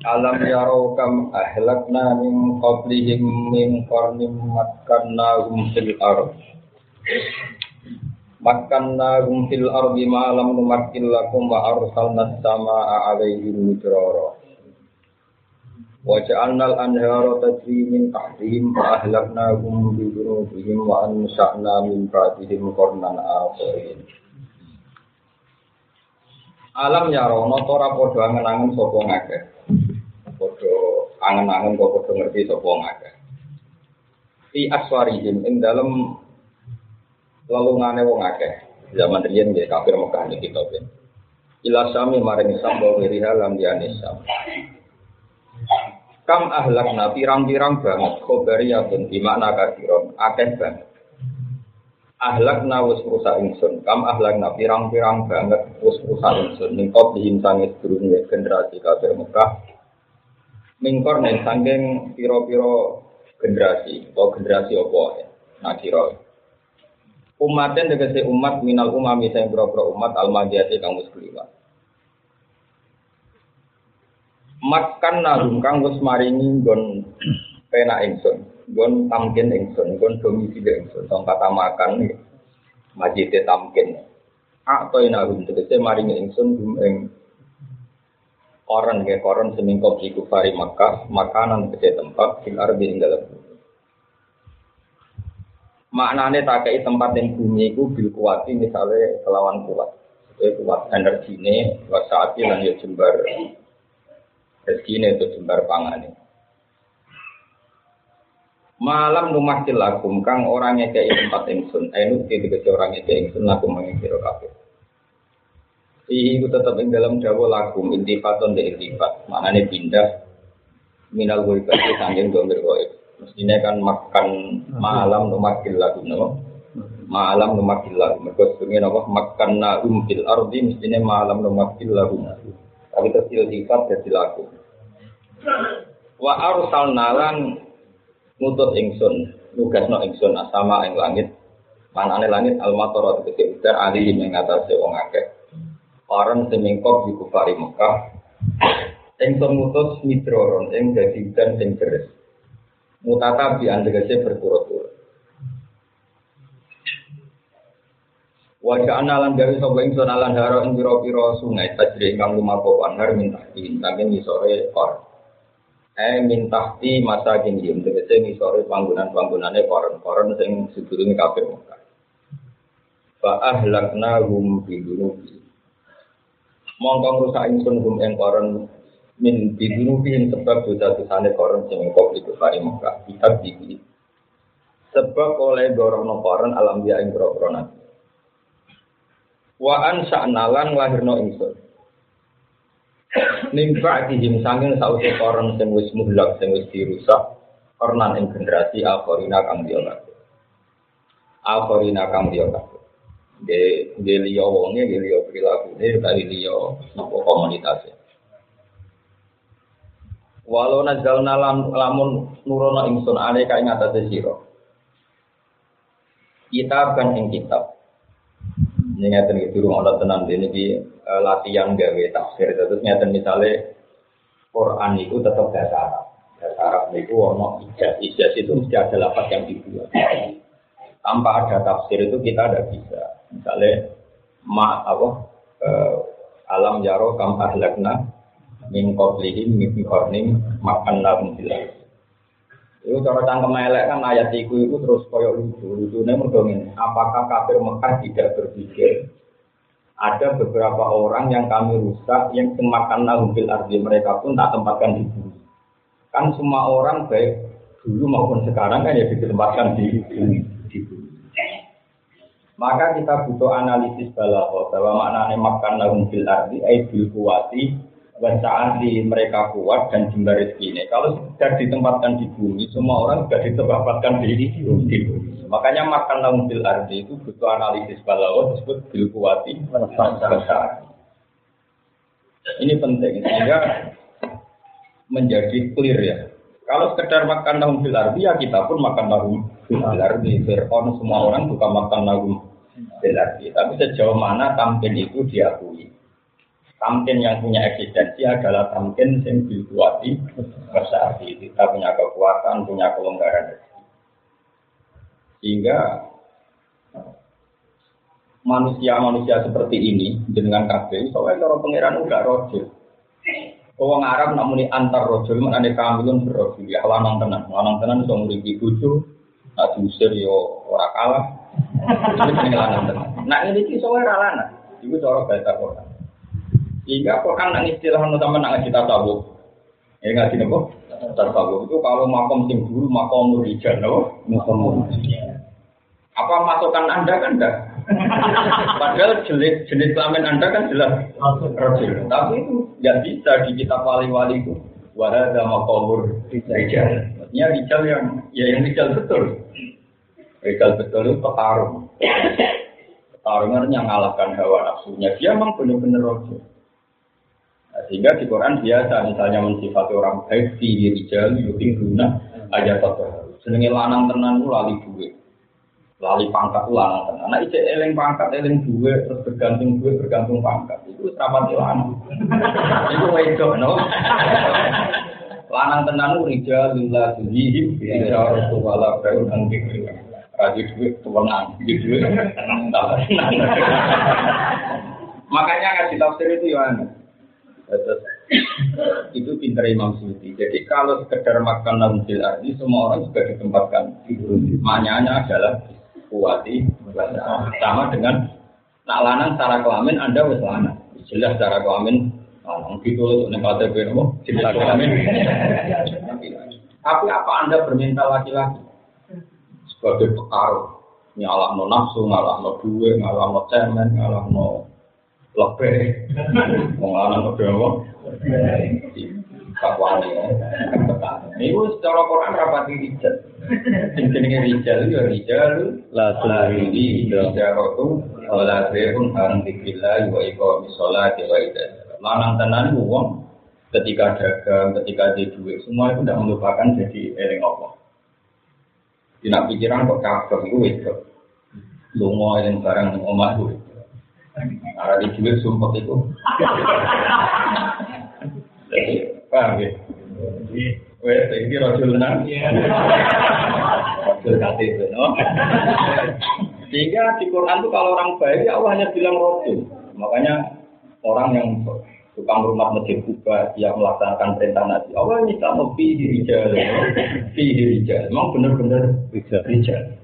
Alam yarau kam ahlakna min qablihim min qarnim makkannahum fil ardh ma lam numakkil lakum wa arsalna as-samaa'a 'alaihim midrara wa ja'alnal anhara tajri min tahtihim fa ahlaknahum bi dhunubihim wa ansha'na min ba'dihim qarnan akharin. Alam yarau ora padha angen-angen sapa ngakeh. Padha angen-angen kok padha ngerti sapa ngakeh. Fi aswarihim ing dalem lelungane wong akeh. Zaman riyen nggih kafir Mekah niki to ben. Ila sami maring Islam wa wiriha lam yanisam. Kam ahlakna pirang-pirang banget khobariyatun di makna kafiron akeh banget. Ahlakna wis rusak ingsun. Kam ahlakna pirang-pirang banget wis rusak ingsun. Ningkop dihintangis durunge generasi kafir Mekah. Mingkor ning saking pira-pira generasi atau generasi apa ya? Nakira. Umaten tegese umat minal umami sing pira-pira umat al-madiyati kang wis kliwat. Makan nalung kang wis maringi nggon penak ingsun, nggon tamkin ingsun, nggon domisili ingsun, tong kata makan iki. Majite tamkin. Atau inalung tegese maringi ingsun ing koron ke koron semingkop di kufari Makkah, makanan tegese tempat fil ardi ing dalem. Maknane tak kei tempat yang bumi itu bil kuwati misalnya kelawan kuat. Itu kuat energine, wasaati lan ya jembar rezekine itu jembar pangane. Malam numakil lakum kang orang ngekei tempat ingsun, anu tegese orang ngekei ingsun lakum mengkira kabeh. Iku tetap ing dalam dawa lakum intifaton de intifat, maknane pindah minal ghaibati sanjeng domir ghaib. Mestinya kan makan malam numakil lakum no. Malam numakil lakum. Mergo sebenarnya apa makanna fil ardi mestinya malam numakil lakum. Tapi tersil sifat dadi lakum. Wa arsalna lan ngutus ingsun, nugasno ingsun asama ing langit. Manane langit al-matara tegese udan ali ing ngatasé wong akeh. Orang semingkop di kufari Mekah ingsun ngutus midroron ing dadi udan sing deres. Mutata bi andegese berturut-turut. Wa ja'alna lan gawe sapa ingsun lan haro ing pira-pira sungai tajri kang lumaku anhar mintahti saking ngisore kor. Mintahti masakin yen tegese ngisore panggonan-panggonane koron-koron sing sedurunge kafir Mekah. Fa ahlaknahum bi dunubi. Mongko rusak ingsun hum ing koron min bidunubi sebab dosa-dosane koron sing kok iku kari Mekah kitab iki. Sebab oleh gorono koron alam dia ing grogro wa an sa'nalan lahirno ingsun. Nimba dihim sanging sause koron sing wis muhlak sing wis dirusak kornan ing generasi akhirina kang dia kabeh. De liya wonge de liya prilakune dari liya napa komunitas. Walau nazalna lamun nurono ingsun ale ka ing atase sira. Kitab kan ing kitab. Ngeten iki durung ana tenan dene iki latihan gawe tafsir. Terus ngeten misale Quran itu tetap bahasa Arab. Bahasa Arab niku ono ijaz itu mesti ada lafaz yang dibuat. Tanpa ada tafsir itu kita tidak bisa. Misalnya alam jaro kam ahlakna min qablihim min qarnim makannahum fil ardh. Itu cara cangkem elek kan ayat iku terus koyo lucu-lucune mergo ngene. Apakah kafir Mekah tidak berpikir ada beberapa orang yang kami rusak yang makannahum fil ardh mereka pun tak tempatkan di bumi. Kan semua orang baik dulu maupun sekarang kan ya ditempatkan di bumi. Maka kita butuh analisis balaghah bahwa maknanya makannahum fil ardh ai bil quwati wa sa'ati mereka kuat dan jembar rezekine. Kalau sudah ditempatkan di bumi, semua orang sudah ditempatkan di bumi. Makanya makannahum fil ardh itu butuh analisis balaghah disebut bil quwati wa sa'ati. Ini penting sehingga menjadi clear ya. Kalau sekedar makan nahum fil ardi ya kita pun makan nahum fil ardi. Fir'aun semua orang bukan makan nahum fil ardi. Tapi sejauh mana tampil itu diakui. Tamkin yang punya eksistensi adalah tamkin yang dikuati besar. Kita punya kekuatan, punya kelonggaran. Sehingga manusia-manusia seperti ini dengan kabeh, soalnya cara pangeran enggak rojul. Orang Arab namuni antar rojul, mana kamilun berrojul. Ya lanang tenan iso nguripi bojo, nak diusir yo ora kalah. Ini lanang tenan. Nah ini iki soalnya ora lanang. Iku cara bahasa Quran. Sehingga Quran nang istilah sama nang kita tahu. Ya ngaji napa? Tasawuf itu kalau makom sing dulu makom rijal napa? Makom. Apa masukan Anda kan enggak? Padahal jenis kelamin Anda kan jelas rojul. Tapi itu enggak bisa di kitab wali-wali itu. Wahada makomur rijal. Maksudnya rijal yang rijal betul. Rijal betul itu petarung. Petarungan yang mengalahkan hawa nafsunya. Dia memang benar-benar rojul. Nah, sehingga di Quran biasa misalnya mensifati orang baik di rijal yuti guna aja terus. Senenge lanang tenan ku lali duwe. Lali pangkat ku lanang tenan. Nek isih eling pangkat eling duwe terus bergantung pangkat. Itu rapati lanang. Itu wedok no. Lanang tenan ku rijal lillah tuhi rijal wala baun angkik. Raji duwe tuwenang gitu. Makanya ngaji tafsir itu ya aneh. Itu pintar Imam Suyuti. Jadi kalau sekedar makan nampil arti semua orang juga ditempatkan. Maknanya adalah kuati sama dengan nak lanang secara kelamin Anda wis lanang. Jelas secara kelamin lanang gitu nek KTP nopo jelas kelamin. Tapi apa Anda bermental laki-laki? Sebagai petarung nyalahno nafsu, nyalahno duwe, nyalahno cemen, nyalahno lebih mengalami apa? Kawan ya, ini secara Quran rapat rijal. Jenenge rijal ya rijal la tulhi jaratu wala zirun an dzikrillah wa iqamis sholati wa idzal. Lanang tenan wong ketika dagang, ketika di duit semua itu tidak melupakan jadi eling Allah. Tidak pikiran kok kabeh iku wis lunga eling barang omah duit. Ada di duit sumpah itu. Paham ya? Wes iki rojul tenan. Rojul KTP no. Sehingga di Quran itu kalau orang baik ya Allah hanya bilang rojul. Makanya orang yang tukang rumah masjid Kuba yang melaksanakan perintah Nabi Allah ini sama fi rijal. Memang benar-benar rijal.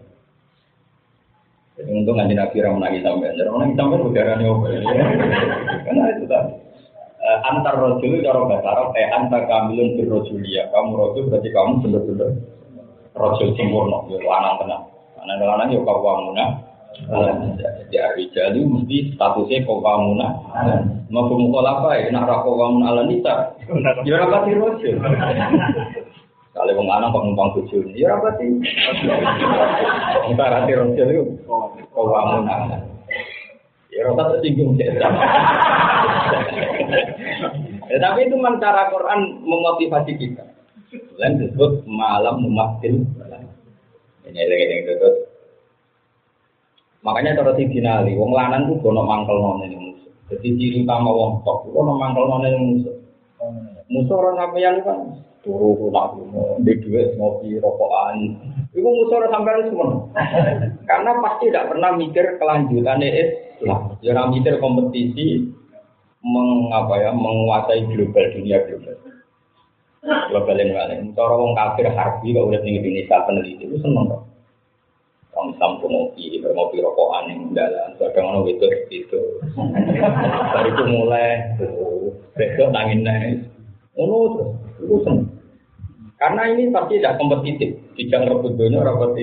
Untung nanti Nabi Ramnagi sampai, Ramnagi sampai udaranya apa ya? Karena itu tadi antar rojul cara bahasa Arab, antar kamilun bir rojulia. Kamu rojul berarti kamu benar-benar rojul sempurna, lanang tenang. Lanang yo kawamuna. Jadi arijali mesti statusnya kawamuna. Mau apa ya? Nak kawamuna ala nisa. Ya rapati rojul. Kalau wong lanang kok numpang bojo, ya ora pati. Antara roti itu kok wamun ana. Ya ora tersinggung sik. Tapi itu cara Quran memotivasi kita. Lain disebut malam mumakil. Ini lagi terus. Makanya cara dinali, wong lanang ku gono mangkelno ning musuh. Jadi ciri utama wong tok gono mangkelno ning musuh. Musuh ora sampeyan kan turu nak di duit ngopi rokokan itu musuh sampai semua karena pasti tidak pernah mikir kelanjutan Islam jangan mikir kompetisi menguasai dunia global yang lain cara orang kafir harbi kalau udah tinggi Indonesia peneliti itu seneng kok orang Islam tuh ngopi rokokan yang dalam kadang orang itu dari itu mulai besok nangin terus itu senang. Karena ini pasti tidak kompetitif, tidak rebut dunia, rapati.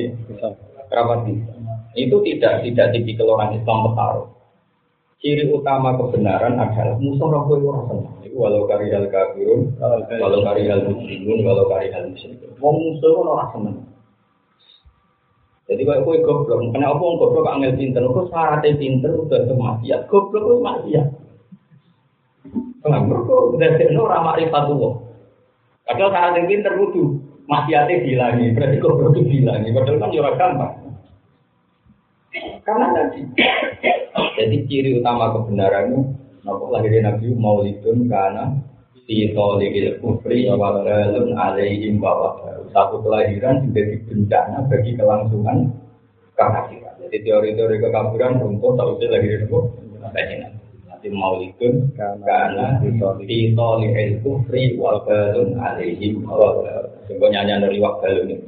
Itu tidak tipikal orang Islam petarung. Ciri utama kebenaran adalah musuh rakyat orang senang. Walau karihal kafirun, walau karihal muslimun, walau karihal muslimun. Musuh orang senang. Jadi kalau kau goblok, kenapa orang goblok angel pinter? Kau syaratnya pinter udah maksiat, goblok itu maksiat. Kenapa kau udah orang makrifat padahal cara yang pinter kudu maksiatnya dihilangi, berarti goblok itu dihilangi. Padahal kan jurang gampang. Karena tadi, jadi ciri utama kebenaran itu Napa lahirnya Nabi Maulidun karena fi tolikil kufri wa dalun alaihim bahwa satu kelahiran menjadi bencana bagi kelangsungan kekafiran. Jadi teori-teori kekafiran runtuh sausé lahirnya Nabi. Nanti Maulidun karena fi tolikil kufri wa dalun alaihim bahwa sing nyanyi dari waktu ini.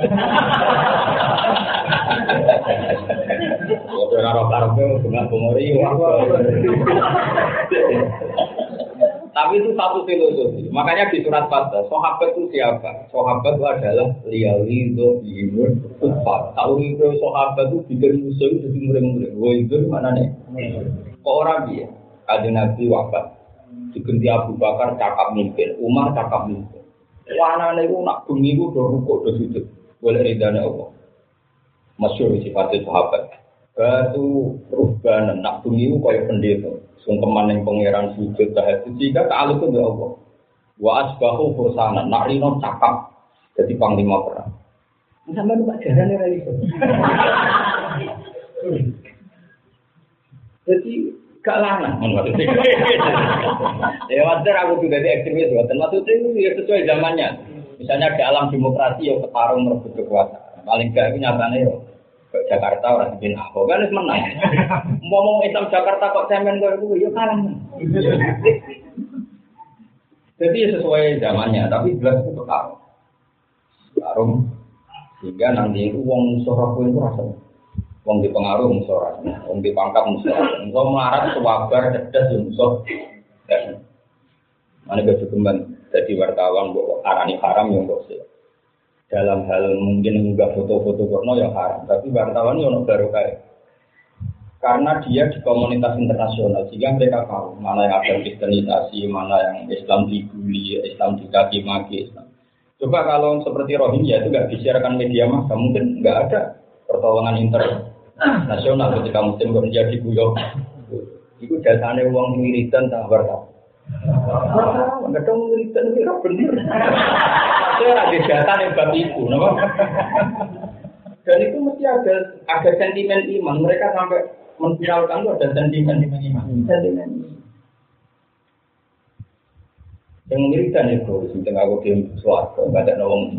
Ora ora karpe bunga bumori Tapi itu satu filosofi. Makanya di surat Fatah, sahabat itu siapa? Sahabat itu adalah liyalido bimun kufar. Kalau itu sahabat itu bikin musuh itu jadi murid-murid. Wah itu mana nih? Kok orang dia? Ada Nabi wafat. Diganti Abu Bakar cakap mimpin, Umar cakap mimpin. Wana nih nak bumi itu udah rukuk udah sujud. Boleh ridhanya Allah. Masyhur sifatnya sahabat. Batu perubahan nak bumi itu kayak pendeta. Sungkeman yang pangeran sujud tahajud jika ta'aluk itu Allah. Wa asbahu fursana nak rino cakap jadi panglima perang. Sampai lu ajaran era itu. Jadi gak lanang maksudnya. Ya wajar aku juga di ekstremis maksudnya itu ya sesuai zamannya. Misalnya di alam demokrasi ya ketarung merebut kekuasaan. Paling gak itu nyatanya ya Jakarta orang bikin apa kan itu menang. Ngomong Islam Jakarta kok cemen kok itu ya kalah. Jadi sesuai zamannya, tapi jelas itu ketarung. Ketarung sehingga nanti itu wong musuh itu rasanya. Wong dipengaruh musuh rasanya, wong dipangkat musuh. Musuh melarat sewabar cerdas musuh. Mana kecukupan jadi wartawan buat arani haram yang dosa. Dalam hal mungkin mengunggah foto-foto porno yang haram, tapi wartawan yang baru kayak karena dia di komunitas internasional sehingga mereka tahu mana yang ada kristenisasi, mana yang Islam dibully, Islam dicaci maki. Coba kalau seperti Rohingya itu nggak disiarkan media massa, mungkin nggak ada pertolongan internasional ketika Muslim Rohingya diguyur. Itu jasanya uang wiridan tak wartawan. Nggak tahu wiridan itu benar. Saya ada data yang bab itu, dan itu mesti ada sentimen iman. Mereka sampai memviralkan itu ada sentimen iman. Sentimen iman. Yang mengirikan itu, sebenarnya aku diam suatu, nggak ada nolong.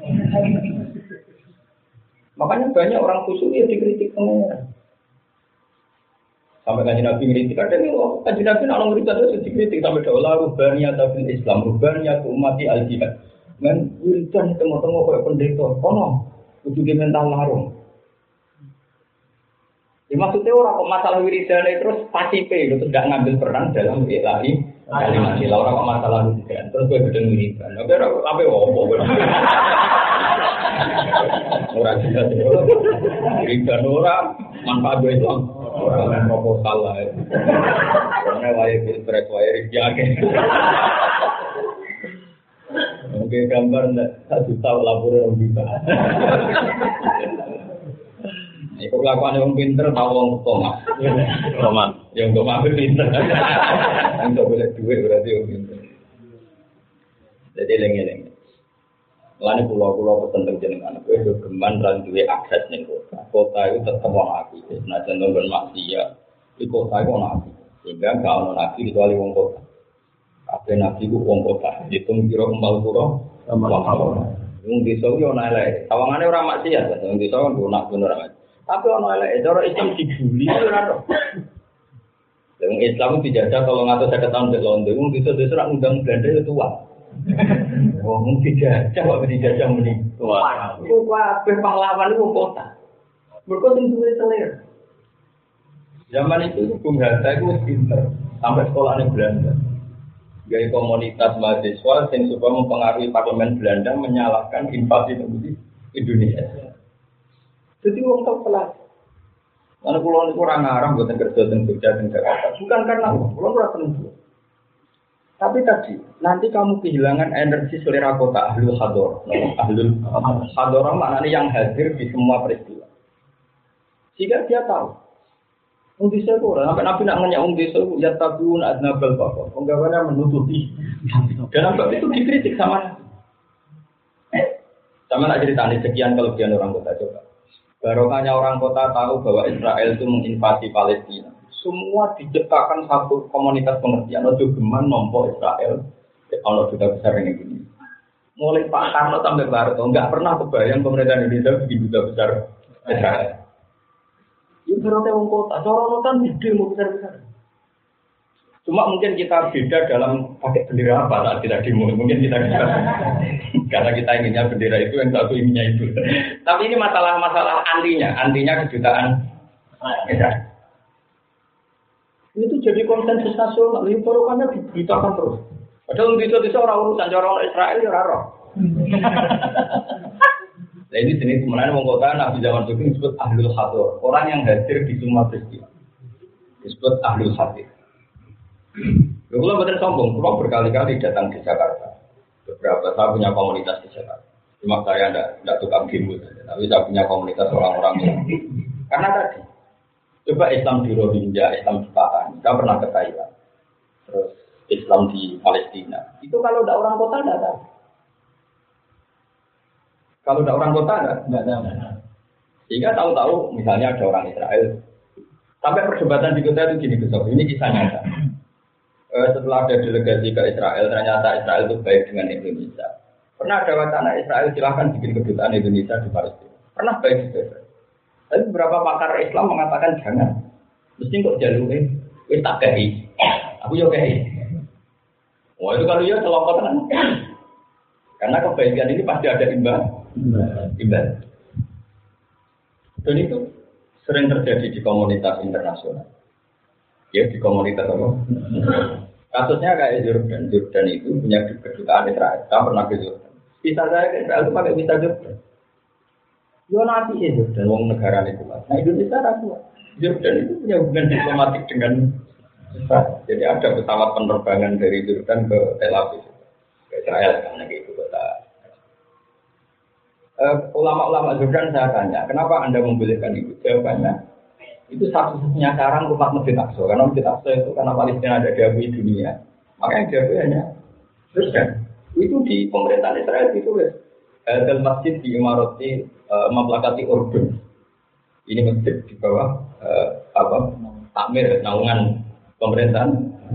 Makanya banyak orang khusyuk ya dikritik pengeran. Sampai kaji Nabi ngeritik, ada nih, kaji Nabi nak ngeritik itu dikritik sampai daulah rubaniyat bil Islam, rubaniyat umati al-jihad. Men wiridan tengok-tengok kayak pendeta, kono, kudu mental larung. Ya, maksudnya orang kok masalah wiridan terus pasif itu tidak ngambil peran dalam ilahi kalimat sila orang kok masalah wiridan terus gue gedeng wiridan. Oke, apa opo? Orang jelas wiridan orang manfaat gue itu orang proposal lah. Karena wajib pilpres wajib jaga. Oke, gambar tak juta laporan orang juta. Itu kelakuan yang pinter tahu orang tomat. Yang tomat itu pinter. Yang tak boleh duit berarti orang pinter. Jadi lengi-lengi. Lalu pulau-pulau petenteng jenengan. Aku itu geman dan duit akses nih kota. Kota itu tetap orang api. Nah contoh bermaksiat. Di kota itu orang api. Sehingga kalau orang api kecuali orang kota. Apa nabi ku wong kota, hitung kira kembal pura, wong desa yo ana elek. Tawangane ora maksiat, wong desa kan nak bener amat. Tapi ana elek, cara Islam dibuli ora to. Wong Islam dijajah 350 tahun di Londo, wong desa-desa ora ngundang Belanda yo tua. Wong dijajah kok dijajah muni tua. Ku kabeh pahlawan wong kota. Mergo sing duwe selera. Zaman itu Bung Hatta itu pinter sampai sekolahnya Belanda. Gaya komunitas mahasiswa yang supaya mempengaruhi parlemen Belanda menyalahkan invasi Indonesia. Jadi orang tak pelas. Karena pulau ini kurang ngarang buat kerja dan kerja di Jakarta. Bukan karena pulau kurang tentu. Tapi tadi nanti kamu kehilangan energi selera kota ahlul hador. Ahlul hador maknanya yang hadir di semua peristiwa. Jika dia tahu. Desa itu orang, sampai Nabi nak nanya desa itu ya tabun adnabal bapak, penggawaannya menutupi. Dan Nabi itu dikritik sama. Sama nak cerita nih sekian kelebihan orang kota coba. Barokahnya orang kota tahu bahwa Israel itu menginvasi Palestina. semua diciptakan satu komunitas pengertian. Ojo geman nompo Israel, kalau duta besar ini gini. Mulai Pak Karno sampai Barto, nggak pernah kebayang pemerintahan Indonesia bikin duta besar Israel. Itu berarti wong kota, corona kan gede mau besar-besar. Cuma mungkin kita beda dalam pakai bendera apa saat kita demo. Mungkin kita karena kita inginnya bendera itu, yang satu inginnya itu. Tapi ini masalah antinya kejutaan. Itu jadi konsensus nasional. Ini porokannya diberitakan terus. Padahal bisa orang urusan orang Israel ya raro. Nah ini jenis sebenarnya mengkota Nabi zaman dulu disebut ahlul hadir. Orang yang hadir di semua peristiwa disebut ahlul hadir. Kalau betul sombong, kalau berkali-kali datang di Jakarta, beberapa saya punya komunitas di Jakarta. Cuma saya tidak tukang demo saja, tapi saya punya komunitas orang-orang yang karena tadi coba Islam di Rohingya, Islam di Pahang, saya pernah ke Thailand, terus Islam di Palestina. Itu kalau tidak orang kota tidak tahu. Kalau tidak orang kota tidak tahu. Sehingga tahu-tahu misalnya ada orang Israel. Sampai perdebatan di kota itu gini besok. Ini kisah nyata. Setelah ada delegasi ke Israel, ternyata Israel itu baik dengan Indonesia. Pernah ada wacana Israel silahkan bikin kedutaan Indonesia di Palestina. Pernah baik juga. Tapi beberapa pakar Islam mengatakan jangan. Mesti kok jalurin, wis tak kei. Aku yo kei. Wah itu kalau ya kelompok kan. Karena kebaikan ini pasti ada imbal. Dan itu sering terjadi di komunitas internasional. Ya di komunitas apa? Kasusnya kayak Jordan. Jordan itu punya kedutaan Israel. Saya pernah ke Jordan. Visa saya ke Israel itu pakai visa Jordan. Yo nanti ya Jordan, wong negara itu. Nah Indonesia ragu. Jordan itu punya hubungan diplomatik dengan Israel. Jadi ada pesawat penerbangan dari Jordan ke Tel Aviv, ke Israel karena itu kota. Ulama-ulama Jordan saya tanya, kenapa Anda membolehkan itu? Jawabannya, itu satu-satunya cara umat Masjid Aqsa. Karena Masjid Aqsa itu karena Palestina ada diakui dunia, makanya diakui hanya Jordan. Itu di pemerintahan Israel itu Hadal masjid di Imarati memplakati Urdun. Ini masjid di bawah takmir naungan pemerintahan.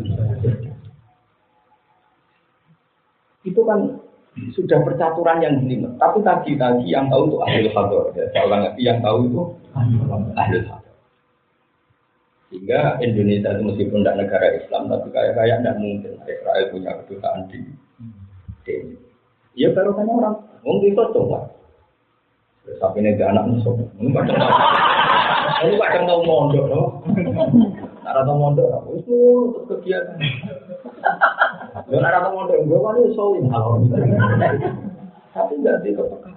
Itu kan sudah percaturan yang jelimet. Tapi tadi yang tahu itu ahlul hadar. Saya ulang lagi, yang tahu itu ahlul hadar. Sehingga Indonesia itu meskipun tidak negara Islam, tapi kayak tidak mungkin Israel punya kedutaan di ini. Ya baru kan orang mungkin itu coba. Sampai ini anak musuh. Ini kadang tahu mondok, loh. Nara tahu mondok, itu untuk kegiatan. Nara tahu mondok, gue kan itu soalin hal. Tapi nggak dikepekan.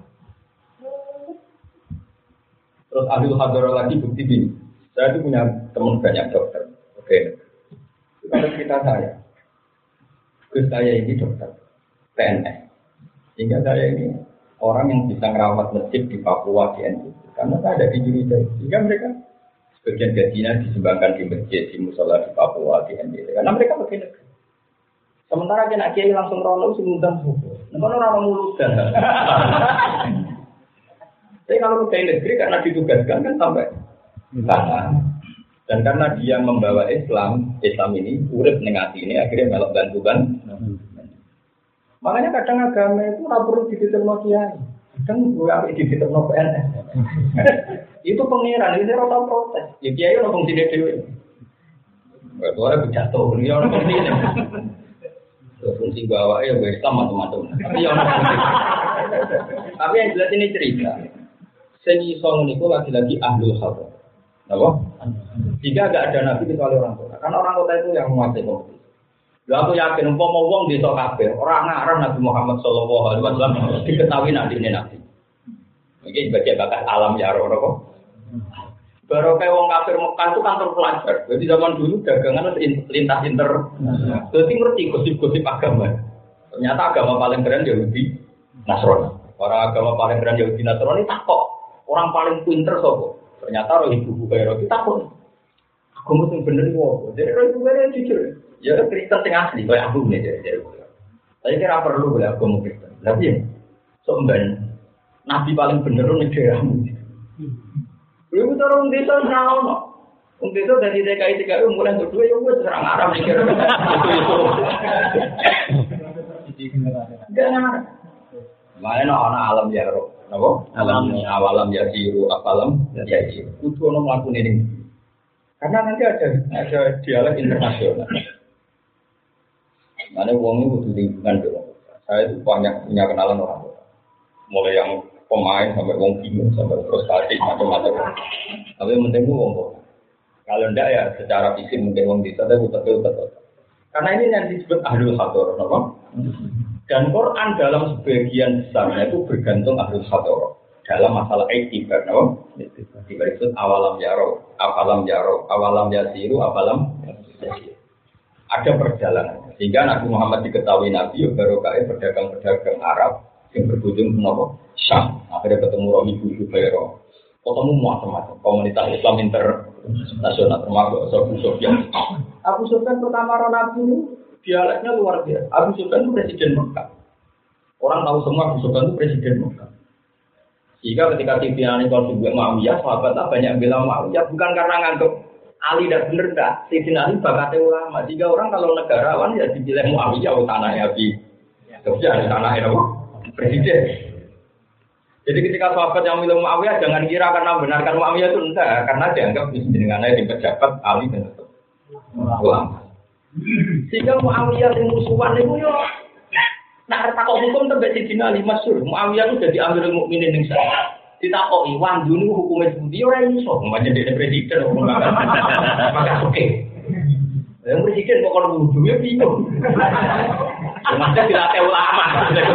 Terus ahlul hadar lagi bukti gini. Saya itu punya teman banyak dokter. Oke. Itu kalau cerita saya. Terus saya ini dokter PNS. Sehingga saya ini orang yang bisa merawat masjid di Papua di NTT. Karena saya ada di Indonesia. Sehingga mereka sebagian gajinya disumbangkan di masjid, di musola di Papua di NTT. Karena mereka pakai negeri. Sementara kena kiai langsung rono sing ngundang subuh. Nek ono ora mulus dan. Tapi kalau pegawai negeri karena ditugaskan kan sampai sana. Dan karena dia membawa Islam ini urip ning ati ini akhirnya melok bantuan. Makanya kadang agama itu ora perlu diditerno kiai. Kadang gue harus diditerno PNS. Itu pengiran, itu ora protes. Ya kiai ora fungsi dhewe. Ora jatuh, dia ora fungsi ini. Fungsi bawa ya gue Islam macam-macam. Tapi yang jelas ini cerita. Seni song niku lagi-lagi ahlul hadar. Apa? Jika enggak ada nabi kecuali orang kota. Karena orang kota itu yang menguasai kompetisi. Lalu aku yakin umpama wong desa kabeh ora ngarep Nabi Muhammad sallallahu alaihi wasallam diketahui nabi ini nabi. Iki sebagai bakat alam ya ora kok. Baru kayak wong kafir Mekah itu kantor pelajar. Jadi zaman dulu dagangan lintas internasional. Jadi ngerti gosip-gosip agama. Ternyata agama paling keren Yahudi Nasrani. Orang agama paling keren Yahudi Nasrani takok. Orang paling pinter sapa? Ternyata roh ibu Kairo kita takok. Aku mesti bener kok. Jadi roh ibu Kairo jujur. Ya Kristen sing asli kayak aku nih jadi. Saya kira perlu boleh aku mau Kristen. Tapi ya, soalnya Nabi paling bener nih daerahmu. Lu orang desa naon. Untuk itu dari TKI mulai berdua ya gue serang Arab mikir itu. Enggak ngarep. Mana ana alam ya roh, napa? Awalam ya siru, apalam ya siru. Kudu ono mlakune ning. Karena nanti ada dialog internasional. Mana wong itu kudu lingkungan dong. Saya itu banyak punya kenalan orang. Mulai yang pemain sampai wong bingung sampai frustasi macam-macam. Tapi yang penting itu wong. Kalau enggak ya secara fisik mungkin wong bisa tapi betul. Karena ini yang disebut ahlul hadar, napa? Dan Quran dalam sebagian besarnya itu bergantung ahlul hadar dalam masalah etibar, no? Etibar itu awalam yaro, awalam yasiru, awalam yasiru. Ada perjalanan. Sehingga Nabi Muhammad diketahui Nabi baru kaya pedagang-pedagang Arab yang berkunjung ke Syam. Akhirnya ketemu Romi Bujubairo. Ketemu macam-macam komunitas Islam internasional termasuk Abu Sufyan. Abu Sufyan pertama Nabi ini dialeknya luar biasa. Abu Sufyan itu presiden Mekah. Orang tahu semua Abu Sufyan itu presiden Mekah. Jika ketika Sufyan konflik Muawiyah, sahabatnya banyak bilang Muawiyah bukan karena nganggap Ali tidak benar dah. Sayyidina Ali bakatnya ulama. Jika orang kalau negarawan ya dibilang Muawiyah tanahnya Abi Sufyan tanahnya apa? Presiden. Jadi ketika sahabat yang milih Muawiyah jangan kira karena benarkan Muawiyah itu enggak, karena dianggap dengannya di pejabat Ali dan ulama. Sehingga Muawiyah yang musuhan itu yo nak takok hukum tembak Sayyidina Ali masyhur. Muawiyah itu jadi Amirul Mukminin ning sana. Ditakoki wandu niku hukume sepundi ora iso, umpamane dene presiden maka oke. Yang presiden kok kon wudu ya bingung. Masa dilatih ulama.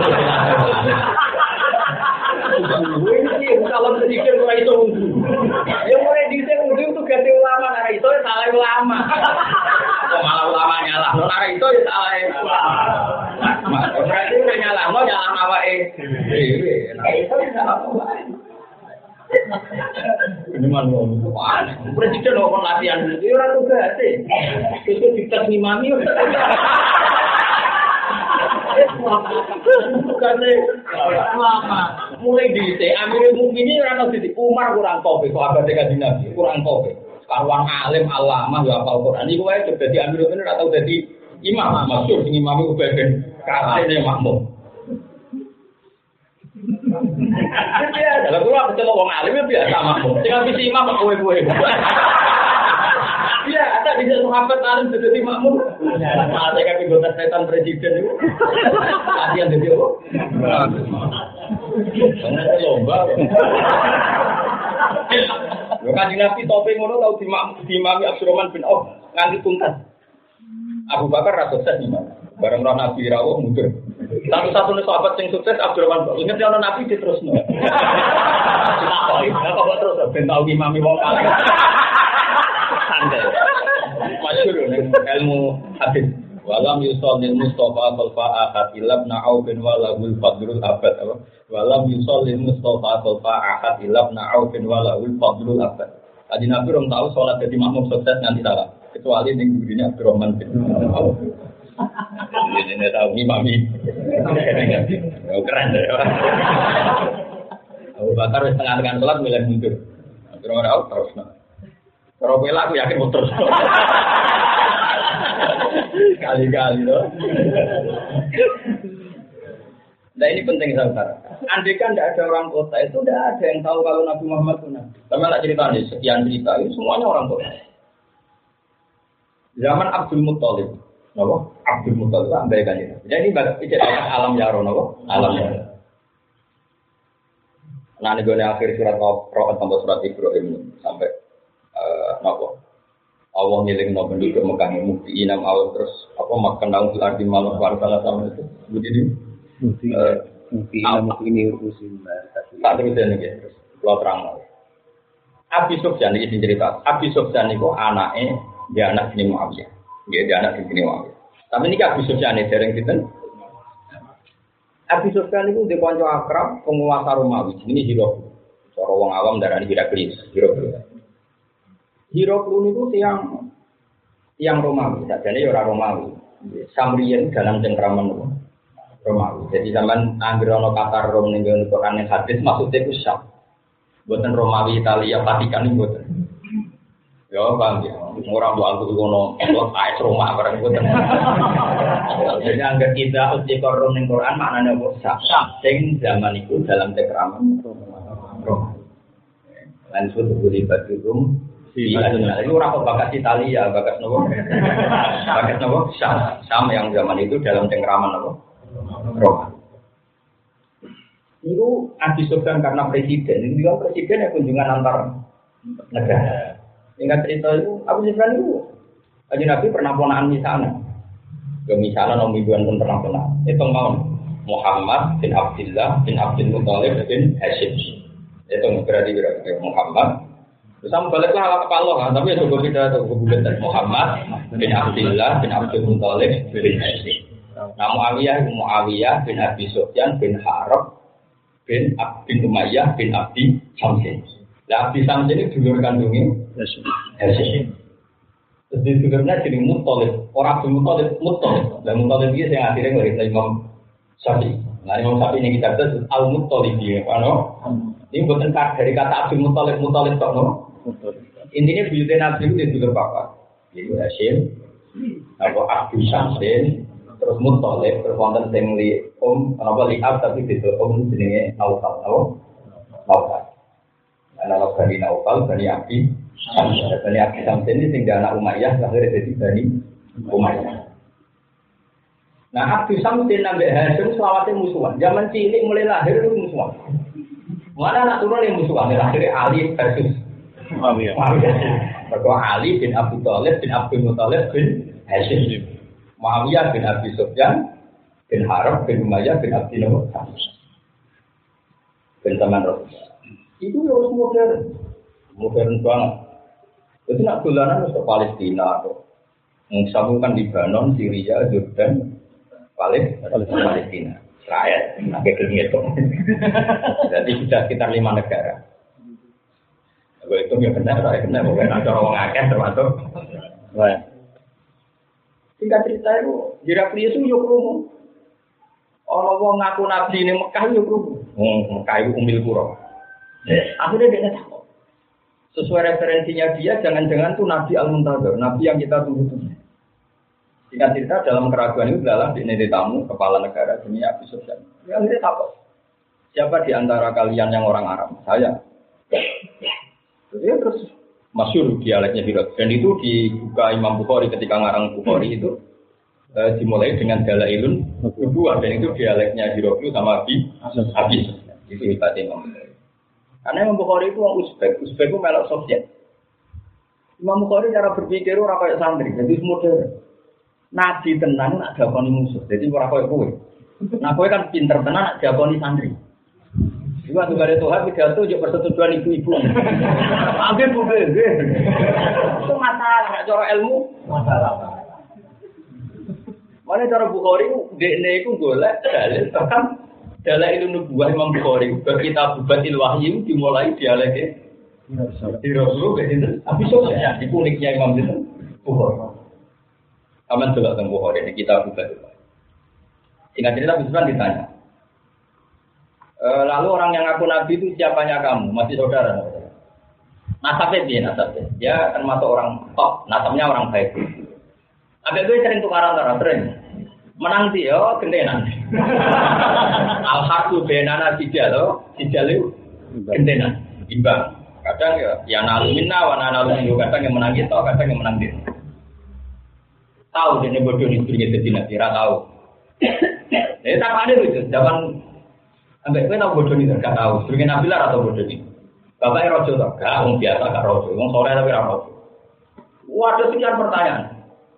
Kalau presiden ora iso wudu. Ya mulai dhisik wudu itu ganti ulama, ora iso ya salah ulama. Kok malah ulama nyalah, ora iso ya salah ulama. Berarti udah nyalahno nyalah awake dhewe. Ora iso ya salah ulama. Ini mana presiden mau latihan itu orang tugas itu dites ngimami tugasnya lama mulai di Amirul Mukminin orang di Umar kurang kopi sahabat Kanjeng Nabi kurang kopi sekarang alim alamah ya hafal Quran itu wae jadi Amirul Mukminin atau jadi imam masyhur sing imami ubaden kasene makmum. Ya, kalau gua ketemu orang alim ya biasa makmum. Tinggal visi imam kowe-kowe. Iya, ada di sahabat alim jadi makmum. Malah saya kan anggota setan presiden itu. Latihan jadi apa? Karena lomba. Lo kan Nabi topeng ngono tau dimami Abdurrahman bin Auf nganti tuntas. Abu Bakar ra sukses imam. Bareng roh Nabi rawuh mundur. Satu-satunya sahabat yang sukses Abdurrahman bin Auf. Ingat ya Nabi diterusno. Kenapa kok terus ben tau imami wong kalih. Santai. Masyhur ilmu hadis. Walam yusallil Mustafa khalfa ahad ilabna Auf bin walahul fadlul abad apa? Walam yusallil Mustafa khalfa ahad ilabna Auf bin walahul fadlul abad. Tadi Nabi rom tahu salat jadi makmum sukses nanti salah. Kecuali ning gurine Abdurrahman bin Auf. Ini tahu imami. Keren deh. Abu Bakar wis tengah-tengah salat milih mundur. Abdurrahman Auf terus. Kalau bela aku yakin muter. Kali-kali loh. Nah ini penting saudara. Andai kan tidak ada orang kota itu tidak ada yang tahu kalau Nabi Muhammad itu Nabi. Sama nak cerita nih sekian cerita itu semuanya orang kota. Zaman Abdul Muttalib, nopo Abdul Muttalib andai kan ini. Jadi ini alam yaro nopo alam yaro. Nah ini gue akhir surat Al-Qur'an sampai surat Ibrahim sampai nopo. Allah ngiling no penduduk Mekah mukti inam awal terus apa makan daun arti malu warga sama itu begini mukti inam mukti ini urusin tak terusnya nih terus lo terang Abi Sufyan ini cerita Abi Sufyan itu anaknya dia anak ini Muawiyah dia anak ini Muawiyah tapi ini Abi Sufyan ini dereng kita Abi Sufyan itu dia konco akrab penguasa Romawi ini Hiro cara wong awam darah ini Heraklius Hiroklu itu yang Romawi, jadi orang Romawi. Samrian dalam cengkraman Romawi. Jadi zaman Anggrono Qatar Rom ning Quran hadis maksudnya itu Syam. Buatan Romawi Italia Vatikan itu buatan. Ya bang, orang tua aku kono, kayak rumah barang itu. Jadi angger kita uji korum ning Quran maknanya apa? Sing zaman itu dalam cekraman. Langsung diberi batirum. Iya, itu orang bakat Italia, bakat nopo? Bakat nopo? Sama yang zaman itu dalam cekraman nopo? Roma. Itu Abi Sufyan karena presiden. Ini kan presiden yang kunjungan antar negara. Ingat cerita itu, Abu Sufyan itu, Kanjeng Nabi pernah ponaan misalnya. Ya misalnya Nabi pun pernah ponaan. Itu mau Muhammad bin Abdullah bin Abdul Muthalib bin Hashim. Itu berarti Muhammad. Terus kamu baliklah ala kepala kan, tapi ya coba kita kebulan Muhammad bin Abdullah bin Abdul Muthalib bin Hashim. Nah Muawiyah bin Abi Sufyan bin Harb bin Umayyah bin Abdi Syamsin. Lah Abdi Syamsin ini dulur kandungnya Hashim. Terus di dulurnya jadi Muthalib. Orang Abdul Muthalib. Dan Muthalib ini yang akhirnya ngelahirkan Imam Syafi'i. Nah Imam Syafi'i ini kita sebut Al-Muthalib. Ini bukan dari kata Abdul Muthalib kok no? Intinya buyutnya Nabi itu di dulur papa. Jadi Hashim, Abdi Syamsin, terus Muthalib, terus wonten sing li liab tapi itu jenenge Naufal. Naufal. Anak Bani Naufal, Bani Abdi Syamsin. Bani Abdi Syamsin ini tinggal anak Umayyah, lahir dari Bani Umayyah. Nah Abdi Syamsin sampai Hashim selawatnya musuhan. Zaman cilik mulai lahir itu musuhan. Mana anak turun yang musuhan? Lahir Ali versus Muawiyah. Ali bin Abi Thalib bin Abdul Muthalib bin Hashim. Muawiyah bin Abi Sufyan bin Harb bin Umayyah bin Abdi Syamsin. Bin Taman Rasul. Itu harus modern banget. Jadi nak dolanan ke Palestina atau menggabungkan Lebanon, Syria, Jordan, Palestina, Israel, pakai kelima itu. Jadi sudah sekitar 5 negara. Kalau itu ya benar, bukan ada orang akeh termasuk. Singkat cerita itu, Heraklius itu yuk rumu. Orang ngaku nabi ini Mekah yuk rumu. Mekah itu umil kuro. Akhirnya dia takut. Sesuai referensinya dia, jangan-jangan tuh Nabi Al-Muntazir, Nabi yang kita tunggu-tunggu. Singkat cerita dalam keraguan itu adalah di tamu kepala negara dunia Abi Sufyan. Dia akhirnya takut. Siapa di antara kalian yang orang Arab? Saya. Jadi terus masyhur dialeknya Hirot. Dan itu dibuka Imam Bukhari ketika ngarang Bukhari itu dimulai dengan Dalailun Nubuwah dan itu dialeknya Hirot sama Abi Sufyan. Itu hebatnya Imam Bukhari. Karena Imam Bukhari itu orang Uzbek itu melok Soviet. Imam Bukhari cara berpikir orang kayak santri, jadi modern. Nabi tenan nak dakoni musuh, jadi orang kayak kowe. Nah kowe kan pinter tenan nak dakoni santri. Juga tuh ada Tuhan pidato juga persetujuan ibu-ibu. Ambil bukan, itu masalah, cara ilmu masalah. Mana cara Bukhari dekne itu golek dalil bahkan Dalailun Nubuwah Imam Bukhari kita bubatil wahyu dimulai dialeknya di Rasulullah itu Abi Sufyan di uniknya Imam itu Bukhari. Aman juga tentang Bukhari ini kita bubatil wahyu. Singkat cerita Abi Sufyan ditanya. Lalu orang yang ngaku Nabi itu siapanya kamu? Masih saudara? Nasabnya dia nasabnya. Dia termasuk orang top, nasabnya orang baik. Abis itu sering tukaran sering. Menang sih yo gentenan. Al-Harbu benana sijal itu gentenan, imbang. Kadang ya nalumina wa nalumina kadang yang menang kita, kadang yang menang dia. Tahu dia bodoh ini punya tidak kira tahu. Jadi tak ada itu zaman sampai kita tahu bodoh ini tak tahu. Sebagai nabilar atau bodoh ini. Bapaknya rojo tak? Gak, orang biasa gak rojo. Orang sore tapi rojo. Waduh sekian pertanyaan.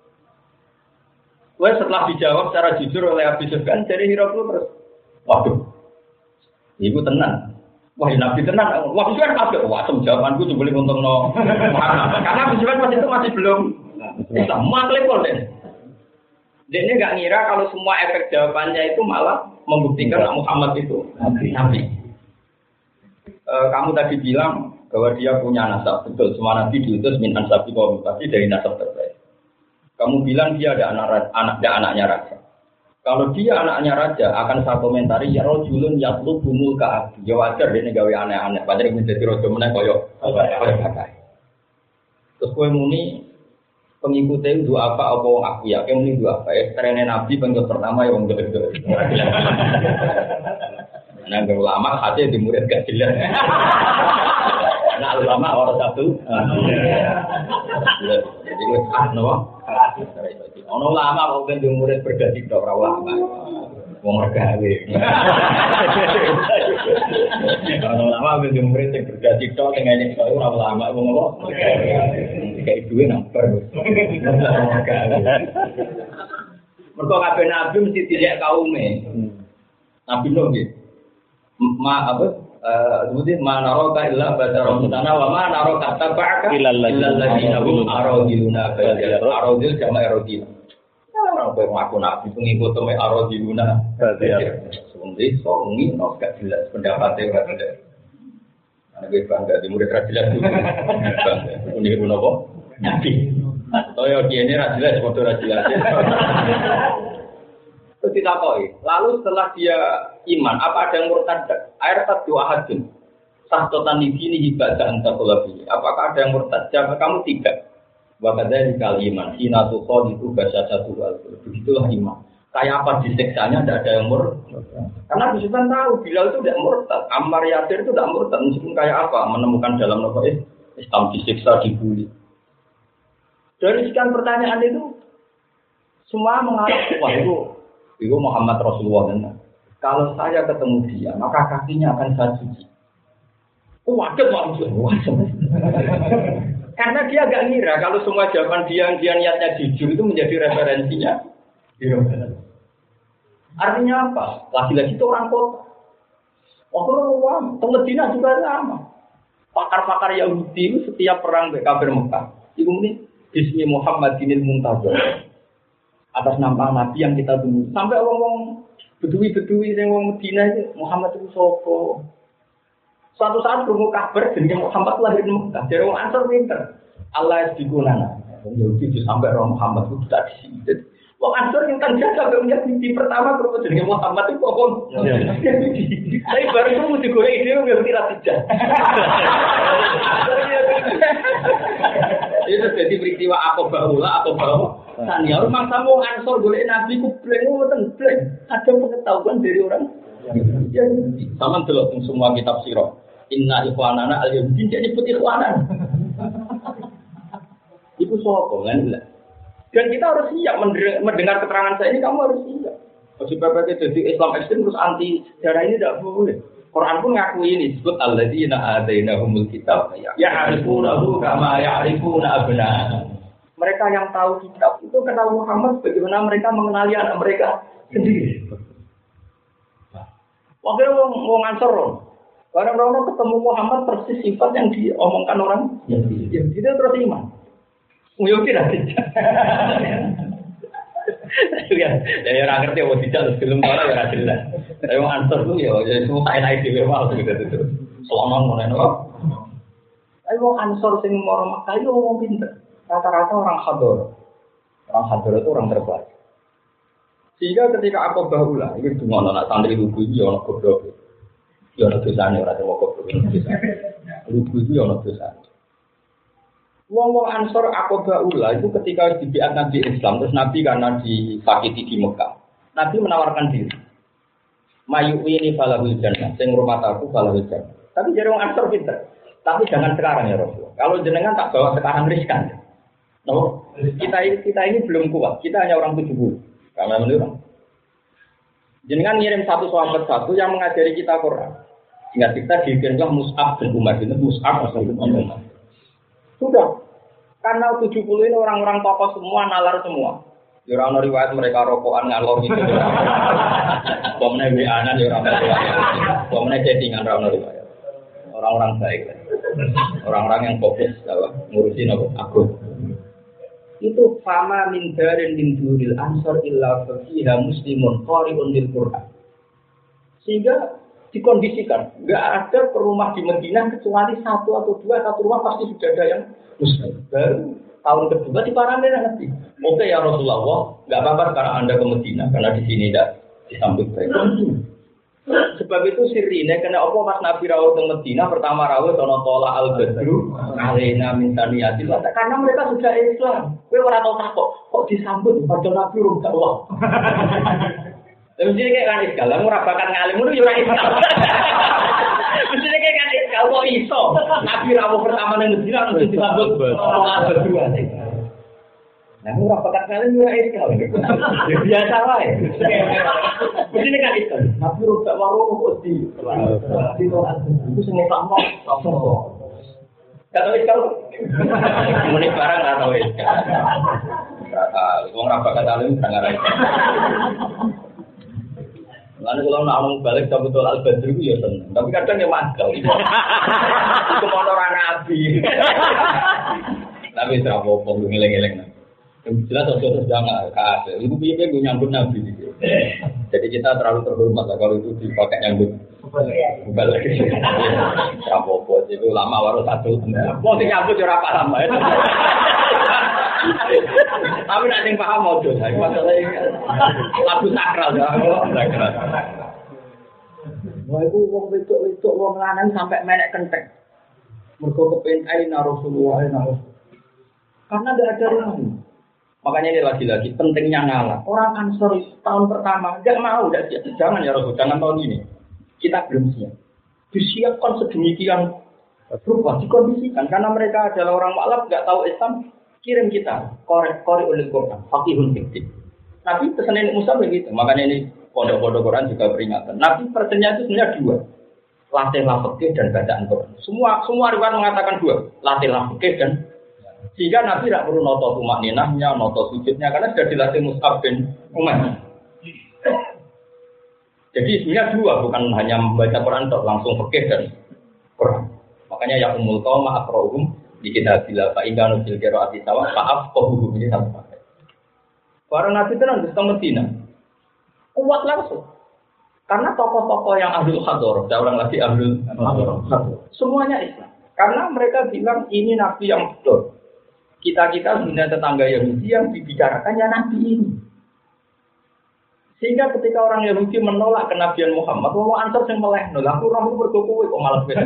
Wah setelah dijawab secara jujur oleh Abi Sufyan, jadi Heraklius terus, waduh, ibu tenang, wah Nabi tenang, wah Abi Sufyan kabeh, wah jawabanku cuma boleh untung no, karena Abi Sufyan waktu itu masih belum, sama klepol deh. Dia ini nggak ngira kalau semua efek jawabannya itu malah membuktikan Muhammad itu Nabi. Kamu tadi bilang bahwa dia punya nasab, betul, semua Nabi diutus min ansabi kaum, pasti dari nasab terbaik. Kamu bilang dia ada anaknya raja. Kalau dia anaknya raja, akan saya komentari ya rojulun yatlub bumul ka'ab. Ya wajar dia gawe aneh-aneh. Padahal menjadi rojo meneh koyo. Terus kowe muni pengikutnya itu apa wong aku ya, kayak muni dua apa ya, trennya Nabi pengikut pertama ya wong gede-gede. Nah, ulama hati di murid gak jelas. Nah, ulama orang satu. Jadi gue no. Ono ulama kok ben di murid berganti tok ora ulama. Wong regawe. Ono ulama ben di murid sing berganti tok sing ngene kok ora ulama wong apa? Kayak duwe nomor. Mergo kabeh nabi mesti tidak kaume. Nabi Nuh nggih. Kemudian mana roka illa badar mutana wa mana roka tabaka illa alladziina hum aradiluna aradil jama' aradil. Orang kowe ngaku nabi pengikut me aradiluna badar. Songi no gak jelas pendapatnya ora jelas. Ana kowe bangga di murid ra jelas. Ini ku napa? Nabi. Toyo kiene ra jelas padha ra jelas. Terus ditakoi, lalu setelah dia iman, apa ada yang murtad? Air satu ahadun, sahtotan di sini ibadah antakulabi. Apakah ada yang murtad? Jawab kamu tidak. Wakadanya dikali iman, sinatu kod itu bahasa satu hal. Begitulah iman. Kayak apa diseksanya tidak ada yang murtad. Karena Bismillah tahu Bilal itu tidak murtad, Ammar Yasir itu tidak murtad. Meskipun kayak apa menemukan dalam novel Islam disiksa, dibully. Dari sekian pertanyaan itu, semua mengarah wah itu Muhammad Rasulullah kan. Kalau saya ketemu dia, maka kakinya akan saya cuci. Waduh, karena dia agak ngira kalau semua jawaban dia niatnya jujur itu menjadi referensinya. Artinya apa? Lagi-lagi itu orang kota. Orang Medina juga sama. Pakar-pakar Yahudi itu setiap perang kafir Mekah, itu ini Bismi Muhammadinil Muntazir. Atas nama Nabi yang kita tunggu. Sampai orang-orang bedui-bedui yang orang Medina itu Muhammad itu sapa. Suatu saat berumur kabar jenenge Muhammad lahir di Mekah. Dari orang Ansor pinter. Allah digunana. Wong Yahudi sampai orang Muhammad itu tidak di sini. Wong Ansor yang kan jaga menjadi mimpi pertama berumur jenenge Muhammad itu kok. Tapi baru itu mesti goreng ide nggak tidak tidak. Itu jadi peristiwa aku bawa. Tanya rumah kamu Ansor boleh Nabi ku bleng ada pengetahuan dari orang ya sama delok semua kitab sirah inna ikhwanana al-yahudi jadi putih ikhwanan itu sapa kan dan kita harus siap mendengar keterangan saya ini kamu harus siap sebab jadi Islam ekstrem terus anti sejarah ini tidak boleh Quran pun ngakui ini disebut alladzina atainahumul kitab ya'rifunahu kama ya'rifuna abna'ahum. Mereka yang tahu kitab itu kenal Muhammad bagaimana mereka mengenali anak mereka sendiri. Waktu wong Ansor, orang-orang ketemu Muhammad persis sifat yang diomongkan orang. Ya, dia terus iman. Mungkin tidak. Ya orang ngerti apa tidak sebelum orang ya jelas. Tapi wong Ansor tuh ya semua enak dhewe wae gitu. Selama ngono. Tapi wong Ansor sing moro Mekah yo wong pinter. Rata-rata orang hador. Orang hador itu orang terbaik. Sehingga ketika aku bahula, ini cuma anak santri lugu itu orang goblok. Ya orang dosanya, orang tua goblok. Lugu itu orang dosanya. Wong-wong Ansor aku bahula itu ketika dibiat Nabi Islam, terus Nabi karena disakiti di Mekah. Nabi menawarkan diri. Mayu'i ini falahul jannah, sing rumah aku falahul jannah. Tapi jadi orang Ansor pinter. Tapi jangan sekarang ya Rasulullah. Kalau jenengan tak bawa sekarang riskan. No, kita ini belum kuat. Kita hanya orang 70. Karena menurut jenengan ngirim satu sahabat satu yang mengajari kita Quran. Sehingga kita dikirimlah Mus'ab bin Umar. Mus'ab bin Umar. Sudah. Karena 70 ini orang-orang tokoh semua, nalar semua. Ya orang riwayat mereka rokokan ngalor gitu. Pemene WA-an ya orang riwayat. Pemene chattingan orang riwayat. Orang-orang baik. Orang-orang yang fokus ngurusin aku. Itu fama min darin min duril ansor illa fiha muslimun qari'un lil Qur'an. Sehingga dikondisikan enggak ada rumah di Madinah kecuali satu atau dua satu rumah pasti sudah ada yang muslim. Baru tahun kedua diparangan nanti. Oke ya Rasulullah, enggak apa-apa sekarang Anda ke Madinah karena di sini tidak disambut baik. Sebab itu sirine kena apa pas Nabi rawuh teng Madinah pertama rawuh ana tola al-badru alaina min taniyatil karena mereka sudah Islam. Kowe ora tau takok kok disambut padahal Nabi urung dakwah. Mesti kayak kan iskal, ora bakat ngalim ngono yo ora iskal. Mesti kayak kan iskal kok iso. Nabi rawuh pertama nang Madinah terus disambut tola al-badru. Nah, ora bakat ngalim yo ora iskal. Ya biasa wae. Mesti kan iskal. Nabi ora tak waruh kok di. Itu sing utama apa? Kata iskal. Muni barang ora tau iskal. Wong ora bakat ngalim sangar ae. Lalu kalau nak ngomong balik sama betul al-badri itu ya seneng. Tapi kadang ya mangkel. Itu mau orang nabi. Tapi serap opong ngeleng-ngeleng. Jelas sesuatu jangan kasih. Itu biasanya gue nyambut nabi. Jadi kita terlalu terhormat lah kalau itu dipakai nyambut. Balik. Serap opong itu lama baru satu. Mau nyambut jurah apa lama ya? Tapi nak sing paham mau dong. Masalahnya lagu sakral ya. Wah itu wong wedok wong lanang sampai melek kenteng. Mergo kepen aina Rasulullah karena tidak ada rumah. Makanya ini lagi-lagi pentingnya ngalah. Orang Ansor tahun pertama enggak mau, enggak siap. Jangan ya Rasul, jangan tahun ini. Kita belum siap. Disiapkan sedemikian rupa, dikondisikan karena mereka adalah orang mualaf, enggak tahu Islam. Kirim kita korek oleh Quran, fakihun fiktif. Nabi pesan ini Musa begitu, makanya ini pondok-pondok Quran juga peringatan. Nabi pesannya itu sebenarnya dua, latihlah fikih dan bacaan Quran. Semua riwayat mengatakan dua, latihlah fikih dan sehingga Nabi tidak perlu noto tumak ninahnya, noto sujudnya karena sudah dilatih Mus'ab bin Umair. Jadi sebenarnya dua, bukan hanya membaca Quran langsung fikih dan Quran. Makanya ya umul qauma aqra'uhum di kita bila Pak Ingkanu Silkero Ati Sawah Pak Afqahu ini sama. Para nabi itu nanti ke Medina kuat langsung. Karena tokoh-tokoh yang ahlul hador, saya ulang lagi ahlul hador, semuanya Islam. Karena mereka bilang ini nabi yang betul. Kita punya tetangga Yahudi yang dibicarakan ya nabi ini. Sehingga ketika orang Yahudi menolak kenabian Muhammad, orang Ansor yang meleh, nolak aku orang itu berkuku, kok malah beda.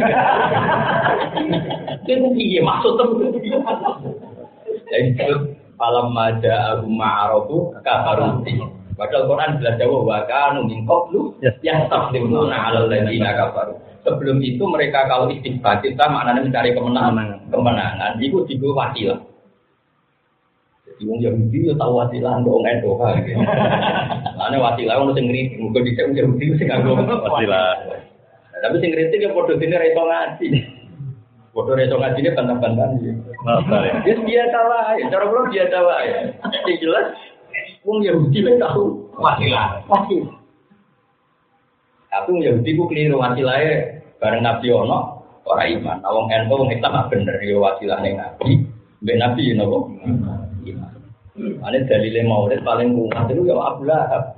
Itu piye maksud temen. Jadi falam maja abu ma'arofu kafaruti. Padahal Quran jelas jawab wa kanu min qablu yastaflimuna 'alal ladzina kafaru. Sebelum itu mereka kalau istighfar kita maknanya mencari kemenangan, itu digo wasilah. Jadi wong Yahudi yo tahu wasilah kok ngendo kan. Lane wasilah ono sing ngritik, muga dhisik wong Yahudi sing nganggo wasilah. Tapi sing ngritik yo padha dene ra iso ngaji. Padha ra iso ngajine bantah-bantahan iki. Wis biasa wae, cara kula biasa wae. Sing jelas wong Yahudi wis tahu wasilah. Tapi wong Yahudi ku keliru wasilahe bareng Nabi ono ora iman. Wong ento wong Islam bener yo wasilah ning Nabi, mbek Nabi napa? Ane dalile maulid paling kuat itu ya Abu Lahab.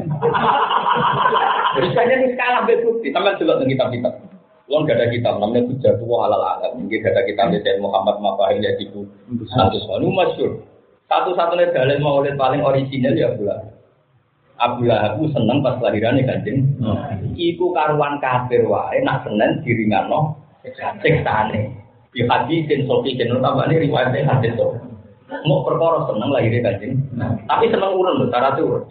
Berisanya ini skala bukti, sampai delok nang kitab-kitab. Wong gak ada kitab namanya Hujjatullah Alal Alam. Mungkin gak ada kitab dari Muhammad Mafahil ya diku. Satu masyhur. Satu-satunya dalil maulid paling original ya Abu Lahab. Abu Lahab seneng pas lahirannya Kanjeng. Iku karuan kafir wae nak senen diringano siksane. Di hadisin sofi jeneng tambane riwayat hadis to. Mau perkara seneng lahirnya Kanjeng. Tapi seneng urun lho, cara turun.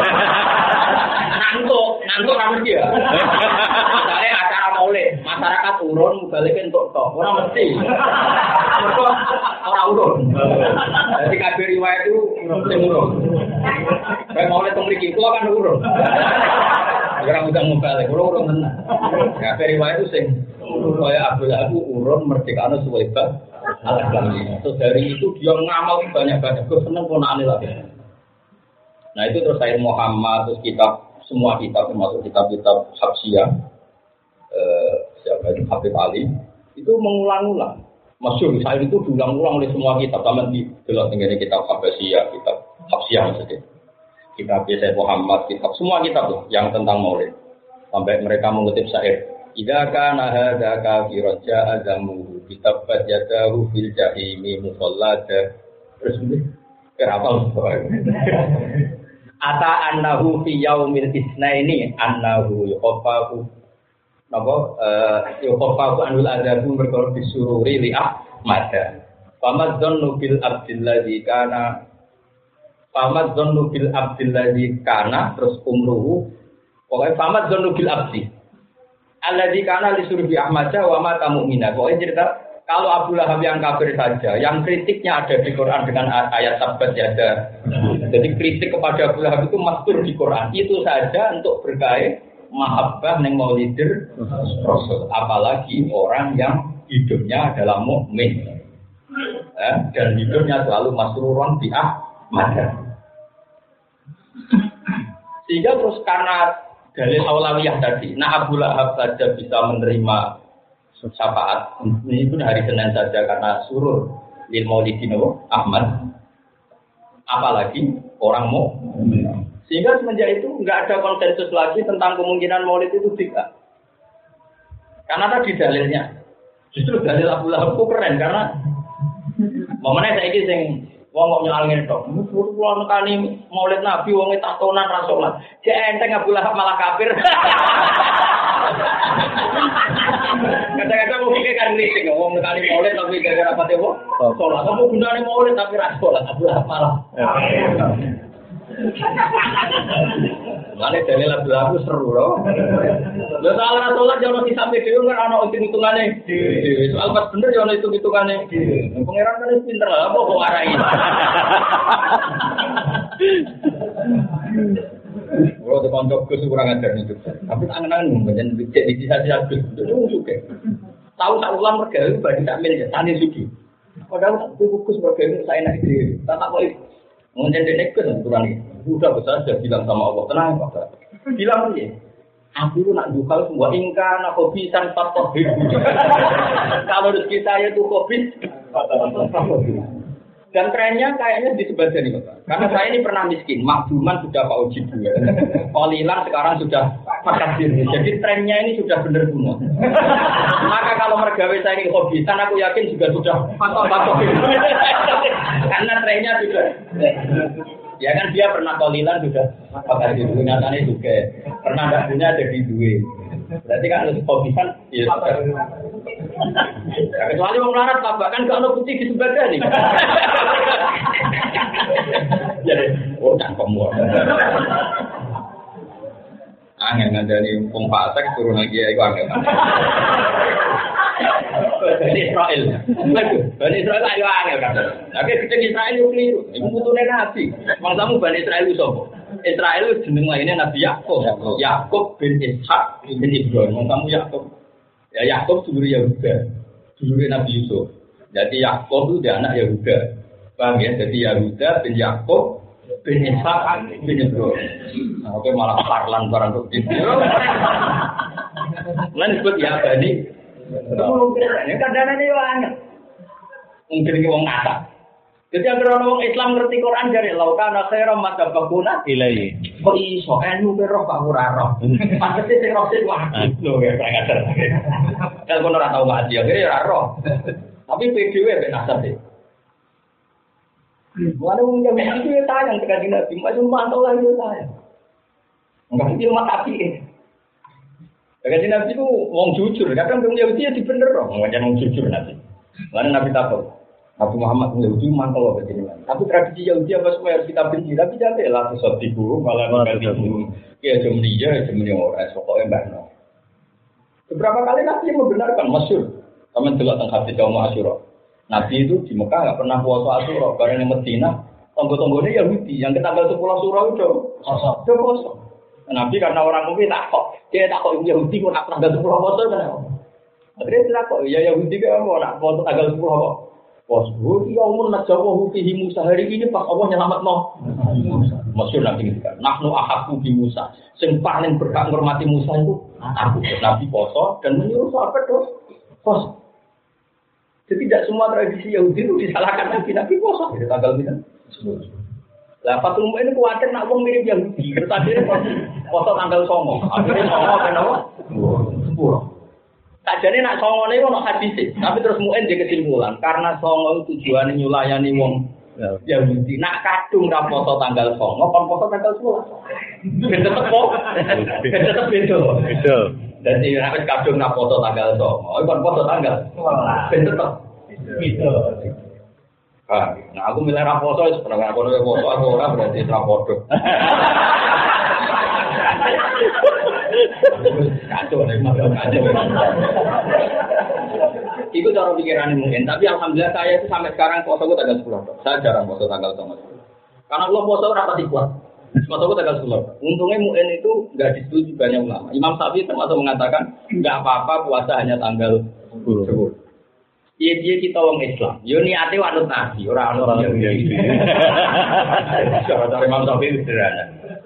Ngantuk ra mesti ya. Soale acara maulid, masyarakat urun balik entuk tok. Ora mesti. Mergo ora urun. Jadi kabeh riwayat itu sing urun. Kayak maulid teng mriki kula kan urun. Ora mudah balik, urun tenan. Kabeh riwayat itu sing kaya Abu Lahab urun merdekane suweba. Alhamdulillah. Terus dari itu dia ngamal banyak-banyak. Gue seneng ponakane lagi. Nah itu terus saya Muhammad, terus kitab semua kitab termasuk kitab-kitab Habsiyah, siapa itu Habib Ali, itu mengulang-ulang. Masyhur saya itu diulang-ulang oleh semua kitab. Sama di dalam tinggalnya kitab Habsiyah, kitab Habsiyah maksudnya. Kitab Sayyid Muhammad, kitab semua kitab tuh yang tentang Maulid. Sampai mereka mengutip syair. Idza kana hadza kafiran ja'a zamuhu kitabat yadahu fil jahimi musallada. Terus ini kenapa ata annahu fi yaumil isnaini annahu yuqafahu napa yuqafahu anul adabu berkor disururi li Ahmad. Famadzannu bil abdilladzi kana terus umruhu pokoknya famadzannu bil abdi alladzi kana li Ahmad wa mata mu'mina. Pokoknya cerita kalau Abu Lahab yang kafir saja, yang kritiknya ada di Quran dengan ayat tabat ya ada. Jadi kritik kepada Abu Lahab itu mastur di Quran. Itu saja untuk berkait mahabbah neng maulidir Rasul. Apalagi orang yang hidupnya adalah mukmin, dan hidupnya selalu masruron bi Ahmad. Sehingga terus karena dalil aulawiyah tadi, nah Abu Lahab saja bisa menerima syafaat ini pun hari Senin saja karena surur lil maulidin Ahmad, apalagi orang mukmin. Sehingga semenjak itu nggak ada konsensus lagi tentang kemungkinan maulid itu tidak, karena tadi dalilnya justru dalil Abu Lahab itu keren karena momennya saya ini sing wong kok nyalangin tok kulo nekani maulid Nabi wong tatonan ra salat jek enteng Abu Lahab malah kafir. Kadang-kadang mungkin kan kritik ngomong nekani maulid tapi gara-gara pate kok salat. Kamu gunane maulid tapi ra salat Abu Lahab malah. Mane dalil Abu Lahab seru loh. Lha salah salat yo ono disampe dhewe kan ono hitung-hitungane. Soal pas bener yo ono hitung-hitungane. Pangeran kan pinter lah apa kok arai. Kalau di konco Gus kurang ajar nih Gus. Tapi tangan-tangan banyak dicek di sisa-sisa Gus. Itu suka. Tahu tak ulang mereka itu bagi tak milik tani suci. Padahal tak Gus mereka itu saya nak ide. Tak tak boleh. Mungkin dia Gus kurang ini. Sudah besar sudah bilang sama Allah tenang Pak. Bilang aja. Aku itu nak dukal semua ingkar nak kopi san patoh. Kalau rezeki saya itu kopi. Dan trennya kayaknya di sebelah sini Pak. Karena saya ini pernah miskin, makduman sudah Pak Uji juga. Kolilan sekarang sudah fakir. Jadi trennya ini sudah benar semua. Maka kalau mergawe saya ini hobisan, aku yakin juga sudah fakir. Karena trennya sudah. Ya kan dia pernah kolilan sudah fakir. Nyatanya juga pernah tidak punya jadi duit. Berarti kan harus hobisan. Ya, kecuali mau melarat bahkan kalau putih di sebelah nih. Jadi, cangkem buat. Angin ngandani pembasak turun lagi ya, itu angin. Bani Israel, Bani Israel ayo angin kata. Tapi kita Israel itu keliru, itu butuhnya Nabi. Mangsamu Bani Israel itu siapa? Israel itu jeneng lainnya Nabi Yakub. Yakub bin Ishak bin Ibrahim. Mangsamu Yakub. Ya Yakub dulu Yahuda, dulu Nabi Yusuf. Jadi Yakub itu dia anak Yahuda. Paham ya? Jadi Yahuda bin Yakub bin Ishak bin Ibrahim. Nah, oke malah parlan barang bukti. Lan disebut ya Bani. Ini kadang-kadang ini banyak. Mungkin ini orang kata. Jadi agar orang Islam ngerti Quran dari laukana khairam madabakuna ilai. Kok iso enu beroh Pak Muraro. Pasti sing roh sing wah. Lho ya kayak ngajar. Kan kono ora tau ngaji akhire ora roh. Tapi PDW ben asal sih. Walau mungkin itu ya tayang tekan Nabi, macam mantau lah itu tayang. Enggak itu mak api. Tekan Nabi itu wong jujur, kadang wong Yahudi ya dibener loh, ngajak wong jujur Nabi. Lalu Nabi takut. Nabi Muhammad Yahudi mantau loh begini. Tapi tradisi Yahudi apa semua harus kita benci, tapi jangan lah sesuatu ibu malah mengganti ibu. Ya jemni orang, pokoknya mbak. Beberapa kali Nabi membenarkan masyhur. Kami juga tentang hadis Yaum Asyura. Nabi itu di Mekah nggak pernah puasa Asyura, bareng di Medina tonggo-tonggonya Yahudi yang kita tanggal 10 Asyura itu kosong. Nabi karena orang mungkin takut, dia takut Yahudi kok nak tanggal 10 puasa kan? Akhirnya dia takut, ya Yahudi kan mau nak puasa tanggal 10 apa? Puasa. Dia umur nak jawab Hufi Musa hari ini pas Allah nyelamat no. Masyhur Nabi itu kan. Nahnu ahaku bi Musa. Sing paling berhak menghormati Musa itu aku. Nabi puasa dan menyuruh sahabat terus puasa. Jadi tidak semua tradisi Yahudi itu disalahkan Nabi puasa di tanggal ini. Lah Fatul Mu'in ini khawatir nak wong mirip Yahudi. Tadi puasa tanggal 9. Akhirnya 9 kenapa? 10. Sajane nak 9 niku ono hadis. Tapi terus Mu'in dia kesimpulan karena 9 tujuane nyulayani wong Yahudi. Nak kadung ra poso tanggal 9, kon poso tanggal 10. Ben tetep kok. Ben tetep beda. Beda. Dadi nek wis kadung ra poso tanggal 9, kon poso tanggal 11. Ben tetep beda. Nah aku milih ra poso wis pernah aku nek poso aku ora berarti ra podo. Kacau nih, kacau. Itu cara pikiran mungkin, tapi alhamdulillah saya itu sampai sekarang poso itu tanggal 10. Saya jarang poso tanggal 9. Karena Allah poso rapati kuat. Poso itu tanggal 10. Untungnya mu'in itu nggak disetujui banyak ulama. Imam Syafi'i termasuk mengatakan nggak apa-apa puasa hanya tanggal 10. Iya kita orang Islam. Yo niate wanut nabi, orang Yahudi. Cara Imam Syafi'i sederhana.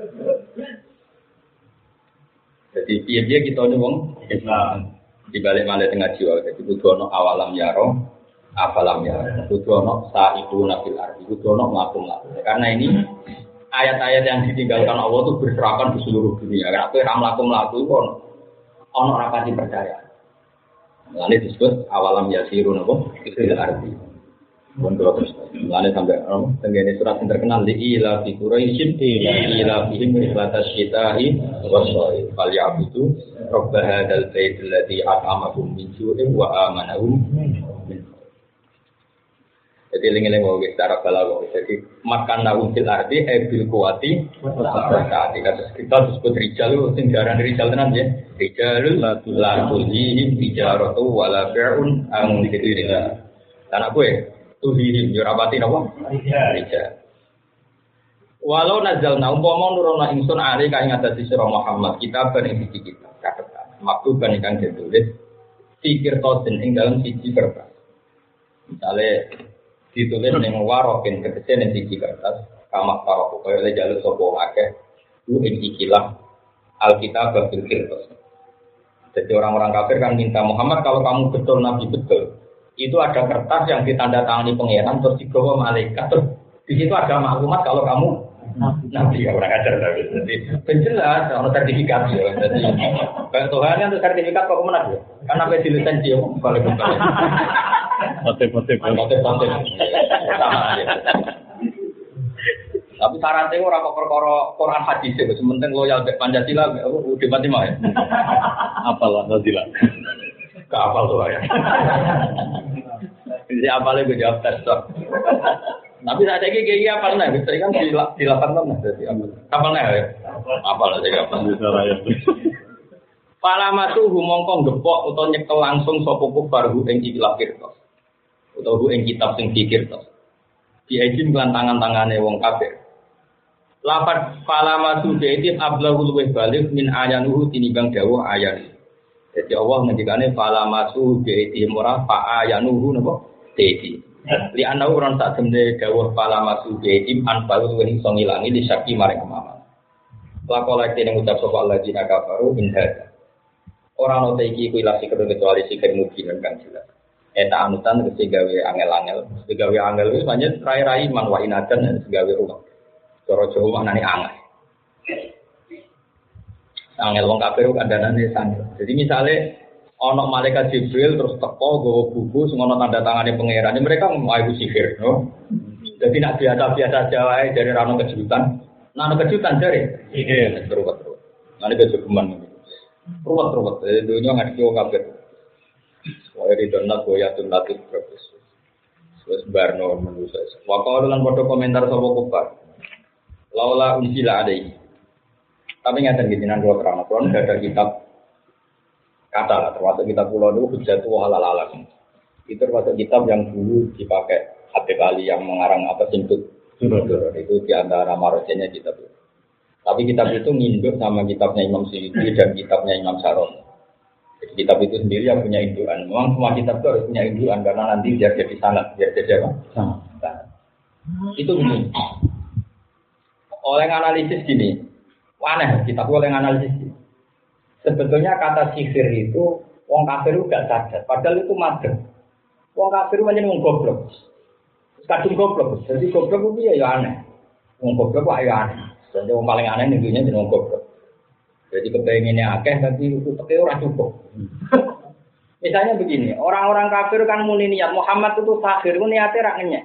Jadi dia kita ni wong Islam. Di balik malah tengah jiwa, jadi kudu awalam yaro, afalam yaro, kudu sa'ibu nabil ardi, kudu melakum. Karena ini ayat-ayat yang ditinggalkan Allah itu berserakan di seluruh dunia. Karena apa melakum ono rapati percaya. Lalu disebut awalam yasiru nabil ardi. Kontrol terus. Lalu sampai tenggene surat yang terkenal di ila fi Quraisyin ila fihim rihlatas syita'i was-sha'i falyabudu rabb hadzal bait alladzi at'amahum min ju'in wa amanahum min. Jadi eling-eling wae secara balaghah. Jadi makan naum fil ardi bil quwati saat kita disebut rijal sing diaran rijal tenan ya. Rijalul la tulhihim tijaratu wala bai'un an dzikrillah. Dan aku tuhihim yurabati napa? Rijal. Walau nazalna umpama nurono ingsun ari kang ngatasi sira Muhammad kitaban ing siji kitab catetan. Maktuban ingkang ditulis fikir tosen ing dalam siji kertas. Misale ditulis ning warokin tegese ning siji kertas kamak karo kaya le jaluk sapa akeh ku ing ikilah Alkitab bil kirtas. Jadi orang-orang kafir kan minta Muhammad kalau kamu betul nabi betul itu ada kertas yang ditandatangani pangeran terus dibawa malaikat terus di situ ada maklumat kalau kamu nabi ya orang ajar tapi jadi penjelas ada sertifikat ya jadi Tuhan kan untuk sertifikat kok kemana ya karena apa dilisensi ya balik motif sama aja tapi syaratnya orang kok perkara Quran hadis itu sementing loyal Pancasila udah mati mah ya apalah Pancasila kapal tuh ya. Jadi apalnya gue jawab tes dok. Tapi saat ini kayak apa nih? Bisa kan dilakukan mana? Jadi kapalnya ya. Apalnya saya kapal. Palama tuh mongkong gepok atau nyekel langsung sopok baru ing ikilah kirtos. Atau ing kitab sing dikirtos. Diajim kelan tangan-tangane wong kafir. Lafaz palama tuh jadi ablahul luweh balik min ayanuhu tinimbang dawuh ayan. Jadi Allah ngendikane fala masu bi'iti murah fa ayanuhu napa dedi. Li ana ora tak temne dawuh fala masu bi'iti an balu ing iso ngilangi li syaki maring amalan. Lakola kene ngucap sapa Allah dina kafaru in hada. Ora ono te iki kuwi lasi kecuali sikir mungkin kan jelas. Eta anutan kese gawe angel-angel, gawe angel wis pancen rai-rai man wa inadan gawe rumah. Cara Jawa maknane angel. Angel wong kafir kandhanane sandel. Jadi misalnya ana malaikat Jibril terus teko nggawa buku sing ana tanda tangane pangeran, mereka mau iku sihir, no. Jadi nak biasa-biasa aja wae dari rano kejutan. Nah, ana kejutan dari sihir terus. Nane kejutan. Ruwet-ruwet dunya ngadiki wong kafir. Wae di donat goyatun latif terus. Wes barno manusa. Waktu lan foto komentar sapa kufar. Laula unsila adai. Tapi ngaten iki jenengan kula terang, kula ada kitab kata lah, termasuk kitab kula itu Hujjatu halal alam. Itu termasuk kitab yang dulu dipakai Habib Ali yang mengarang apa Simtud. Itu di antara marojenya kitab itu. Tapi kitab itu nginduk sama kitabnya Imam Suyuti dan kitabnya Imam Saron. Jadi kitab itu sendiri yang punya indukan. Memang semua kitab itu harus punya indukan karena nanti biar jadi sanad, biar jadi apa? Sanad. Itu begini. Oleh analisis gini. Aneh, kita boleh analisis. Sebetulnya kata sihir itu, wong kafir itu gak sadar. Padahal itu madem. Wong kafir itu hanya wong goblok. Kadung goblok. Jadi goblok itu ya aneh. Wong goblok itu ya aneh. Jadi wong paling aneh tentunya jadi wong goblok. Jadi kepengennya akeh, tapi itu orang cukup. Misalnya begini, orang-orang kafir kan muni niat Muhammad itu sahir, itu niatnya rak ngenyek.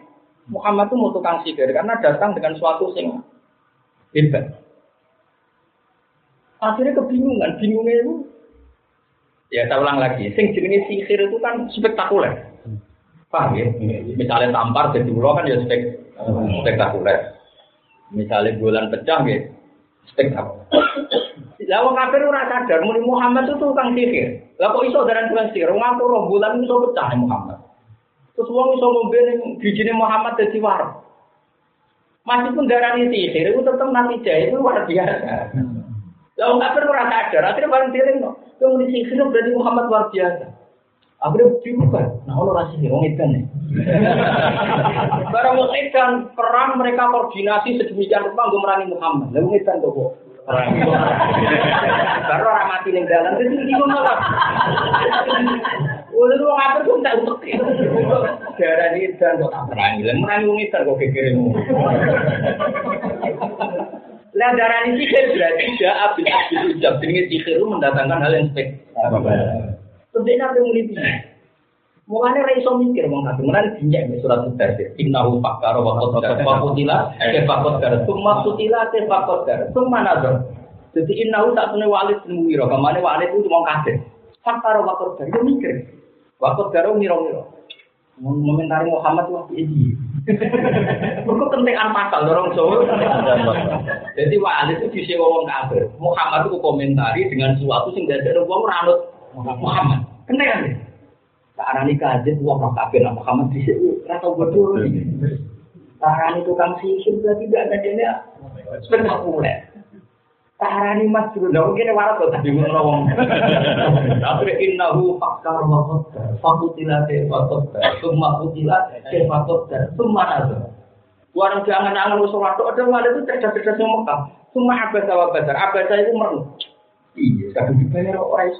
Muhammad itu mau tukang sihir karena datang dengan suatu sing hebat. Akhirnya kebingungan, bingungnya itu. Ya saya ulang lagi, sing jenenge sihir itu kan spektakuler. Paham ya? Misalnya tampar jadi ulo kan ya spektakuler. Misalnya bulan pecah ya spektakuler. Lah wong kafir ora sadar muni Muhammad itu tukang sihir. Lah kok iso daran tukang sihir? Wong ora bulan iso pecah Muhammad. Terus wong iso ngombe ning bijine Muhammad dadi war. Meskipun darani sihir itu tetep natijah itu luar biasa. Lah wong kafir ora sadar, akhirnya bareng dieling kok. Yang muni sihir berarti Muhammad luar biasa. Akhirnya diubah. Nah ono ra sihir wong edan. Barang wong edan perang mereka koordinasi sedemikian rupa nggo merangi Muhammad. Lah wong edan kok perang. Baru orang mati ning dalan terus bingung malah. Wong wong ngatur kok tak utek. Darani dan kok tak perangi. Lah merangi wong edan kok gegeremu. Lah darani sihir berarti ja abis ujab jenenge sihir mendatangkan hal yang spektakuler. Tentunya apa yang muli mulanya ra iso mikir wong kabeh mulane dinjek nek surat Al-Baqarah innahu fakkara wa qaddara wa qutila kafaqadara summa qutila kafaqadara summa nazar jadi innahu satune walid muwira kamane walid itu wong kabeh fakkara wa qaddara yo mikir wa qaddara mira-mira momentari Muhammad wae iki mergo kentekan pasal dorong Jawa jadi walid itu disewa wong kabeh Muhammad itu komentari dengan sesuatu sing dadekno wong ora anut Muhammad kentekan arani kajet wong ora kabeh nang Muhammad dhisik ora tau bodho. Arani tukang sihir berarti tidak ada dene spektakuler. Arani mas jero lho kene waras kok tadi ngono wong. Tapi innahu fakkar wa qaddar. Fakutilate wa qaddar. Summa kutila fa qaddar. Summa nazar. Warang jangan-jangan wis ora tok ada wale itu cerdas-cerdas yang Mekah. Summa abasa wa badar. Abasa itu meru. Iya, kadang dibayar ora iso.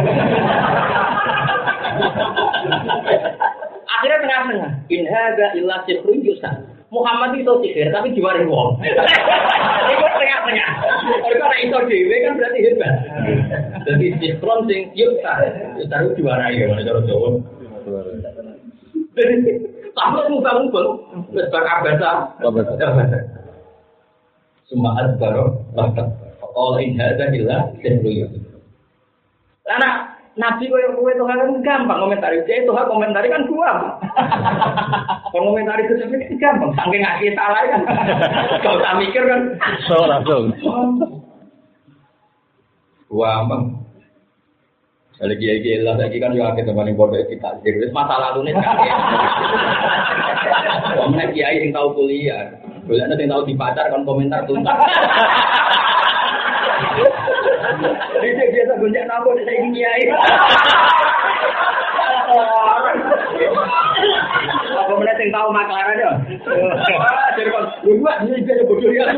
Akhirnya tengah-tengah. In hadza illa sihrun yusan. Muhammad itu sihir tapi diwari wong. Itu tengah-tengah. Kalau ora iso dhewe kan berarti hebat. Jadi sihrun sing yusan. Yusan diwarai ya cara Jawa. Sampai muka-muka wis bar abasa. Semua adbaro bahkan Allah in hadza illa sihrun yusan. Karena Nabi kowe itu kan gampang komentari. Dia itu komentari kan gua. Komentari itu sebenarnya gampang. Saking ngasih salah kan. Kau tak mikir kan. So langsung. Wah, bang. Lagi lah lagi kan juga kita paling bodoh kita. Jadi masalah lalu nih. Kamu kiai yang tahu kuliah. Kuliah nanti tahu dipacar kan komentar tuntas. Dia biasa gonjak nabo saya ingin kiai. Apa mana yang tahu maklar aja? Jadi kalau dua ini dia bodoh ya.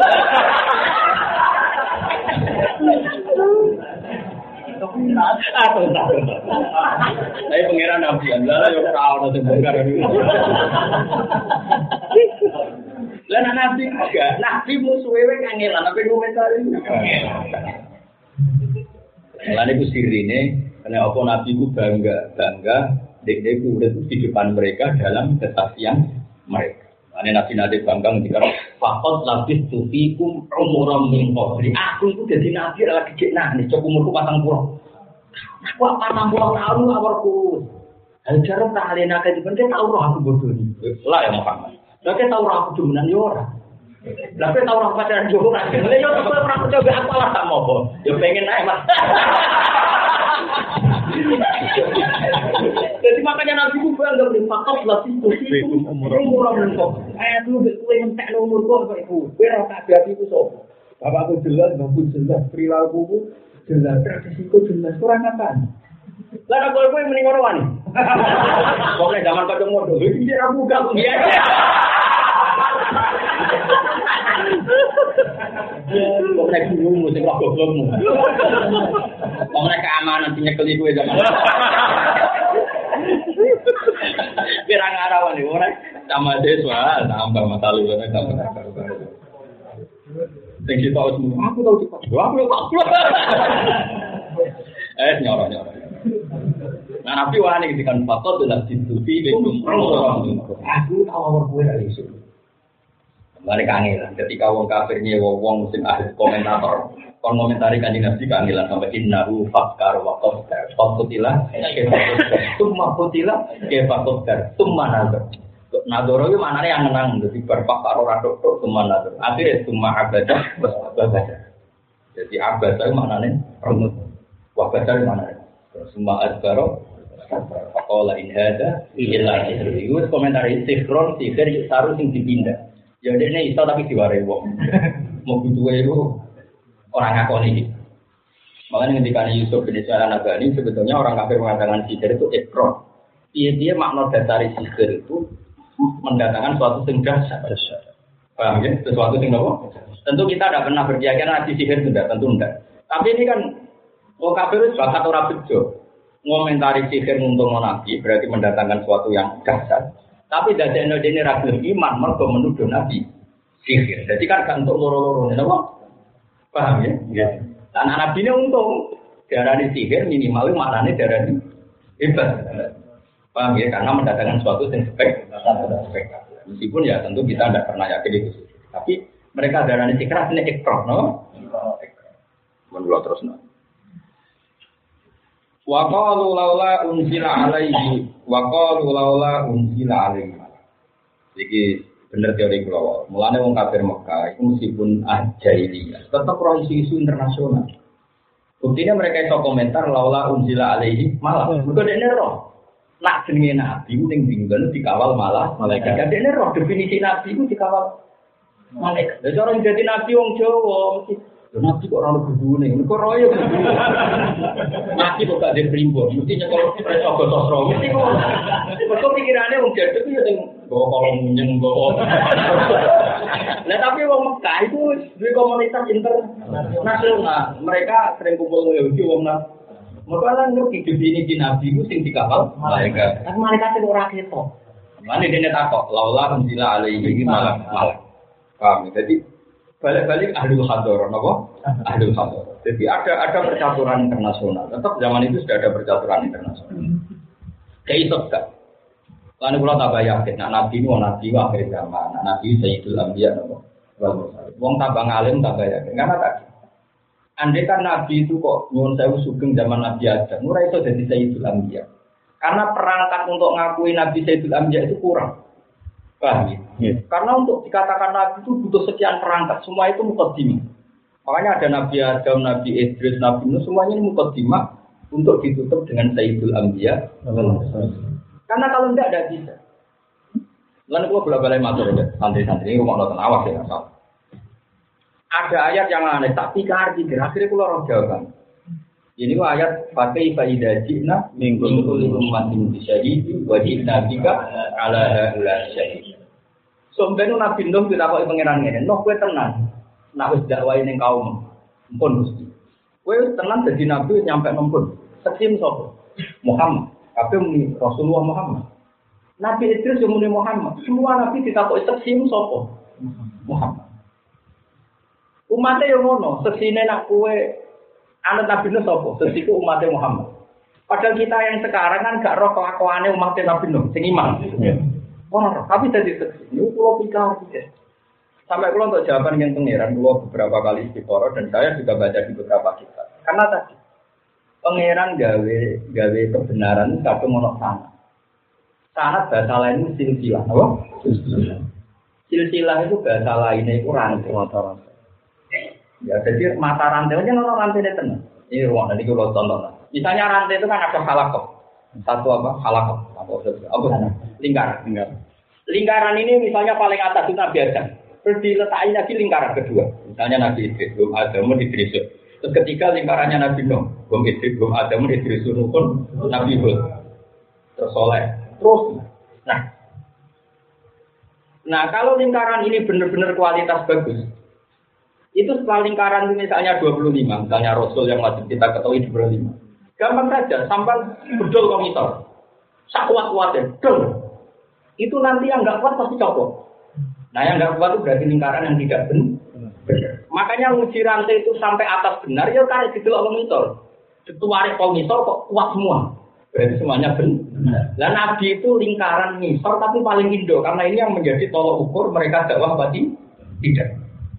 Saya pengiran Nabi Allah yang tahu nanti bongkar dulu. Lah Nabi enggak, Nabi musuhe kangelan apa komentar ini. Lan iku sirine karena apa Nabi ku bangga dek urip di depan mereka dalam kesaksian mereka. Ane Nabi nate bangga ngendika faqat labis tufikum umuram min qabli. Aku iku dadi nabi ora dicek nek cok umurku 40. Aku 40 tahun awarku. Ajaran tak alena ka dipen tau roh aku bodoh ni. Lah ya Muhammad. Lah ke tau roh aku demenan yo ora. Lah ke tau roh pacaran yo ora. Lah yo ora coba aku lah tak mau. Yo pengen ae Mas. Jadi makanya Nabi ku bangga berfakar lagi itu umur mentok. Aduh kowe entek umur kok iku. Kowe ora tak hati ku sapa? Bapakku jelas, bapakku jelas, perilakuku jelas, tradisiku jelas, kurang apaan? Lah kowe mending ngono wani. Pokoke zaman kocok modho iki ora buka kok ya. Kok nek bingung sing kok goblokmu. Wong nek keamanan sing nyekeli kowe zaman. Pirang arawan iki ora sama siswa tambah matalu tambah karo-karo. Sing kita tahu semua aku tahu cepat. Aku tahu. Nyoro. Nah Nabi wani ketika fakot dalam ditutupi bentuk aku tahu awal gue dari itu. Kembali kangelan ketika wong kafir nyewa wong sing ahli komentator kon komentari kanjeng Nabi kangelan sampai innahu fakkar wa qaddar fakutilah summa kutilah ke fakkar summa nazar. Nadoro itu maknanya yang menang jadi berfakar ora tok summa nazar. Akhirnya summa abadah babadah. Jadi abadah itu maknanya renut. Wa badar maknanya summa adbaro faqala in hada illa sihr. Itu komentar sihron sihir saru sing dipindah. Ya ini iso tapi diwarai wong. Mau butuh itu orang ngakoni iki. Makanya ketika Yusuf bin Sa'ad Nabani sebetulnya orang kafir mengatakan sihir itu ikrar. Dia makna dasar sihir itu mendatangkan suatu sing dasar. Paham ya? Sesuatu sing apa? Tentu kita tidak pernah berkeyakinan nabi sihir itu tentu enggak. Tapi ini kan orang kafir itu bakat ora bejo. Ngomentari sihir nguntungno nabi berarti mendatangkan suatu yang dasar. Tapi dadekno dene ra gelem iman mergo menuduh nabi sihir. Jadi kan gak untuk loro-loro napa? Paham ya? Nggih. Lan nabine untung darani sihir minimal maknane darani hebat. Paham ya? Karena mendatangkan suatu yang spektakuler. Meskipun ya tentu kita tidak pernah yakin itu sih. Tapi mereka darani sihir ini ekor, no? Menurut terus no. Wa qalu laula unzila alaihi wa qalu laula unzila alaihi. Iki bener teori kula. Mulane wong kafir Mekah itu meskipun jahiliyah, tetap ora isu-isu internasional. Buktinya mereka itu komentar laula unzila alaihi malah. Mergo dekne roh. Nak jenenge nabi ning dinggon dikawal malah malaikat. Dekne roh definisi nabi itu dikawal malaikat. Lah cara jadi nabi wong Jawa mesti nabi kok ora ono gudune, kok royo. Nabi kok gak diprimbon, mesti nyekel preso gososro. Mesti kok pikirane wong jaduk yo sing nggawa kolong munyeng nggawa. Lah tapi wong Mekah itu duwe komunitas internasional. Mereka sering kumpul Yahudi wong Mekah lan ngerti definisi nabi ku sing dikawal malaikat. Kan malaikat sing ora ketok. Mane dene takok, laula unzila alaihi malak. Paham? Jadi balik-balik ahlul hadar, apa? Ahlul hadar. Jadi ada percaturan internasional. Tetap zaman itu sudah ada percaturan internasional. Kayak itu kan. Lalu kalau tak yakin, nabi itu akhir zaman, nabi Sayyidul Anbiya, apa? Wong tabang alim tak yakin. Karena tadi, andai kan nabi itu kok nyuwun sewu sugeng zaman Nabi Adam, ora iso jadi Sayyidul Anbiya. Karena perangkat untuk ngakui Nabi Sayyidul Anbiya itu kurang. Paham ya? Yeah. Karena untuk dikatakan Nabi itu butuh sekian perangkat, semua itu mukaddimah. Makanya ada Nabi Adam, Nabi Idris, Nabi Nuh, semuanya ini mukaddimah untuk ditutup dengan Sayyidul Anbiya. Karena kalau tidak bisa. Lalu gua bola-balai matur ya, santri-santri ini rumah nonton awas ya, salah. Ada ayat yang aneh, tak pikir akhirnya gua roh jawaban. Ini ayat pakai faidah jina minggu umatin disyahidi wajib nabika ala syahid. Sombenu Nabi Nuh ditakoi pangeran ngene, "Nuh kowe tenan, nak wis dakwahi ning kaum, mumpun Gusti. Kowe tenan dadi nabi nyampe mumpun. Sekim sapa? Muhammad. Kabeh muni Rasulullah Muhammad. Nabi Idris yo muni Muhammad. Semua nabi ditakoi sekim sapa? Muhammad. Umatnya yo ngono, seksine nak kowe anak Nabi Nuh sapa? Sesiku umatnya Muhammad. Padahal kita yang sekarang kan gak roh kelakuannya umatnya Nabi Nuh, sing iman. Wah, tapi tadi ini pulau pikir. Sampai pulau untuk jawaban yang pangeran, pulau beberapa kali istiqoroh dan saya juga baca di beberapa kitab. Karena tadi pangeran gawe kebenaran kadung ono sanad. Sanad bahasa lain itu silsilah, apa? Silsilah itu bahasa lainnya itu rantai. Ya, jadi mata rantai aja orang rantai itu tenang. Ini ruang nanti kalau contoh. Misalnya rantai itu kan ada halakoh. Satu apa? Halakoh. Apa? Lingkaran. Lingkaran ini misalnya paling atas itu Nabi Adam. Terus diletakin lagi lingkaran kedua. Misalnya Nabi Idris, belum Adam, Idris. Terus ketiga lingkarannya Nabi Nuh, belum Idris, belum Adam, Idris, pun Nabi Hud. Terus Soleh. Terus. Nah kalau lingkaran ini benar-benar kualitas bagus. Itu setelah lingkaran misalnya 25, misalnya Rasul yang wajib kita ketahui 25. Gampang saja, sampai bedol komiter. Sakuat-kuatnya, bedol. Itu nanti yang nggak kuat pasti copot. Nah yang nggak kuat itu berarti lingkaran yang tidak benar. Makanya uji rantai itu sampai atas benar, ya tarik gitu komiter. Ketua kaum misal kok kuat semua. Berarti semuanya benar. Dan Nabi itu lingkaran misal tapi paling indo karena ini yang menjadi tolok ukur mereka dakwah pasti tidak.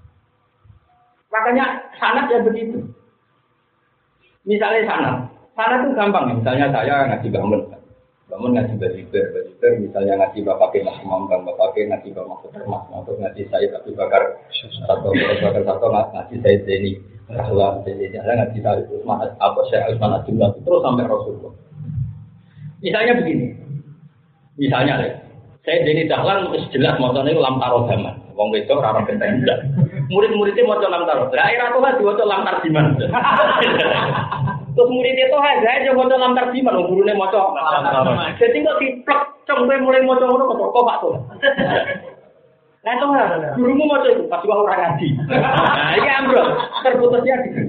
Makanya sanad ya begitu. Misalnya sanad itu gampang. Misalnya saya ngaji bangun ngaji bajiber, misalnya ngaji bapak Mas Imam, bapak ngaji bapak Mas Mahfud, ngaji saya tapi bakar satu ngaji saya ini. Rasulullah jadi ngaji saya Utsman apa saya Utsman Abdullah terus sampai Rasulullah. Misalnya begini. Misalnya saya jadi dahlan jelas motornya lam taro zaman. Wong wedok ora genteng ndak. Murid-muridnya maca lam taro. Lah era tuh diwaca lam tarjiman. Terus muridnya tuh aja maca lam tarjiman, gurune maca lam taro. Jadi kok diplek cempe mulai maca ngono kok Pak tuh. Nah itu gurumu mau itu pas orang ngaji. Nah ini ambrol terputusnya gitu.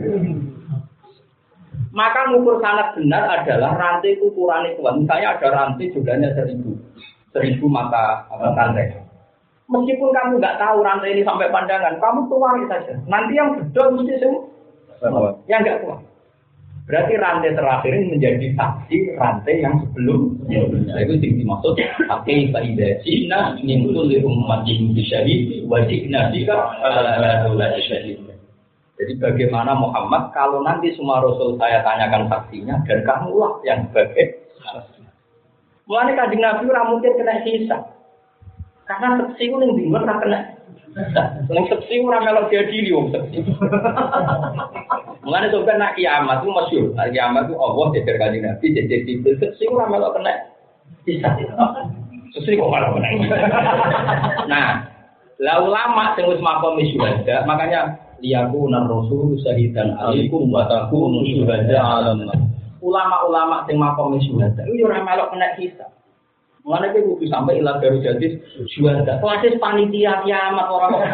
Maka ngukur sangat benar adalah rantai ukuran itu. Misalnya ada rantai jumlahnya 1.000 mata rantai. Meskipun kamu nggak tahu rantai ini sampai pandangan, kamu tuang saja. Nanti yang bedol mesti semua. Yang nggak tuang. Berarti rantai terakhir ini menjadi saksi rantai yang sebelumnya. Itu yang dimaksud pakai faidah Cina nimbul di umat syahid wajib nabika ala syahid. Jadi bagaimana Muhammad kalau nanti semua Rasul saya tanyakan saksinya dan kamulah yang sebagai saksi. Mulanya Kanjeng Nabi ora mungkin kena hisab. Karena saksi itu yang bingung ora kena. Yang saksi ora melok diadili wong saksi. Mulane sampeyan nak kiamat itu masyhur. Kiamat itu Allah jejer Kanjeng Nabi jejer Jibril saksi ora melok kena hisab. Saksi kok malah kena. Nah, la ulama sing wis makom syuhada, makanya liyakuna rasul syahidan alaikum wa takunu syuhada 'alan nas. Ulama-ulama sing makom syuhada yo ora melok kena hisab. Mulane iki kudu sampai ilah baru jadi syuhada. Kelas panitia kiamat ora kok.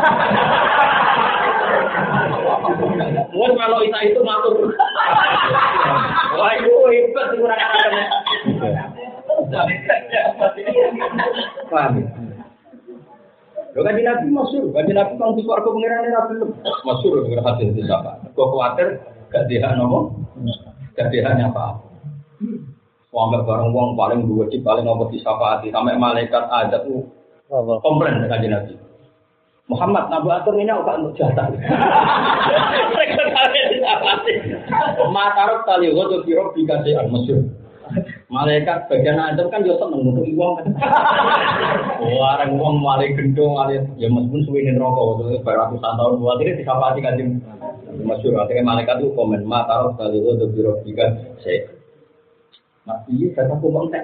Wes melok itu ngatur. Wah itu hebat kurang kena. Paham. Kan Nabi masyhur, kan Nabi kang di swarga pengiran ora belum. Masyhur dengan hadis itu apa? Kok kuwatir gak dia nomo? Gak dia apa? Wong bareng wong paling wajib paling ngopo disyafaati sampai malaikat ada tuh komplain dengan Nabi. Muhammad Nabi atur ini kok untuk jatah. Matarok tali wodo kiro dikasih masyhur. Malaikat bagian Adam kan yo seneng nutuki wong kan. Orang wong malih gendong malih ya meskipun suwene neraka ratusan tahun buat ini disapati Kanjeng masyhur akhirnya malaikat itu komen matarok tali wodo kiro dikasih. Mas iki kata kok entek.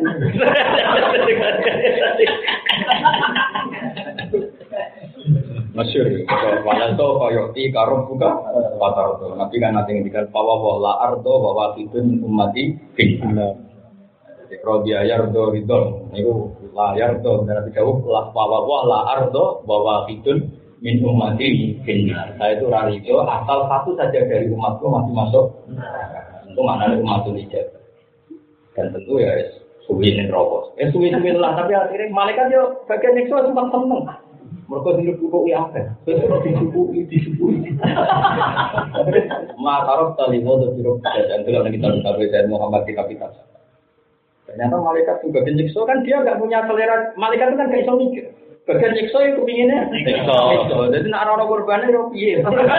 Masyhur wala to koyoti karo buka patar to nabi kan nanti ngendikan bahwa la ardo wa waqidun ummati finna jadi rodi ayardo ridon niku la yardo dari jauh la bahwa la ardo wa waqidun min ummati finna saya itu rarido asal satu saja dari umatku masih masuk itu maknanya umatul ijab dan tentu ya suwinin rokok suwin lah tapi akhirnya malaikat yo bagian nyiksa sempat seneng. Mereka hidup buku apa? Disubuhi. Matarok tali motor biru dan itu lagi kita Muhammad kita. Ternyata malaikat juga nyiksa kan dia nggak punya selera. Malaikat itu kan nggak bisa mikir. Bagian nyiksa itu pinginnya nyiksa. Jadi nak orang korbannya yo piye?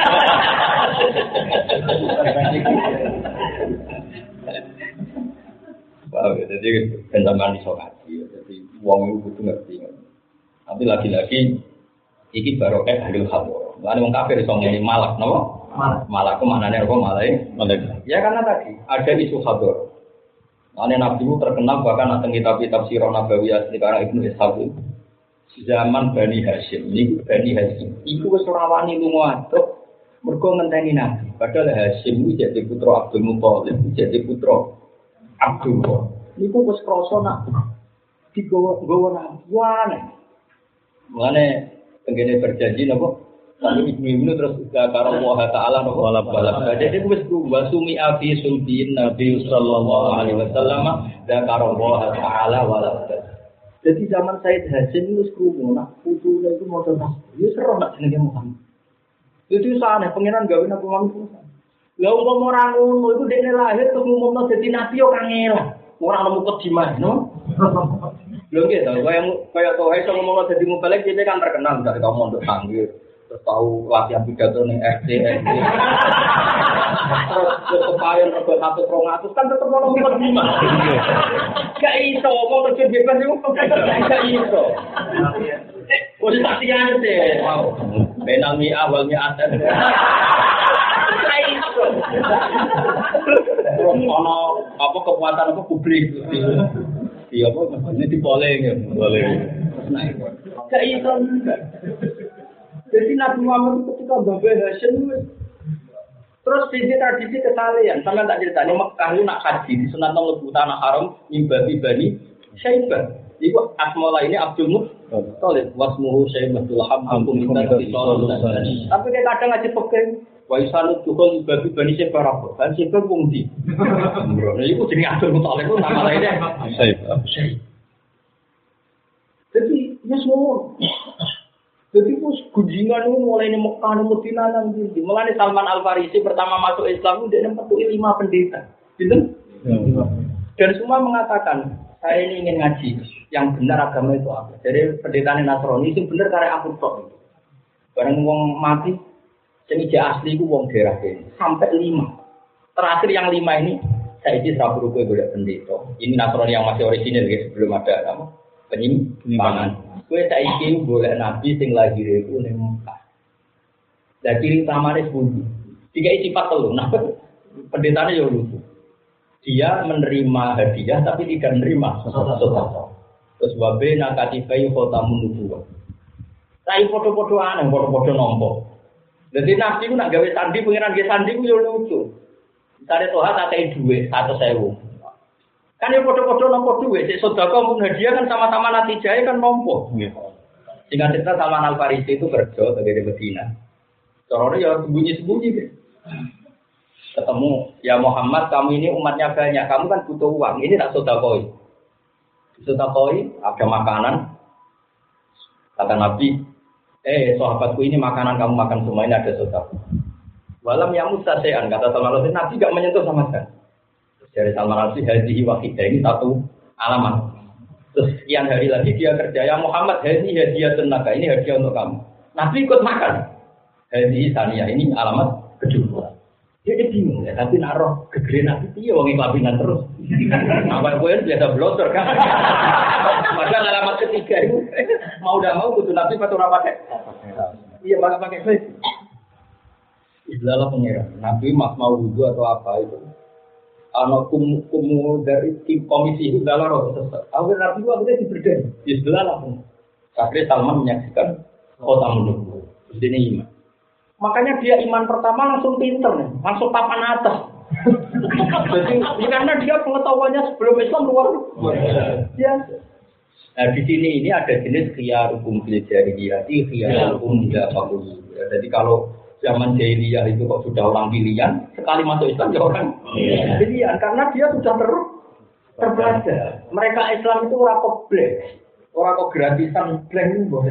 Jadi penjaman disokati. Jadi uang itu ngerti. Tapi lagi-lagi iki barokah ahli khabur. Lan wong kafir iso ngene malak napa? Malak ku maknane apa malai? Ya karena tadi ada isu khabur. Ane Nabi terkenal bahkan nang kitab-kitab Sirah Nabawi asli karang Ibnu Ishaq. Zaman Bani Hashim, niku Bani Hashim. Iku wis ora wani lunga aduk mergo ngenteni Nabi. Padahal Hashim iki jadi putra Abdul Muthalib, jadi putra Abdullah. Niku wis krasa nak digowo Nabi. Mane tenggene berjanji napa? Lalu ibnu terus karo Allah Taala napa? Balap. Jadi wis wasumi afi sulbin Nabi sallallahu alaihi wasallam dan karo Allah Taala walad. Jadi zaman Said Hasim wis krungu nak putune iku maca tasbih. Ya seru nak jenenge Muhammad. Itu sana pengiran gawe napa manungsa. Lah umpama ora ngono iku dekne lahir terus ngumumno dadi nabi yo kangelan. Ora nemu kediman, no? Lho nggih to, kaya to iso ngomongno dadi mubalek dhewe kan terkenal dari kaum mondok sanggir. Terus tahu latihan pidato ning RT. Terus kepayon rego 1-200 kan tetep ono kediman. Gak iso ngomong terus bebas iku gak iso. Wis tak tiyane teh. Wow. Benami awalnya ada. Ono apa kekuatan apa publik di apa ini dipoleng ya boleh gak iso jadi Nabi Muhammad ketika Mbah Hasyim terus di tradisi kesalehan sampean tak ceritani Mekah itu nak haji di sunat mlebu tanah haram mimbabi bani Syaibah iku asma ini Abdul Muttalib wasmuhu Syaibatul Hamdum tapi dia kadang ngaji pegang Waisanut Tuhul bagi Bani Sebarako, Bani Sebar Bungdi. Nah, itu jadi Abdul Muttalib itu nama lainnya. Jadi, ya semua. Jadi, gunjingan itu mulai di Mekah, Madinah, nanti. Mulai Salman Al-Farisi pertama masuk Islam, dia mempertuhi 5 pendeta. Gitu? Dan semua mengatakan, saya ini ingin ngaji. Yang benar agama itu apa? Jadi, pendeta Nasrani itu benar karena aku tok. Barang ngomong mati, sing asli ku wong daerah kene sampai 5. Terakhir yang 5 ini saya isi serabur kowe golek pendeta. Ini Nasrani yang masih orisinil guys, sebelum ada apa? Penyimpangan. Kowe saiki golek nabi sing lahir iku ning Mekah. Lah ciri utamane pundi? Tiga sifat telu. Nah, pendetanya yo lucu. Dia menerima hadiah tapi tidak menerima sedekah. Terus wabe nakatibai khotamun nubuwah. Rai foto-foto aneh, foto-foto nompo. Jadi nabi itu nak gawe sandi, pengiran gawe sandi itu ya lucu. Misalnya Tuhan tak kayak duit 100.000. Kan yang foto-foto nompo duit, si sodako pun hadiah kan sama-sama natijahnya kan nompo. Singkat cerita Salman Al-Farisi itu kerja dari Medina. Soalnya ya sembunyi-sembunyi. Ketemu, ya Muhammad kamu ini umatnya banyak, kamu kan butuh uang, ini tak sodakoi. Sodakoi, ada makanan. Kata Nabi, sahabatku ini makanan kamu makan semua ini ada sodako. Walam yang mustasean kata Salman Al-Farisi Nabi gak menyentuh sama sekali. Dari Salman Al-Farisi hadhihi wahidah ini satu alamat. Terus sekian hari lagi dia kerja ya Muhammad hadhihi hadiah tenaga ini hadiah untuk kamu. Nabi ikut makan. Hadhihi saniyah ini alamat kedua. Dia bingung ya tapi naruh gegere Nabi piye wong iklabinan terus. Apa kowe biasa blotor kan. Maka alamat ketiga itu mau udah mau kudu Nabi pakai ora pakai. Iya pakai face. Istilah pengiran. Nabi mau wudu atau apa itu. Ana kumu dari tim komisi itu dalam roh sesat. Awal Nabi itu akhirnya diberdaya. Istilah lah. Akhirnya Salman menyaksikan kota menunggu. Terus ini iman. Makanya dia iman pertama langsung pinter nih, langsung papan atas. Jadi karena dia pengetahuannya sebelum Islam luar biasa. Nah di sini ini ada jenis khiyarukum fil jahiliyah, khiyarukum tidak fakul. Jadi kalau zaman jahiliyah itu kok sudah orang pilihan, sekali masuk Islam ya orang pilihan karena dia sudah terbelajar. Mereka Islam itu orang kompleks. Orang kok gratisan plan boleh.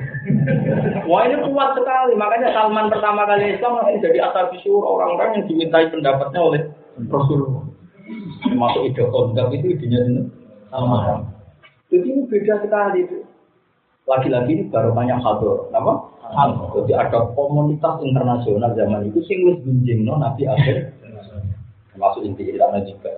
Wah ini kuat sekali. Makanya Salman pertama kali Islam langsung jadi ashabi syura, orang-orang yang dimintai pendapatnya oleh Rasulullah. Masuk ide konsep itu idenya Salman. Jadi ini beda sekali itu. Lagi-lagi ini baru banyak hador. Apa? Jadi ada komunitas internasional zaman itu sing wis gunjingno Nabi akhir. Termasuk inti ilmu juga.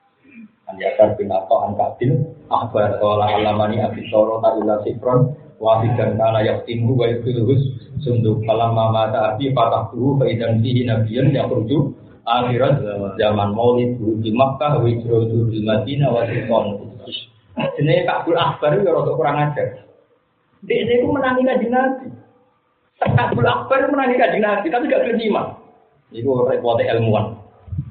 Anjasar bin Atta An-Kabil akhbar qala alamani abi sorota ila sifron wahidan kana yaqtimu wa yaqilus sunduk falamma mata abi fatahtu fa idan fihi nabiyyan yakhruju akhirat zaman maulid di Makkah wa hijratu di Madinah wa Sultan. Jenenge Kabul Akbar ya rada kurang ajar. Dia itu menangi kanjeng Nabi. Kabul Akbar menangi kanjeng Nabi tapi gak terima. Iku repot ilmuwan.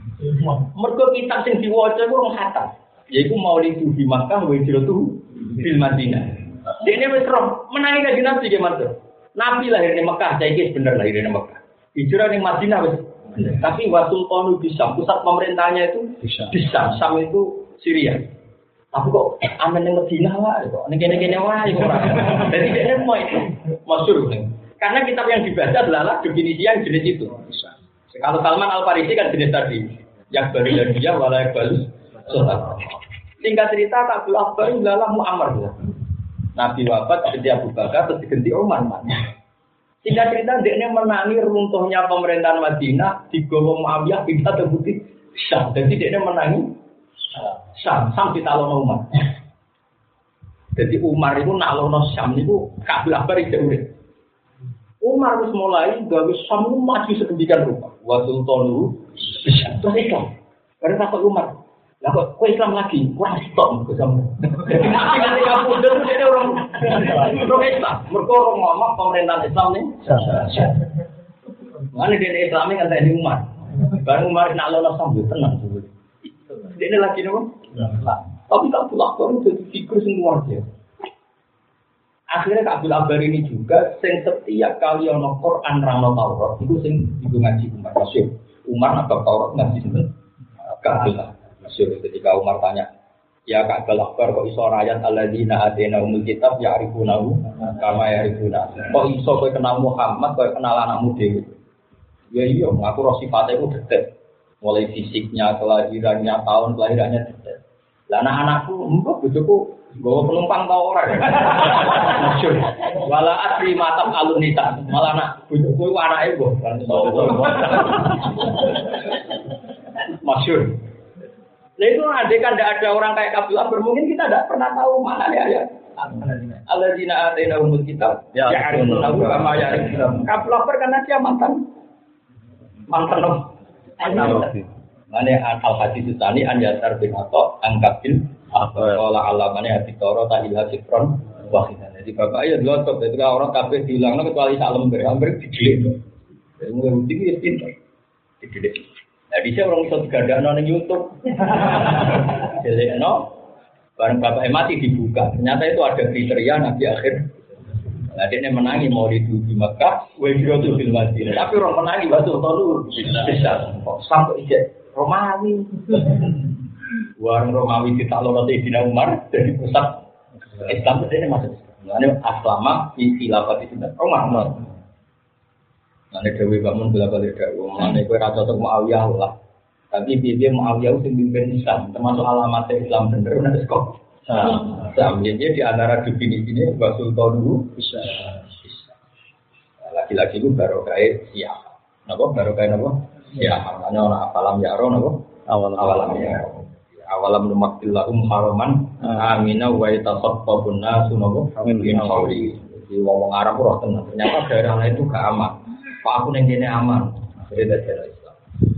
Mergo kitab sing diwaca iku rong khatam. Yaiku Maulid di Makkah wa hijratu bil Madinah. Dene wis roh menangi kanjeng Nabi ge matur. Nabi lahir di Mekah, saiki bener lahir di Mekah. Hijrah ning Madinah wis. Tapi Wasul Qanu bisa pusat pemerintahnya itu bisa. Sam itu Syria. Tapi kok aman ning Madinah wae kok. Ning kene-kene wae kok ora. Dadi dene mau itu masyhur. Karena kitab yang dibaca adalah definisi yang jenis itu. Kalau Salman Al Farisi kan jenis tadi, yang baru dan dia walau baru sholat. Singkat cerita Kabul Akbar adalah Muammar. Nabi wafat jadi Abu Bakar terus diganti Umar. Singkat cerita dia menangi runtuhnya pemerintahan Madinah di Gowo Muawiyah pindah terbukti Syam. Jadi dia menangi Syam ditalono Umar. Jadi Umar itu nalono Syam itu Kabul Akbar itu urip. Umar harus mulai gawe Syam maju sedemikian rupa. Wa sultanu terus Islam. Karena takut Umar. Lah kok Islam lagi? Wah, stop ke Islam. Jadi nanti ketika mundur dia orang Islam. Mergo ngomong pemerintahan Islam nih. Mana dia Islam kan tadi Umar. Baru Umar nak lolos sambil tenang dulu. Dia lagi nopo? Tapi tak pulak baru jadi figur semua dia. Akhirnya Kabul Akbar ini juga sing setiap kali ono Quran rano Taurat itu sing ibu ngaji Umar Masyur. Umar apa Taurat ngaji sinten? Kabul Masyur. Ketika Umar tanya, ya Kabul Akbar kok iso ayat alladzina atainahumul kitab ya'rifunahu kama ya'rifuna. Kok iso kowe kenal Muhammad kowe kenal anakmu dhewe. Ya iya, aku roh sifatnya itu detek. Mulai fisiknya, kelahirannya, tahun kelahirannya detek. Lah anak-anakku, mbok bojoku nggawa penumpang ta ora. Masyhur. Wala asri matam alunita. Malah anak bojoku anake mbok. Masyhur. Lah itu andai kan tidak ada orang kayak Kabul Akbar, mungkin kita tidak pernah tahu mana ya. Alladzina atainahumul kitab ya'rifunahu kama ya'rifuna. Kabul Akbar karena dia mantan. Mane al-hadis tsani an yasar bin Atha angkabil qala alamane hati toro ta ilha sifron wahidan. Jadi bapak ya lotok ketika orang kabeh dilangno kecuali sak lembar, hampir didelik. Jadi mung iki pinter. Didelik. Nah, bisa orang iso digandakno ning YouTube. Delekno bareng bapak mati dibuka. Ternyata itu ada kriteria nabi akhir. Nah, dia menangi mau di Mekah, wajib di Madinah. Tapi orang menangi waktu itu bisa. Sampai ijek Romawi. Warung Romawi ditaklon oleh Sayyidina Umar dari pusat Islam itu masuk. Ini aslama di khilafah di sini. Umar. Nanti Dewi bangun bela-bela Dewi. Nanti kue rasa untuk Muawiyah lah. Tapi dia Muawiyah itu pimpin Islam, termasuk alamat Islam bener. Nanti kok. Jadi di antara definisi ini Basul Tonu bisa. Laki-laki itu baru kayak siapa? Napa baru kayak napa? Siapa? Maknanya orang apalam yaro napa? Awalam yaro. Awalam numakillahum haraman amina wa yatasaffabun nasu napa? Min qawli. Jadi wong Arab roh tenan. Ternyata daerah lain itu gak aman. Pak aku ning kene aman. Jadi daerah Islam.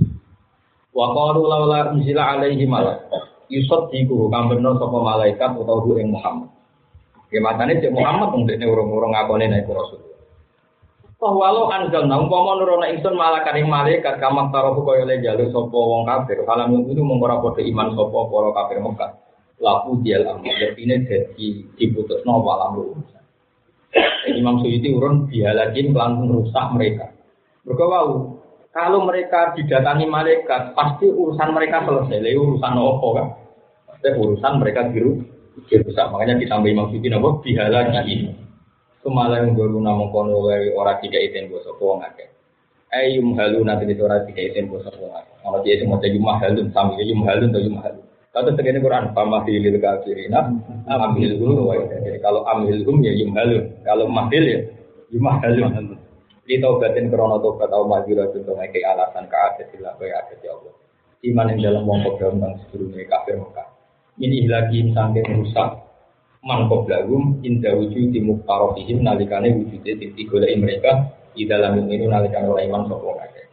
Wa qalu laula unzila alaihi malak. Yusuf diku kambeno sapa malaikat utawa ing Muhammad. Ya matane cek Muhammad wong dekne urung-urung ngakone nek rasul. Walau anzalna umpama nurono ingsun malakan ing malaikat kamak taruh kaya le jaluk sapa wong kafir. Kalam itu mung ora padha iman sapa para kafir Mekah. Laku dial amr dene dadi diputusno walam urusan. Imam Suyuti urun bialakin langsung rusak mereka. Mergo wau kalau mereka didatangi malaikat, pasti urusan mereka selesai. Lalu urusan apa kan? Pasti urusan mereka biru rusak. Makanya ditambah Imam Suyuti napa bihala ini. Kemalang guru namung kono wae ora dikaiten basa wong akeh. Ayum halun nanti ora dikaiten basa wong akeh. Ana dia sing maca yum halun sami yum halun to yum halun. Kata tegene Quran pamahilil kafirina amhilhum wa jadi kalau amhilhum ya yum halun. Kalau mahil ya yum halun. Di taubatin krono tobat au majura untuk ngeke alasan kaadat ila kaya adat ya Allah. Iman yang dalam wong kodam kang sedurunge kafir Mekah. Ini lagi sampai rusak man qoblahum inda wujudi muqtarafihim nalikane wujude digoleki mereka di dalam ini nalikane ora iman sapa kabeh.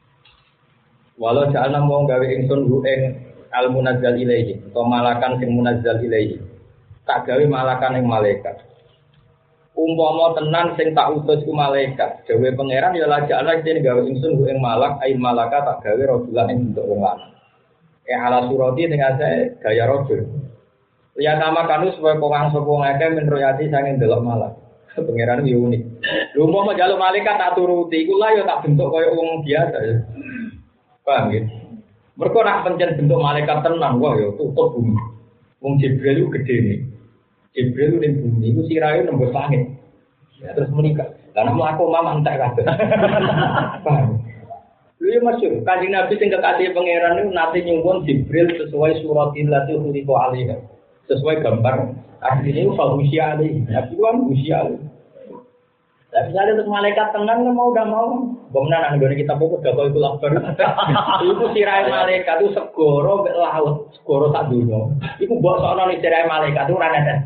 Walau ja'alna wong gawe ingsun hu ing al munazzal ilaihi utawa malakan sing munazzal ilaihi. Tak gawe malakan ing malaikat. Umpama tenan sing tak utus ku malaikat, dewe pangeran ya lajak ana dene gawe ingsun ing malak ain malaka tak gawe rajulan ing bentuk wong lanang. Ala surati dengan saya gaya rajul. Ya nama kanu supaya wong sapa ngake menroyati sange delok malak. Pangeran yo unik. Lha umpama jaluk malaikat tak turuti iku lah ya tak bentuk kaya wong biasa ya. Paham ya? Mergo nak pancen bentuk malaikat tenan wah ya tutup bumi. Wong Jibril itu gede nih. Jibril ning bumi iku sirahe nembus langit. Ya terus menikah. Lah nek aku mamang tak kabeh. Paham. Lha masyhur, Kanjeng Nabi sing kekasih pangeran niku nate nyuwun Jibril sesuai suratil lati khuliqa alaiha. Sesuai gambar asline itu fahusia alaihi. Nabi kan usia. Lah misalnya untuk malaikat tenang kan mau udah mau. Bomna nang ngene kita pokok udah koyo labar. Iku sirahe malaikat itu segoro mek laut, segoro sak donya. Iku mbok sono ning sirahe malaikat itu ora netes.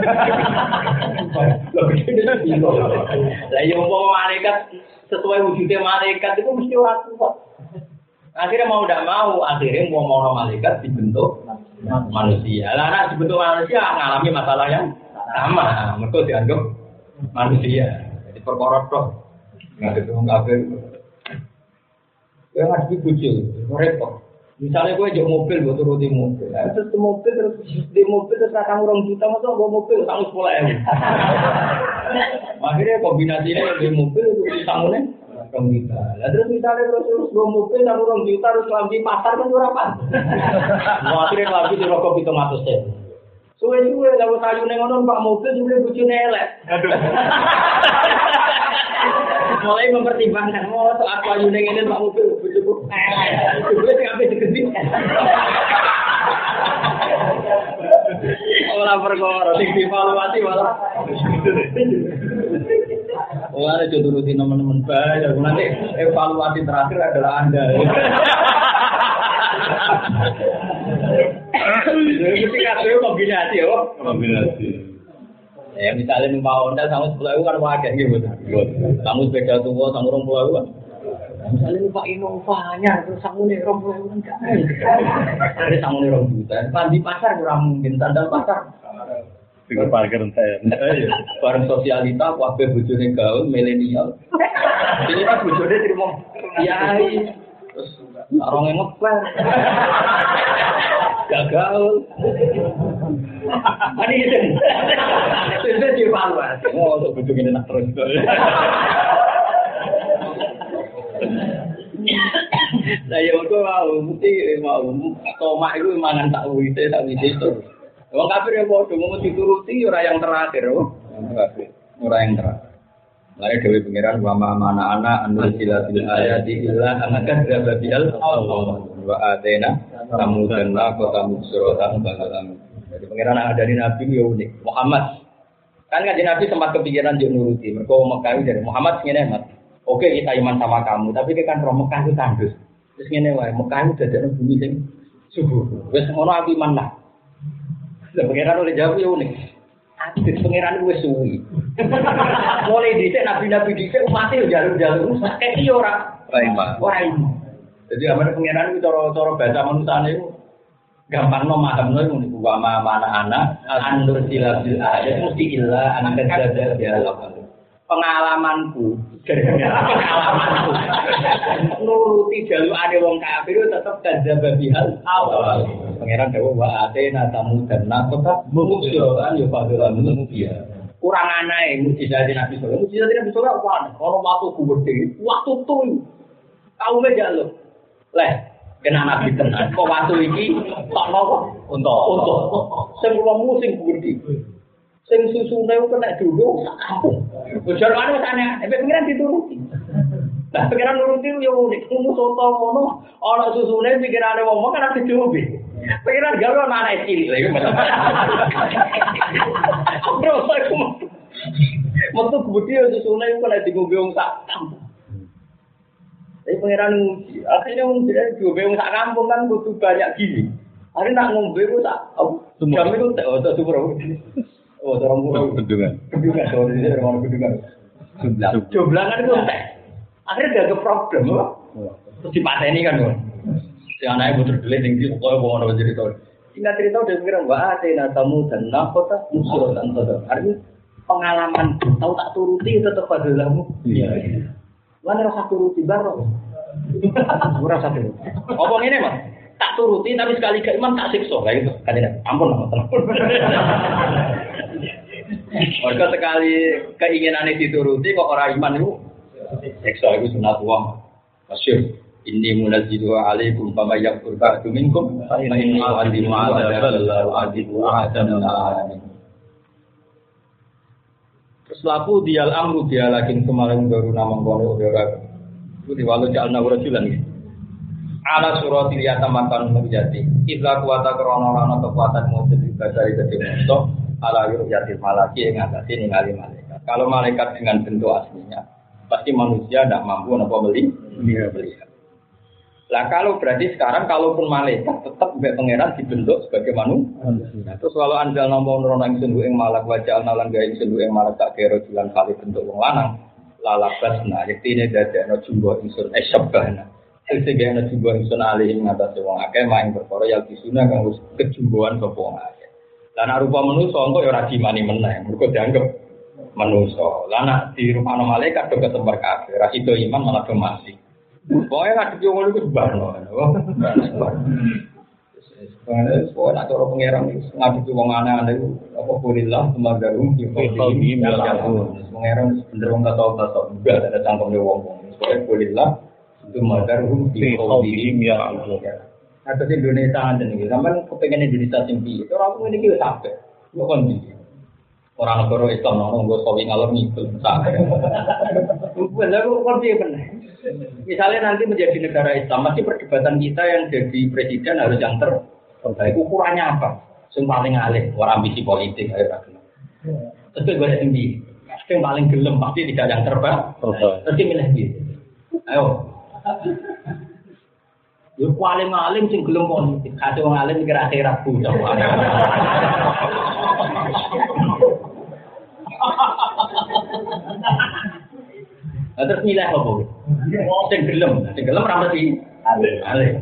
Lah yo malaikat sesuai wujudnya malaikat itu mesti ora kuat. Akhirnya mau tidak mau, akhirnya mau malaikat dibentuk manusia. Lah anak dibentuk manusia ngalami masalah yang sama. Mereka dianggap manusia. Jadi perkara tok. Nggak ada orang kafir. Yang harus dibujuk, repot. Misalnya gue jauh mobil, gue turuti mobil. Terus di mobil terus akan orang juta, masa gue mobil sangat 10.000. Akhirnya kombinasinya di mobil itu sanggulnya orang juta. Lah terus misalnya terus gue mobil sama orang juta terus lambi pasar kan berapa? Mau akhirnya lambi di rokok 700. Suwe-suwe lalu sayu nengonon pak mobil juga bujune elek. Mulai mempertimbangkan mau soal sayu nengonon pak mobil bujuku. Gue sing ape digenti. Ora perkara sing dievaluasi malah. Ora turuti teman-teman bae, nanti evaluasi terakhir adalah Anda. Jadi kabeh kombinasi yo. Kombinasi. Ya misalnya numpak Honda sama 10.000 kan wadah nggih, Bos. Kamu sepeda tua sama 20.000 kan. Misalnya numpak Innova-nya terus samune 20.000 kan gak. Ada samune 2 juta. Di pasar kurang mungkin sandal pasar. Tinggal parkir saya. Bareng sosialita kabeh bojone gaul milenial. Ini kan bojone terima kiai. Terus orang yang ngeper. Gagal. Ani itu. Itu dievaluasi. Oh, untuk bujuk ini nak terus. Saya waktu mau tomak itu mangan tak wite terus. Wong kafir yang bodoh mau dituruti ora yang terakhir, ora yang terakhir. Lare dewe pangeran wa mana anak anu silatil ayati illa anakan rabial Allah wa atena samudan la kota musrotan balalam. Jadi pangeran ada di nabi yo unik. Muhammad kan Nabi sempat kepikiran yo nuruti. Mergo Mekah dari Muhammad ngene Mas. Oke kita iman sama kamu, tapi kan roh Mekah itu tandus. Terus ngene wae, Mekah itu dadane bumi sing subur. Wis ngono aku iman lah. Lah pangeran oleh jawab yo unik. Aduh, pangeran wis suwi. Mulai dhisik nabi-nabi dhisik umat yo jalur-jalur sakit yo ora iman. Jadi amane pangeran iki cara bahasa manusane iku gampangno mahamno iku niku wa mana anak andur silabil ayat mesti illa anak kadzdzab ya Allah. Pengalamanku nuruti jalukane wong kafir tetep kadzdzab bihal awal. Pangeran dawuh wa atena tamudan naqata musyran yo padha mubia. Kurang anae mujizat Nabi sallallahu alaihi wasallam. Mujizat Nabi sallallahu alaihi wasallam ono waktu gede, waktu tuh kaume jaluk. Leh kena Nabi tenan. Kok waktu iki tok napa? Untuk. Sing kula musing gede. Sing susune kena dulu sak kampung. Bojar anu sana, pengiran dituruti. Lah pengiran nuruti yo unik, kumu soto ngono, ana susune pikirane wong kan ati diombe. Pengiran gawe ana anak cilik lha iku. Bro, aku metu gede yo susune kok nek diombe wong sak kampung. Tapi pengiran akhirnya wong diombe wong sak kampung kan butuh banyak gini. Hari nak ngombe ku tak jam itu tak super. Oh, orang murah bendungan. Soalnya ini orang bendungan. Jumlangan itu akhirnya gak problem, loh. Terus dipateni kan, loh. Si anaknya putar delik tinggi, pokoknya mau orang cerita. Singkat cerita udah mikir, wah, ada tamu dan nakota musuh dan saudara. Artinya pengalaman tahu tak turuti tetap pada lamu. Iya. Mana rasa turuti baru? Rasa turuti. Ngomong ini mas. Tak turuti tapi sekali ke imam tak siksa kayak gitu kan tidak ampun warga sekali keinginan dituruti kok orang iman itu siksa itu sunatullah masyhur inni munazzilu alaikum fama yakfur ba'du minkum fa inni u'adzimu 'adzaban u'adzimu ahadan terus laku dial amru dia lagi kemarin baru nama kono ora Itu di walau jalna rajulan iki. Ala suratil yatamakan menjadi. Idza kuwata krana kekuatan mujud dari gede monsto ala yatil malaki yang ngatasi ningali malaikat. Kalau malaikat dengan bentuk aslinya pasti manusia tidak mampu melihat. Lah kalau berarti sekarang kalaupun malaikat tetap mbek pangeran dibentuk sebagai manusia. Terus kalau anjal nampa nurono ing senduk ing malak wajah nalan gawe senduk ing malak tak kira dilan kali bentuk wong lanang. Lalabasna yektine dadekno jumbo ingsun esyabana. Sing ana jumbo ingsun alih ing ngatasé wong akeh maing perkara ya disuna kang wis kejumboan sapa wong akeh. Lah nek rupa manusa engko ya ora dimani meneh, mergo dianggap manusa. Lah nek dirupano malaikat do ketemper kabeh, ra sida iman malah do mati. Pokoknya ngadep yang ngono itu sebarno. Pokoknya nak cara pengeran ngadep wong aneh-aneh apa kulilah temagarum di qadim pengeran bener wong kata-kata enggak ada cangkemnya wong-wong. Pokoknya kulilah temagarum di qadim ya Allah. Atau di Indonesia aja nih, sampai kepengen Indonesia tinggi. Orang ini kita sampai, bukan di orang negara Islam nongol gue sawi ngalor ngikut sampai. Benar, bukan dia benar. Misalnya nanti menjadi negara Islam, masih perdebatan kita yang jadi presiden harus yang terbaik. Ukurannya apa? Yang paling alih, orang ambisi politik, ayo rakyat. Terus gue tinggi, yang paling gelem pasti tidak yang terbaik. Terus milih gitu. Ayo. Yo paling alim sing gelem politik, kate wong alim mikir akhirat bu. Terus milih apa? Sing gelem ra mesti alim.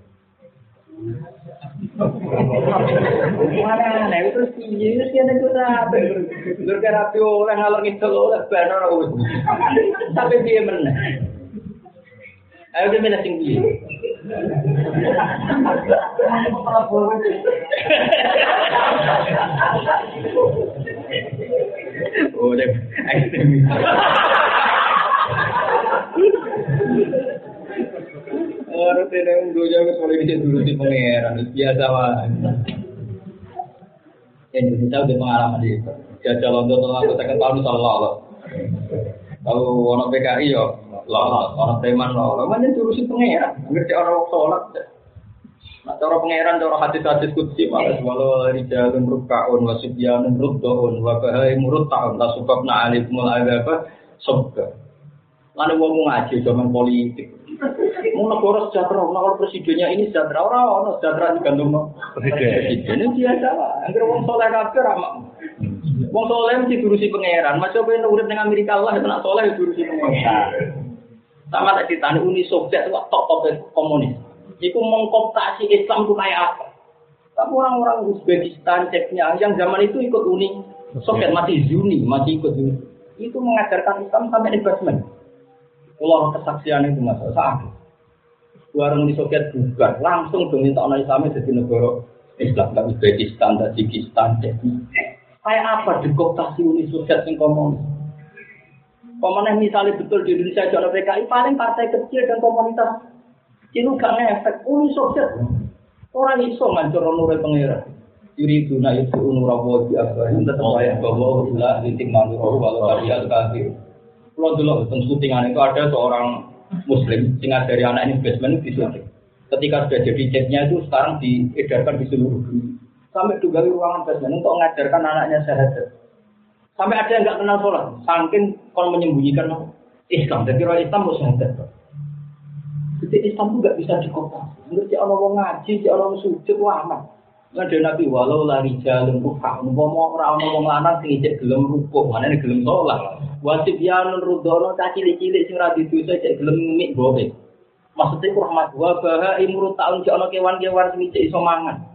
Mana nek terus piye sih nek ora lur karapi oleh ngalor ngidul oleh banor wis. Sampai piye meneh. Ayo dhewe milih sing piye. Oh, deh, ekstremis. Orang tidak unduh jauh soalnya bisa dulu di pangeran biasa lah. Indonesia udah pengalaman itu. Jajal untuk aku tekan tahun salah. Kalau orang PKI yo, lah orang teman lah. Mana jurusi pangeran? Ngerti orang sholat. Nah, cara pangeran, cara hadis-hadis kutsi malah walau rijalun rukkaun wasibyanun ruddaun wa bahai muruta'un la subabna alaikumul azaba sabga. Lalu wong ngaji zaman politik. Mau negara sejahtera, negara presidennya ini sejahtera, orang sejahtera digantung presiden. Ini biasa lah. Angger wong soleh kabeh ramah. Wong soleh mesti durusi pangeran. Macam ben urip ning Amerika Allah nek soleh durusi pangeran. Sama tak ditani Uni Soviet itu top komunis. Iku mengkooptasi Islam itu kayak apa? Tapi orang-orang Uzbekistan, Chechnya yang zaman itu ikut Uni Soviet masih Zuni, masih ikut Zuni. Itu mengajarkan Islam sampai investment. Kalau kesaksian itu masalah. Warung di Soviet bukan langsung diminta orang Islam jadi negara Islam, tapi Uzbekistan, Tajikistan, Chechnya. Kayak apa dikooptasi Uni Soviet yang komunis? Pemenang misalnya betul di Indonesia ada PKI paling partai kecil dan komunitas. Itu gak ngefek, Uni Soviet. Orang iso ngancur nurul pangeran. Yuri guna itu nurawo di akhir. Tetap ayat bahwa ilah litik manurul walau kalian kafir. Kalau dulu tentang syutingan itu ada seorang Muslim sehingga dari anak investment di syuting. Ketika sudah jadi chatnya itu sekarang diedarkan di seluruh dunia. Sampai juga di ruangan investment untuk mengajarkan anaknya syahadat. Sampai ada yang nggak kenal sholat, saking kalau menyembunyikan Islam. Jadi orang Islam mau syahadat. Jadi Islam itu nggak bisa dikooptasi. Menurut orang ngaji, orang sujud, aman. Ada Nabi walau lari jalan rupa, ngomong orang lanang sing ijek gelem rukuk, mana nih gelem sholat. Wasib yanun rudono cilik-cilik sing ra didosa ijek gelem mik bobe. Maksudnya rahmat wa baha imrut taun si ana kewan-kewan sing ijek iso mangan.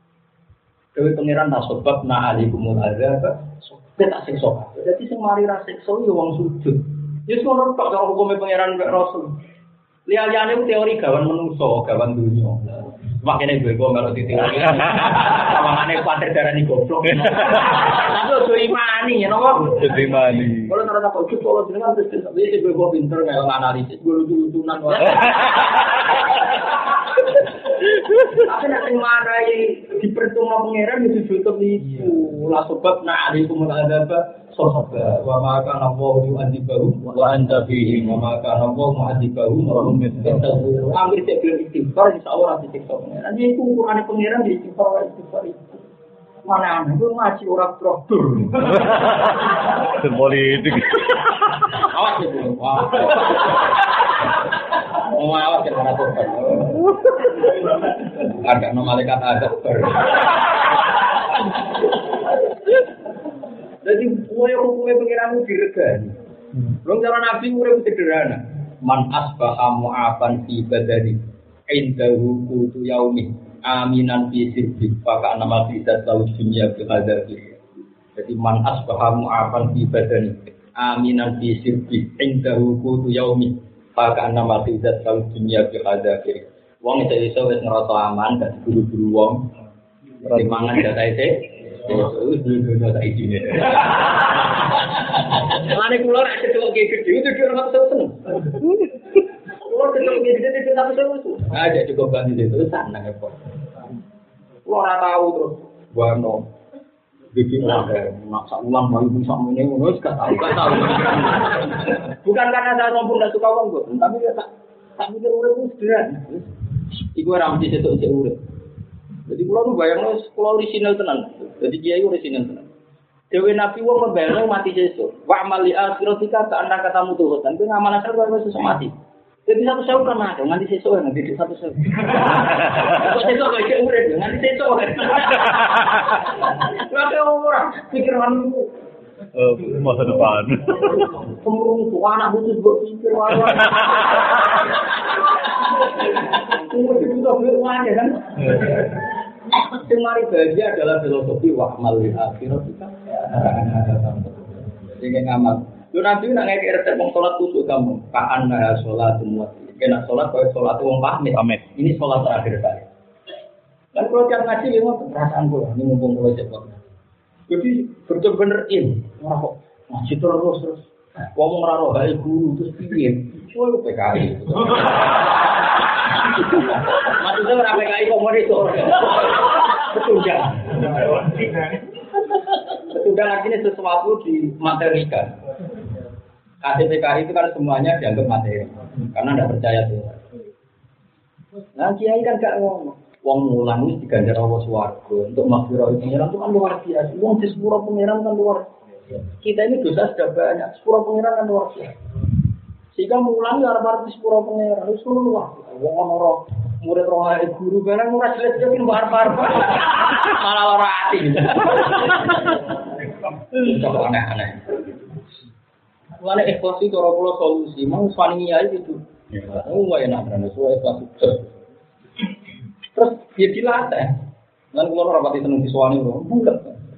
Dewe pangeran tak sebab na alikumul azab, tak siksa. Jadi sing mari ra siksa yo wong sujud. Ya ngono tok karo hukume pangeran mek Rasul. Lihat-lihatnya teori gawan menungso, gawan dunia. Makanya gue kalau teori. Tawangannya kuatir darah nih goblok. Tapi udah imani, ya nopo. Udah imani. Kalau nara tak ujuk, kalau dengan terus biasa gue pinter nggak analisis, gue lucu-lucunan. Tapi nak sing marai dipercuma pangeran itu tutup itu. La sebab na alaikum al-adaba sahaba wa ma kana Allahu yu'adzibuhum wa anta fihim wa ma kana Allahu mu'adzibuhum wa hum yastaghfirun. Amir cek belum istighfar insyaallah disiksa pangeran. Jadi ukurane pangeran di istighfar itu. Mana itu ngaji orang traktor. Politik. Awas itu. Wah. Mau awas kan anak korban. Ada malaikat ada. Jadi hukumnya pengiranmu diregani. Belum cara Nabi urip sederhana. Man asbaha mu'afan fi badani indahu qutu yaumi. Aminan fi sirbi maka nama tidak tahu dunia berhadapi. Jadi man asbaha mu'afan fi badani aminan fi sirbi indahu qutu yaumi maka nama tidak tahu dunia berhadapi. Wong iso wis ngerasa aman gak buru-buru wong dimangan data itu dulu tak izine. Lane kula nek ketok gede itu ora tau seneng. Kula ketok gede itu tak tau. Ada cukup ganti itu seneng kok. Kula ora tahu terus wano bikin maksa ulang mau bisa meneng ngono gak tahu. Bukan karena saya sombong dan suka uang kok, tapi tak mikir urip ku sederhana. Iku ora mesti setok sik urip. Jadi kula nu bayangno kula orisinal tenan. Jadi kiai orisinal tenan. Dewe Nabi wong membayangno mati sesuk. Wa amali akhiratika ka anda katamu tuh kan kowe ngamal asal karo sesuk mati. Jadi satu sewu kan ada, nganti sesuk nganti satu sewu. Kok sesuk kok iki urip nganti sesuk. Lha ora pikiranmu. Masa depan. Kemurung tuh anak butuh buat pikir walau. Tunggu itu tuh beruang ya kan. Semari bahagia adalah filosofi wahmal di akhirat kita. Dengan amal. Lu nanti nak ngekek resep mau sholat tusuk kamu. Kaan naya sholat semua. Kena sholat kalau sholat uang pamit. Ini sholat terakhir saya. Dan kalau tiap ngaji memang perasaan gue. Ini mumpung gue cepat. Jadi bener-bener orang kok ngaji terus. Ngomong raro hai guru terus piye? Soal PKI. Maksudnya orang PKI komoditor. Betulnya. Betulnya artinya sesuatu dimaterikan. KTPKI itu kan semuanya dianggap materi. Karena tidak percaya Tuhan. Nah kiai kan gak ngomong. Wong mulang wis diganjar Allah swarga untuk maghfirah pengiran itu kan luar biasa. Wong di sepuro pengiran kan luar biasa. Kita ini dosa sudah banyak, sepuro pengiran kan luar biasa. Sehingga mulang ya arep di sepuro pengiran wis luar. Wong ana murid rohai guru barang ora jelas-jelas ki arep-arep. Malah ora ati. Itu aneh-aneh. Mulane ikhlas itu ora kula solusi, mang swani ya itu. Oh enak kan sesuai ikhlas. Terus dia dilatih. Lan kula ora pati seneng diswani lho. Bukan.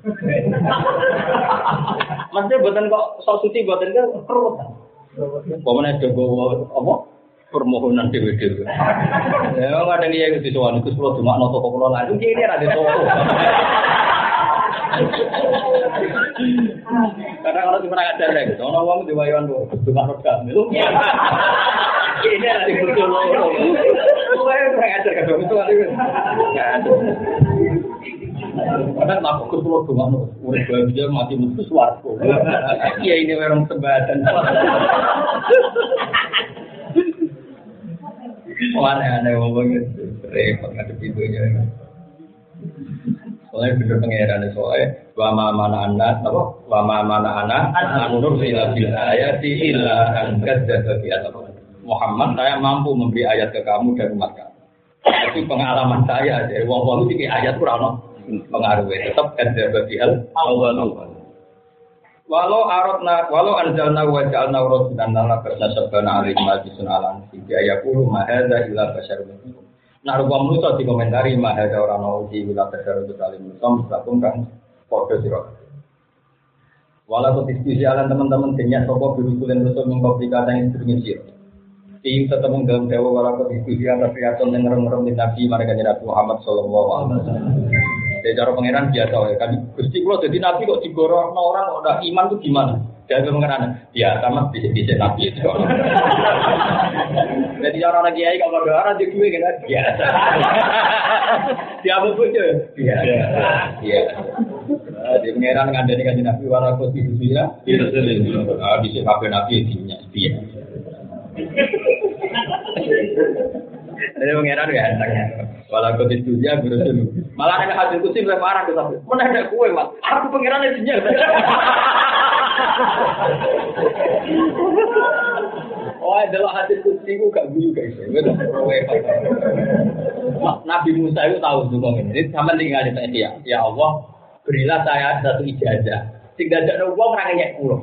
Maksudnya boten kok sok suci boten kan keruwetan. Pemene jogo apa? Permohonan dhewe-dhewe. Ya kadang iya diswani Gus kula dumakno toko kula lan iki ora ada toko. Karena kalau cuma ngajar lagi, ono wong diwayon lho, dumakno gak melu. Ini ada di betul loh. Saya ngajar ke dong itu kali. Kadang aku keluar rumah nu, udah bahagia mati mutu suaraku. Iya ini memang sebadan. Aneh-aneh ngomongnya, repot ngadep videonya. Soalnya bener pengeran soalnya wama mana anak, apa? Wama mana anak, anur ila bil ayati illa an kadzdzaba bi atau Muhammad, saya mampu memberi ayat ke kamu dan umat kamu. Tapi pengalaman saya dari wong-wong iki ayat kurang pengaruhnya tetap kadzdzaba bi al-awwal. Walau anzalna wa ja'alna rasulan lana fasabana alaihi majlisun alan fi ayaqulu ma hadza illa basyarun mitlukum. Nah, rupa manusia dikomentari ma hadza ora ana uji illa basyarun mitlukum lakum kan padha sira. Walau diskusi alan teman-teman denyak sapa birusulen rusul mengkopi kata yang sedurunge sira. Tim ketemu dalam dewa walau diskusi atas riason yang ngerem-ngerem di Nabi mereka Nabi Muhammad sallallahu alaihi wasallam. Dari cara pangeran biasa ya kan Gusti kula dadi nabi kok digorokno orang kok ndak iman itu gimana? Jadi pengeran ya sama di Nabi itu. Jadi orang lagi kiai kalau ada orang di gue kan biasa. Dia apa pun je. Biasa. Iya. Di pengeran ngandani kan Nabi wara konstitusi ya. Itu sendiri. Di sini Nabi isinya dia. Jadi pengeran ya entengnya. Walau konstitusi ya berusul. Malah ada hasil kursi berparah ke tapi. Mana ada kue mas? Aku pengeran isinya. Oh, adalah hadis kursi itu gak guyu guys. Nabi Musa itu tahu juga ini. Sama tinggal di sini ya. Ya Allah, berilah saya satu ijazah. Tidak ada uang orang yang pulau.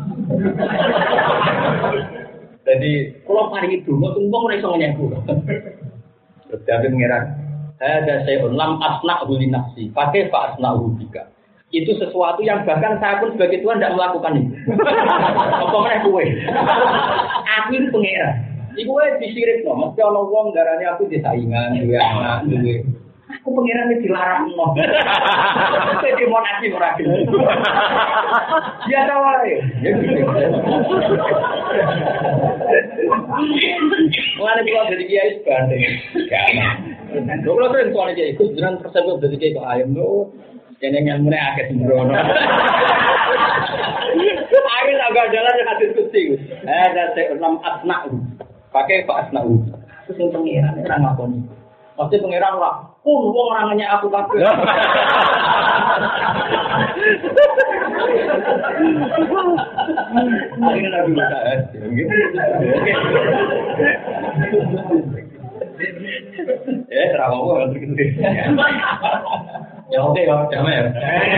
Jadi kalau hari itu, mau tunggu mereka yang pulau. Terjadi mengira. Saya ada saya lam asna huli nafsi. Pakai pak asna hubika. Itu sesuatu yang bahkan saya pun sebagai Tuhan tidak melakukan itu. Apa mana kue? Aku itu pengira. Iku disirik no. Mesti orang wong darahnya aku disaingan, dua anak, dua. Aku pengira ini dilarang no. Jadi mau nasi merakin. Dia tahu ya. Mulai pulang dari kiai sebanding. Gak. Kalau sering soalnya kiai, ikut dengan persepsi dari kiai ke ayam tuh. Jangan yang mulai agak sembrono. Akhir agak jalan yang hadis kursi. Ada saya 6 asna'u. Pakai Pak Asna'u. Terus yang pengiran orang ngaponi. Pasti pengiran lah. Wong orangnya aku kabeh. Akhirnya Nabi Musa. Terawal gitu. Ya oke ya, damai ya.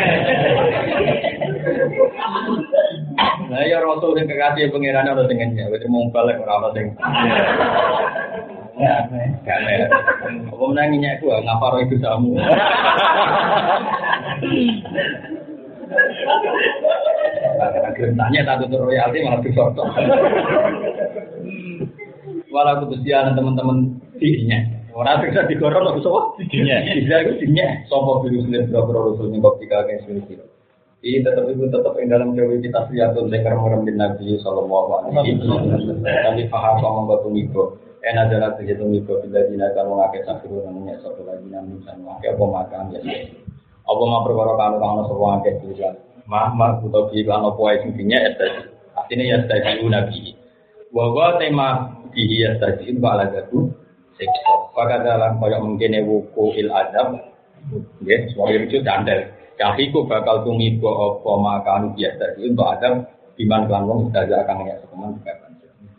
Nah ya Rasul yang kekasih pengiran harus dengannya, wes mau balik orang sing. Ya, damai. Apa menanginya aku ngapa roh itu kamu? Karena tanya satu tur royalti malah disorot. Walau kebetulan teman-teman dirinya. Orang bisa digorong atau sopo? Dinya. Bisa itu dinya. Sopo virus dan berapa rasul nyebab tiga kayak sini. Ini tetap yang dalam jauh kita lihat tuh mereka orang bin Nabi Sallallahu Alaihi Wasallam. Kami faham sama batu mikro. Adalah kegiatan mikro bila dinakan mengakai sakit namanya satu lagi namanya mengakai apa makan ya. Apa mau perkara kanu semua angkat juga. Mah atau bilang apa yang intinya artinya ya tadi Nabi. Bahwa tema dihias tadi itu ala jatuh. Pada dalam koyak mungkin wuku il adab, ya, semua itu candel. Kahiku bakal tumibo apa makan biasa itu untuk adab diman kelanggong sudah akan menyak sekeman juga kan.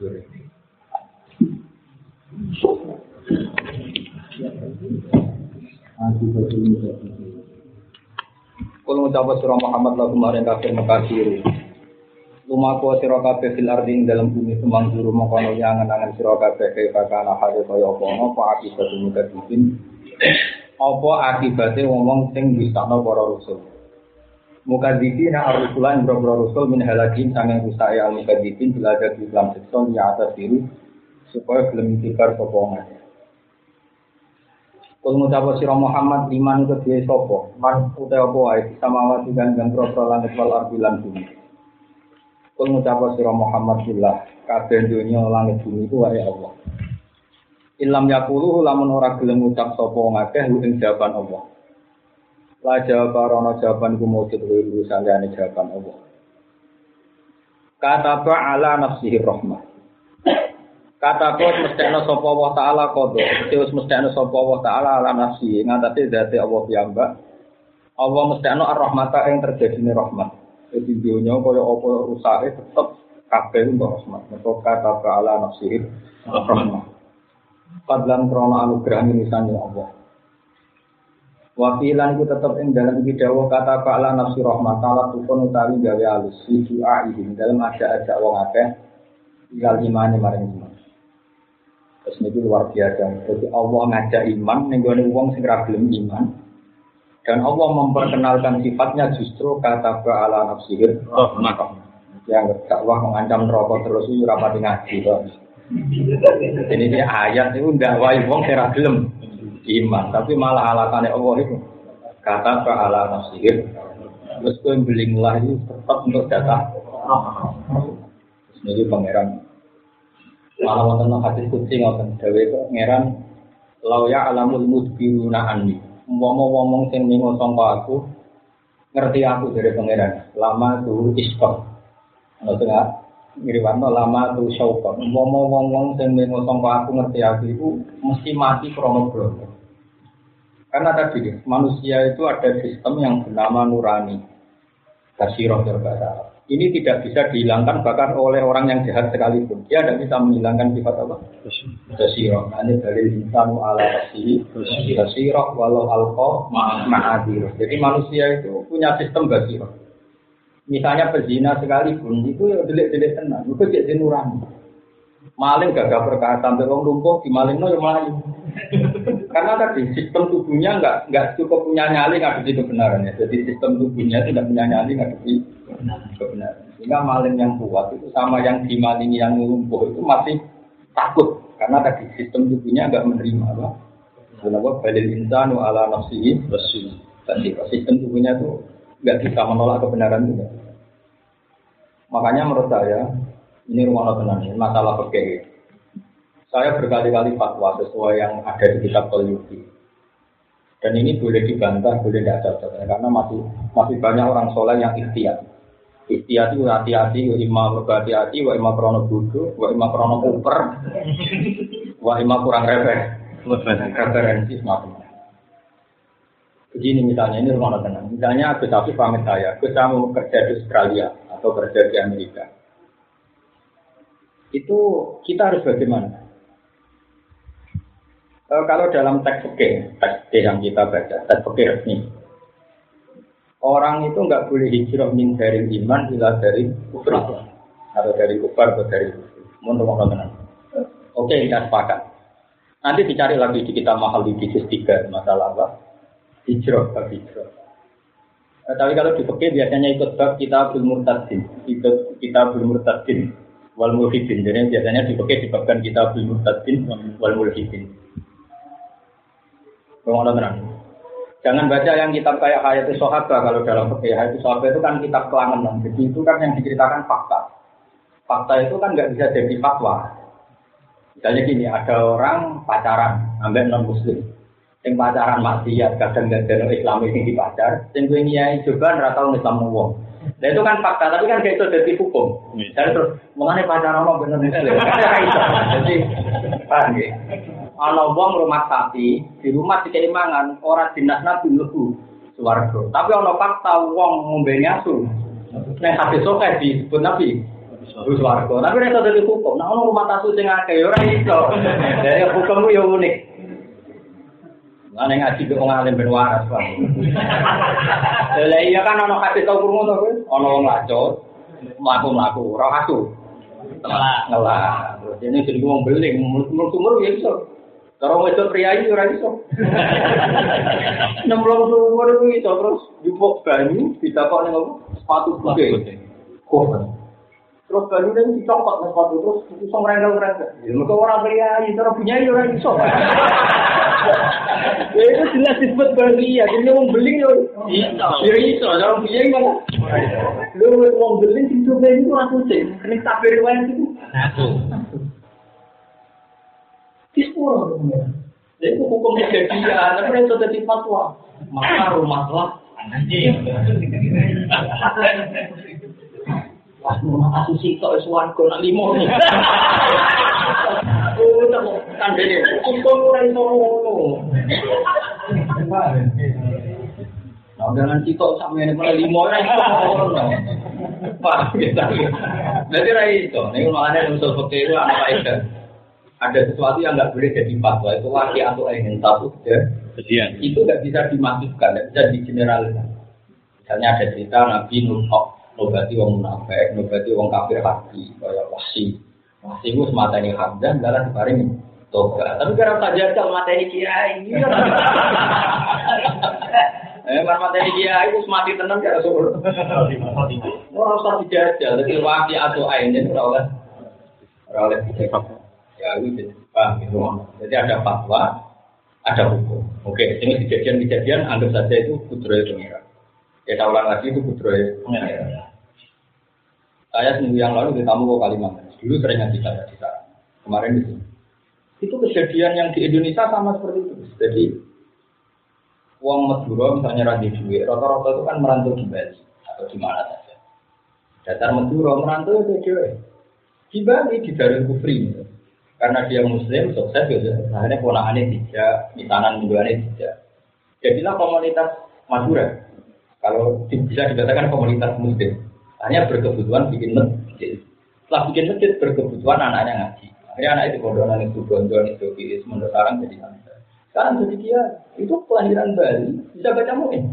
Kalau mengucapkan surah Muhammad lagu kemarin kafir makasir. Lumaku sira kabeh fil ardi dalam bumi sumangzuru mongkono angen-angen sira kabeh kaya kana hale kaya apa akibat mukadibin apa akibate ngomong sing disakno para rasul mukadibin ar-rusulan boro rasul min halakin sangen rusaya al-mukadibin belajar di Islam sekson ya atas diri supaya gelem dikar sapa ngene. Kul ngucap sira Muhammad iman kedue sapa man utawa apa wae samawati kan gambro langit wal ardi lan bumi. Kul ngucap sira Muhammad billah kabeh dunya langit bumi itu wae Allah. Ilam yaqulu lamun ora gelem ngucap sapa ngakeh ing jawaban Allah. La jawaban jawaban ku mujud kuwi sandane jawaban Allah. Kata ala nafsihi rahmah. Kata kok mestine sapa Allah taala qada. Terus mestine sapa Allah taala ala nafsihi ngatasi zate Allah piyambak. Allah mestine ar-rahmata ing terjadine rahmat. Jadi dunia kaya apa rusake tetep kabeh untuk rahmat. Mergo kata ala nafsihi rahmah. Padlan krana anugerah milisane Allah. Wakilan itu tetap ing dalam video kata ala nafsi rahmat taala tukun utawi gawe alus doa ini dalam ajak wong akeh tinggal imane maring iman. Terus niku luar biasa. Jadi Allah ngajak iman ning gone wong sing ra gelem iman. Dan Allah memperkenalkan sifatnya justru kata ala nafsi rahmat. Yang Allah mengancam neraka terus iki ora pati ngaji kok. Ini dia ayat itu ndak wae wong sing ra gelem iman, tapi malah alasannya Allah itu kata ala nafsihir terus kowe belinglah itu tetap untuk data Niki pangeran. Malah wonten hadis qudsi ngoten dawuh pangeran law ya alamul mudbiruna anni. Wong-wong sing ningo sangka aku ngerti aku dari pangeran. Lama tu iskon. Ngoten ya. Ngriwanto lama tu syauqon. Wong-wong sing ningo sangka aku ngerti aku iku mesti mati krana bloko. Karena tadi manusia itu ada sistem yang bernama nurani. Basirah terbata. Ini tidak bisa dihilangkan bahkan oleh orang yang jahat sekalipun. Dia tidak bisa menghilangkan sifat apa? Basirah. Ini dari insanu ala nafsihi basirah walau alqa ma'adir. Jadi manusia itu punya sistem basirah. Misalnya pezina sekalipun itu ya delik-delik tenang. Itu jadi nurani. Maling gagah perkara sampai wong lumpuh dimalingno ya melayu. Karena tadi sistem tubuhnya enggak cukup punya nyali ngadepi kebenarannya. Jadi sistem tubuhnya tidak punya nyali ngadepi kebenaran. Sehingga maling yang kuat itu sama yang dimalingi yang lumpuh itu masih takut karena tadi sistem tubuhnya enggak menerima apa? Kenapa balil insanu ala nafsihi basir. Tadi sistem tubuhnya itu enggak bisa menolak kebenaran juga. Makanya menurut saya ini rumah tenang ini masalah fikih. Saya berkali-kali fatwa sesuai yang ada di kitab Al-Yuki. Dan ini boleh dibantah, boleh tidak cocok karena masih banyak orang soleh yang ikhtiyat. Ikhtiyat itu hati-hati, wa imma berhati-hati, wa imma krono bodoh, wa imma krono kuper, wa imma kurang referensi semacam. Begini misalnya ini rumah tenang. Misalnya Gus Afif pamit saya mau kerja di Australia atau kerja di Amerika. Itu kita harus bagaimana? Kalau dalam teks fikih yang kita baca, teks fikih resmi, orang itu enggak boleh hijrah min dari iman ila dari kufur atau dari kufar atau dari kufur. Mohon tenang. Oke, kita sepakat. Nanti dicari lagi di kitab mahal di juz 3 masalah apa? Hijrah. Tapi kalau di fikih biasanya ikut bab kitabul murtadin, wal mulhidin. Jadi biasanya di fikih dibabkan kitabul murtadin wal mulhidin. Jangan baca yang kitab kayak Hayatus Sahabah kalau dalam fikih. Hayatus Sahabah itu kan kitab kelangenan. Jadi itu kan yang diceritakan fakta. Fakta itu kan nggak bisa jadi fatwa. Misalnya gini, ada orang pacaran sampai non-muslim. Yang pacaran maksiat, kadang nggak ada Islam ini dipacar. Yang gue nyai juga nggak tahu Islam wong. Nah itu kan fakta, tapi kan kayak itu jadi hukum. Jadi terus mengenai pacaran mau benar muslim. Jadi paham ya? Ana wong rumah sapi, di rumah dikei mangan, ora dinas nabi mlebu swarga. Tapi ana fakta wong ngombe asu. Nek hadis sok disebut nabi swarga. Tapi nek dadi hukum, nek ana rumah asu sing akeh ora iso. Dari hukummu yo unik. Ana ngaji kok ngalim ben waras, Pak. Lah iya kan ana hadis tau krungu to kowe? Ana wong lacot, mlaku-mlaku ora asu. Ngelah. Ini jadi wong beling, umur-umur ya iso. Kalau wedok pria ini ora iso. 60 umur itu iso terus jupuk banyu ditakok ning apa? Sepatu putih. Kok. Terus banyu ning dicokot nang sepatu terus iso ngrengkel-ngrengkel. Ya mergo ora pria iki terus punya ora iso. Ya itu jelas disebut bahagia. Jadi wong beling yo iso. Ya iso, cara punya malah. Lu wong beling itu ben ora kucing. Nek tak riwayat itu. Dispor, jadi hukum kejadian, tapi itu jadi fatwa. Maka rumahlah nanti. Wah, rumah asusi kok suarco nak limo nih. Oh, kan jadi hukum orang itu. Nah, dengan sitok sama ini pada limo orang. Wah, kita. Jadi rai itu, nih makanya usul fakir itu anak itu. Ada sesuatu yang nggak boleh jadi fatwa itu laki atau ingin satu kejadian itu nggak bisa dimasukkan, nggak bisa digeneralisasi. Misalnya ada cerita Nabi Nuh nobati wong munafik, nobati wong kafir hati, kayak Wahsy itu semata ini Hamzah, jalan diparing toga. Tapi karena saja kalau mata ini kiai, mata ini kiai itu semati tenang ya Rasul. Orang usah dijajal, jadi laki atau ingin oleh ya itu paham gitu. Jadi ada fatwa, ada hukum. Oke, ini kejadian anggap saja itu kudroy pengira. Ya ulang lagi itu kudroy pengira. Saya seminggu yang lalu di tamu ke Kalimantan. Dulu sering ngaji saya di sana. Kemarin di sini. Itu kejadian yang di Indonesia sama seperti itu. Jadi uang Madura misalnya radhi duit, rata-rata itu kan merantau di Bali atau di mana saja. Dasar Madura merantau itu dia di Bali di Darul Kufri. Karena dia Muslim sukses gitu. Akhirnya ponakannya tidak, misanan mingguannya tidak. Jadilah komunitas Madura. Kalau bisa dikatakan komunitas Muslim, hanya berkebutuhan bikin masjid. Setelah bikin masjid berkebutuhan anaknya ngaji. Akhirnya anak itu bodohan itu gondol itu kiri sementara sekarang jadi santri. Sekarang jadi dia itu kelahiran Bali bisa baca muin.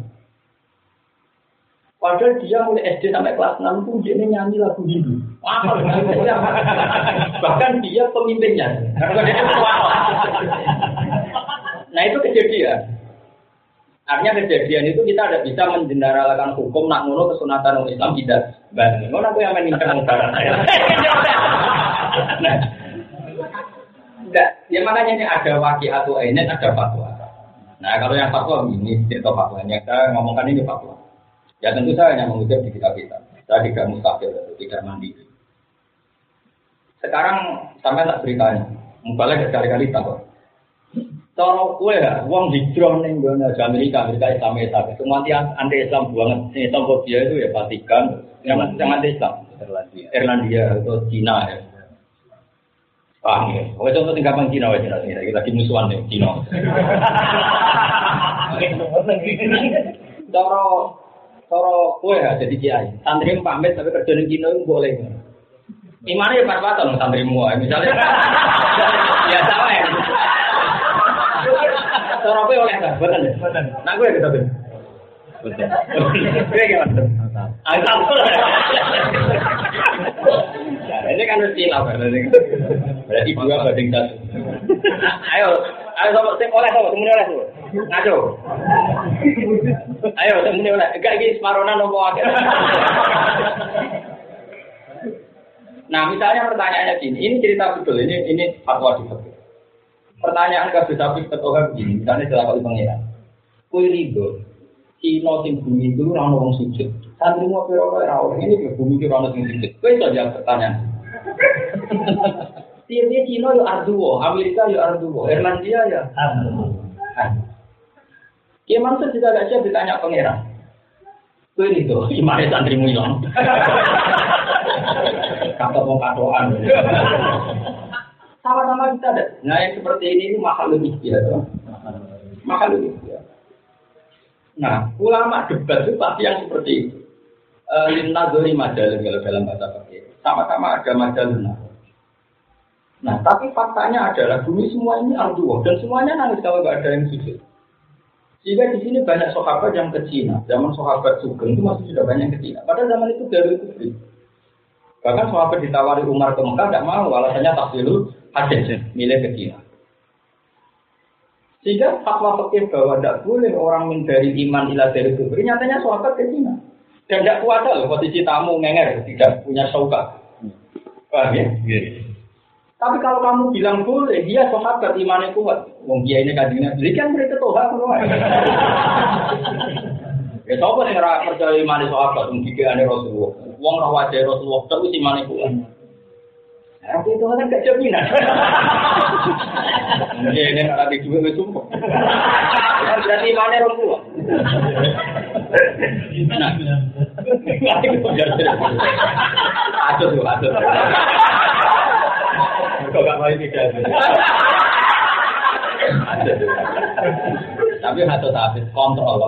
Padahal dia mulai SD sampai kelas 6 pun dia nyanyi lagu Hindu. Bahkan dia pemimpinnya. Nah itu kejadian. Artinya kejadian itu kita tidak bisa menjeneralkan hukum nak ngono kesunatan orang Islam tidak. Ngono aku yang meninggalkan barat. Nah, enggak. Ya makanya ini ada wakil atau ini ada fatwa. Nah kalau yang fatwa ini cerita fatwanya saya ngomongkan ini fatwa. Ya tentu saya hanya mengutip di kitab-kitab. Saya tidak mustahil, tidak mandiri. Sekarang sampai tak beritanya, mubalnya berkali-kali takut. Cara kue ya, uang hijrah nih gue nggak Amerika Islam semua anti Islam banget. Islamofobia itu ya Vatikan, yang anti Islam, Irlandia atau Cina ya. Paham ya? Oke contoh tingkapan Cina aja nanti kita lagi musuhan nih Cina. Cara kue ya jadi kiai, santri pamit tapi kerja di Cina itu boleh. Imannya pas-pasan santri semua, misalnya. Ya sama ya. Cara kue oleh tak, betul ya. Nah gue kita betul. Betul. Gue gimana? Asal. Ini kan mesti lah, berarti dua banding satu. Ayo sama sing oleh sama semuanya oleh tuh. Ngaco. Ayo semuanya oleh. Enggak iki semarona nopo akeh. Nah, misalnya pertanyaannya gini, ini cerita betul, ini fatwa di fikih. Pertanyaan kasus sapi ketua begini, misalnya setelah kali pengiran. Kue rido, Cina sing bumi itu orang orang sujud. Santri mau orang ini ke bumi itu orang sing sujud. Kue saja pertanyaan. Tiap-tiap Cina ya arduo, Amerika ya arduo, Irlandia ya arduo. Ya maksud juga gak siap ditanya pengiran. Kue rido, gimana santrimu hilang? Kata mau katoan. Sama-sama kita ada. Nah yang seperti ini mahal lebih biasa. Mahal lebih biasa. Nah ulama debat itu pasti yang seperti itu. Lina dori majalun kalau dalam bahasa pakai. Sama-sama ada majalun. Nah tapi faktanya adalah bumi semua ini arduo dan semuanya nangis kalau nggak ada yang sujud. Sehingga di sini banyak sahabat yang ke Cina. Zaman sahabat Sugeng itu masih sudah banyak ke Cina. Pada zaman itu Darul Kufri. Bahkan sahabat ditawari Umar ke Mekah tidak mau, alasannya tafsirul hadis milih ke Cina. Sehingga fatwa fikih bahwa tidak boleh orang menghindari iman ila dari kubur. Nyatanya sahabat ke Cina dan tidak kuasa loh posisi tamu ngenger tidak punya syaukat. Paham ya? Tapi kalau kamu bilang boleh, dia sahabat imannya kuat. Wong kiai ini kajiannya beli kan mereka toha semua. Ya siapa yang ngerasa percaya imannya sahabat mungkin ane Rasulullah. Wong roh wajah Rasulullah tapi imannya kuat. Aku itu kan gak jaminan. Ini nanti juga wis sumpah. Berarti imannya roh kuat. Aduh. Kok gak mau tidak? Tapi satu habis kontrol.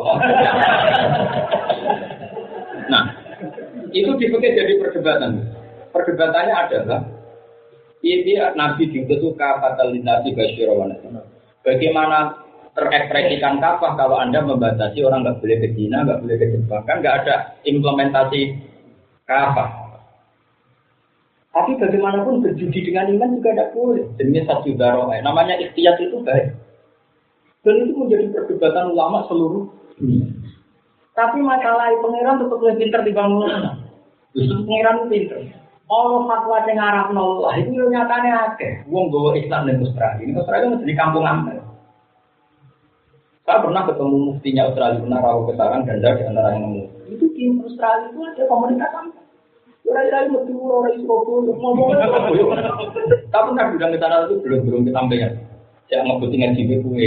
Nah, itu dipakai jadi perdebatan. Perdebatannya adalah ini Nabi diutus fatalitas basyirawan. Bagaimana terekspresikan kafah kalau Anda membatasi orang nggak boleh ke Cina, nggak boleh ke Jepang, kan nggak ada implementasi kafah. Tapi bagaimanapun berjudi dengan iman juga tidak boleh. Jenis satu daroh, namanya ikhtiyat itu baik. Dan itu menjadi perdebatan ulama seluruh dunia. Tapi masalah pangeran tetap lebih pintar dibanding ulama. Justru pangeran itu pintar. Allah fatwa yang ngarap nollah itu nyatanya akeh. Wong bawa Islam dan Australia. Ini Australia itu di kampung amal. Saya pernah ketemu muftinya Australia, pernah rawuh ke sarang dan di antara yang nemu. Itu di Australia itu ada komunitas amal. Orang-orang metu orang Surabaya ngomongnya Surabaya. Tapi kan udah ke sana itu belum kesampaian. Saya ngebut dengan jiwa kue.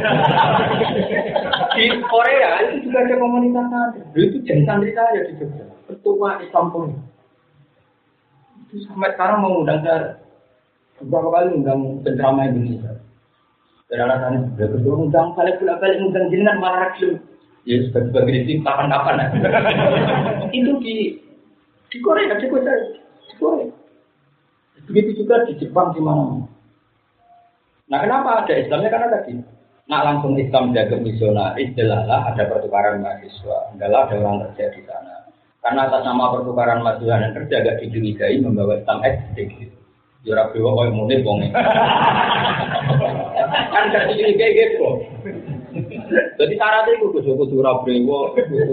Di Korea itu juga ada komunitas ada. Itu jadi santri saya di Jogja. Ketua Islam pun. Itu sampai sekarang mau undang saya beberapa kali undang penceramah Indonesia. Dari alasannya sudah ketua undang balik undang jenengan malah ragil. Ya sebagai tim kapan-kapan. Itu di Korea, di Korea. Begitu juga di Jepang di mana. Nah, kenapa ada Islamnya? Karena tadi, nak langsung Islam jaga misionaris, jelaslah ada pertukaran mahasiswa, adalah ada orang kerja di sana. Karena atas nama pertukaran mahasiswa dan kerja agak dicurigai membawa Islam ekstrim. Jurah bewa kau yang mulai bongeng. Kan gak dicurigai gitu. Jadi syaratnya itu kudu jurah bewa,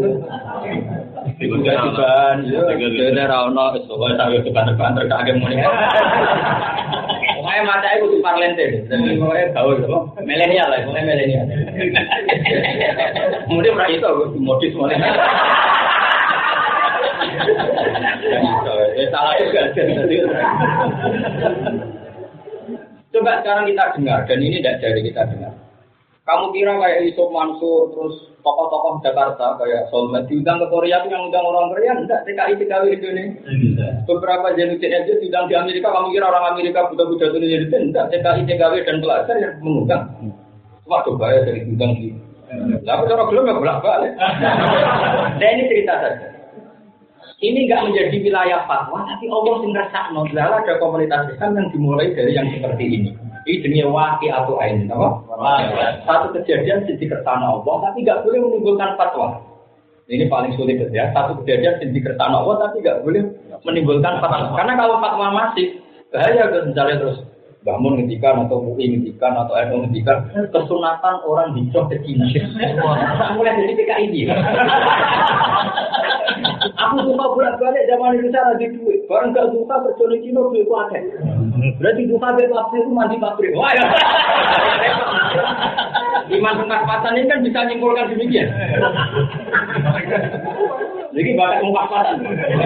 juga-jugaan, ya, rano, soalnya saya depan terkagum mulai. Pokoknya mata itu tuh parlente, jadi pokoknya gaul, milenial lah, pokoknya milenial. Kemudian orang itu modis mulai. Salah juga. Coba sekarang kita dengar, dan ini tidak dari kita dengar. Kamu kira kayak Yusuf Mansur, terus tokoh-tokoh Jakarta kayak Solmed diundang ke Korea itu yang undang orang Korea, enggak TKI Indonesia. Beberapa jenis aja diundang di Amerika, kamu kira orang Amerika buta-buta itu jadi enggak TKI dan pelajar yang mengundang. Waduh bahaya dari diundang di. Tapi orang belum ya bolak-balik. Nah ini cerita saja. Ini enggak menjadi wilayah fatwa, tapi Allah sing ngrasakno. Lah ada komunitas Islam yang dimulai dari yang seperti ini. Ini jenis waki atau ain, apa? Satu kejadian sisi kersana Allah, tapi nggak boleh menimbulkan fatwa. Ini paling sulit ya. Satu kejadian sisi kersana Allah, tapi nggak boleh menimbulkan fatwa. Karena kalau fatwa masih bahaya, misalnya terus bangun ngendikan atau MUI ngendikan atau NU ngendikan kesunatan orang hijrah ke Cina. Mulai dari PKI ini. Aku suka bolak-balik zaman Indonesia lagi duit. Barang gak suka kerja di Cina duit ku akeh. Berarti suka beli pabrik itu mandi pabrik. Wah ya. Iman pas-pasan ini kan bisa nyimpulkan demikian. Jadi bakat pas-pasan.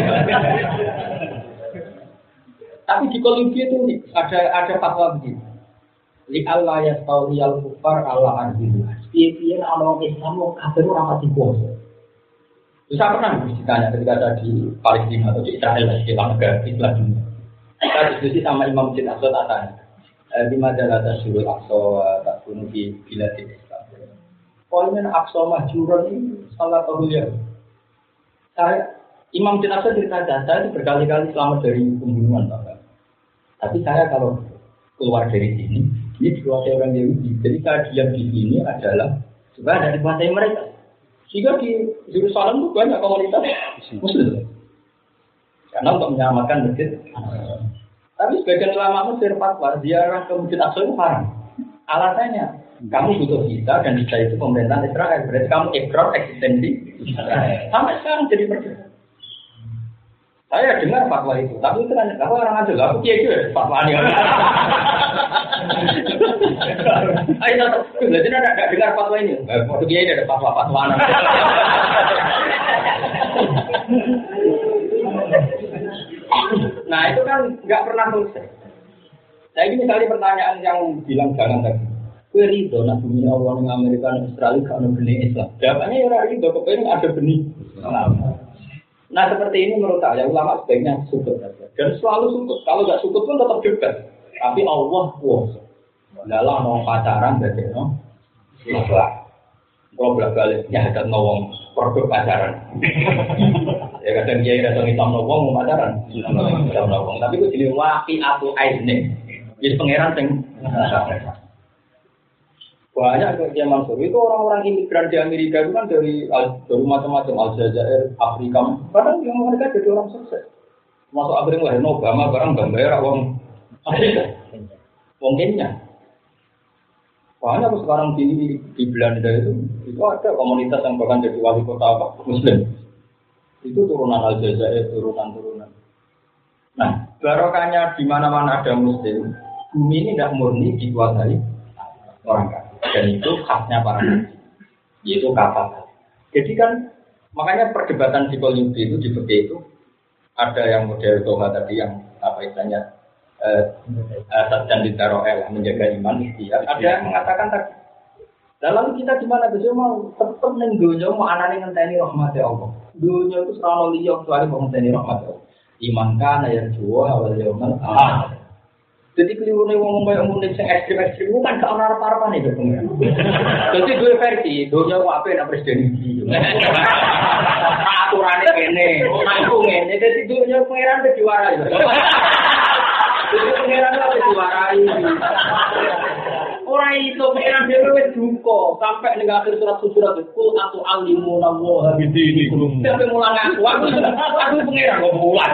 Tapi di Kolombia itu ada fatwa begini. Li Allah ya tauliyal kufar Allah arbilu. Piye-piye orang Islam mau kafir ora pati puasa. Saya pernah ditanya ketika saya di Palestina atau di Israel di negara Islam dunia. Saya diskusi sama Imam Masjid Aqsa tanya, di majalah Tasyurul Aqsa tak bunuh di Biladil Islam. Poinnya Aqsa Mahjuran ini salah satu ya. Imam Masjid Aqsa cerita saya itu berkali-kali selamat dari pembunuhan, Pak. Tapi saya kalau keluar dari sini, ini dikuasai orang Yahudi. Jadi saya diam di sini adalah supaya ada dikuasai mereka. Sehingga di Yerusalem itu banyak komunitas Muslim. Karena untuk menyelamatkan masjid. Tapi sebagian ulama Mesir fatwa ziarah ke Masjid Aqsa itu haram. Alasannya, kamu butuh visa dan visa itu pemerintahan Israel. Berarti kamu ikrar eksistensi Israel. Sampai sekarang jadi perdebatan. Saya dengar fatwa itu, tapi itu kan aku orang aja lah, aku kiai juga fatwa ini. Ayo, jadi ada dengar fatwa ini. Waktu kiai ada fatwa. Nah itu kan nggak pernah selesai. Nah ini misalnya pertanyaan yang bilang jangan tadi. Kue ridho nak bumi Allah di Amerika dan Australia kalau benih Islam. Jawabannya ya ridho, kepengen ada benih Islam. Nah seperti ini menurut saya ulama sebaiknya sukut saja. Dan selalu sukut. Kalau nggak sukut pun tetap debat. Tapi Allah kuasa. Dalam mau pacaran berarti no. Ikhlas. Kalau balik ya ada ngomong produk pacaran. Ya kadang dia datang Islam ngomong mau pacaran. Islam ngomong. Tapi itu jadi waki atau aisne. Jadi pangeran sing. Banyak kerja Mansur itu orang-orang imigran di Amerika itu kan dari macam-macam Aljazair, Afrika. Kadang yang mereka jadi orang sukses. Masuk akhirnya lahir Obama barang gambar orang Afrika, orang Kenya. Banyak sekarang di Belanda itu ada komunitas yang bahkan jadi wali kota Muslim. Itu turunan Aljazair, turunan. Nah, barokahnya di mana-mana ada Muslim, bumi ini tidak murni dikuasai orang kafir. Dan itu khasnya para nabi, yaitu kafir. Jadi kan makanya perdebatan psikologi itu di fikih itu ada yang model Toha tadi yang apa istilahnya dan ditaroel menjaga iman ikhtiar. Ada yang mengatakan tadi. Dalam kita gimana besok mau tetap neng dunia mau anane ngenteni rahmat Allah. Dunia itu selalu liya kecuali mau ngenteni rahmat Allah. Iman kana yang juwa awal yaumil akhir. Jadi kelirune wong koyo munik sing ekstrem-ekstrem itu kan gak ana arep-arepane to pengen. Dadi dua versi, dunia kok apik nek presiden iki. Aturane kene, aku ngene, dadi dunia pengeran wis diwarai. Jadi pengeran wis diwarai. Ora iso pengeran dhewe wis duka sampai ning akhir surat kul atu alimu nawa bidinikum. Sampai mulang aku pengeran kok mulang.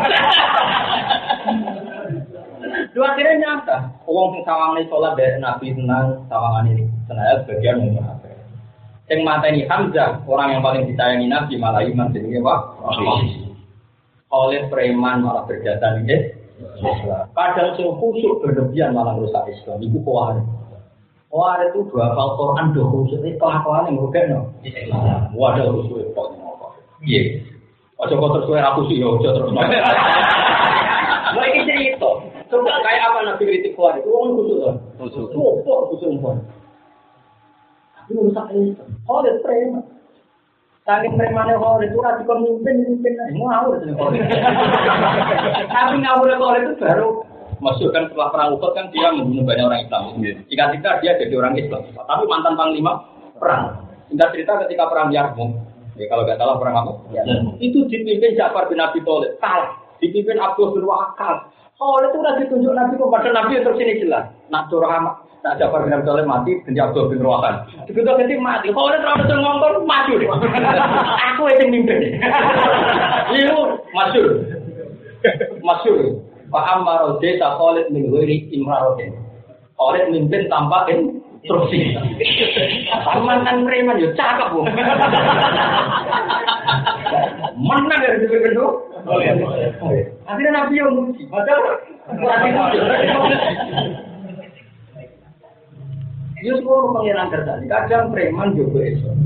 Dua akhirnya nyata, wong sing sawangane salat dari Nabi tenang, sawangan ini senaya sebagian umum apa. Yang mateni Hamzah, orang yang paling disayangi Nabi malah iman jenenge Pak. Oleh preman malah berjasa ini. Kadang sing khusyuk berlebihan malah rusak Islam. Iku kuwar. Kuwar itu dua hafal Quran do khusyuk itu kelakuan yang rugekno Islam. Wadah khusyuk kok ngono. Piye? Aja kok terus kowe ra khusyuk ya aja terus. Lha iki cerita. Coba kayak apa Nabi kritik kuat itu orang khusus kan? Khusus pun. Tapi rusak itu. Kalau preman, saking premannya kalau itu rasi mimpin, ngawur sih kalau. Tapi ngawur kalau itu baru masuk kan setelah perang Uhud kan dia membunuh banyak orang Islam. Jika dia jadi orang Islam, tapi mantan panglima perang. Singkat cerita ketika perang Yarmouk, ya kalau nggak salah perang apa? Itu dipimpin Ja'far bin Abi Thalib, kalah. Dipimpin Abdul bin Waqas. Oh, itu udah ditunjuk Nabi kepada Nabi terus ini jelas. Nak Durham, nak Ja'far bin Abi Thalib mati, dan Abdul bin Waqas. Begitu ganti mati. Oh, itu terlalu ngomong maju deh. Aku yang mimpin. Liu masyur. Pak Ammar desa Khalid bin Walid Imrarodin. Khalid mimpin tanpa instruksi. Mantan preman yo cakep bu. Menang dari dipimpin tuh. Akhirnya Nabi yang muji, padahal dia semua pengiran terjadi. Kadang preman juga Islam.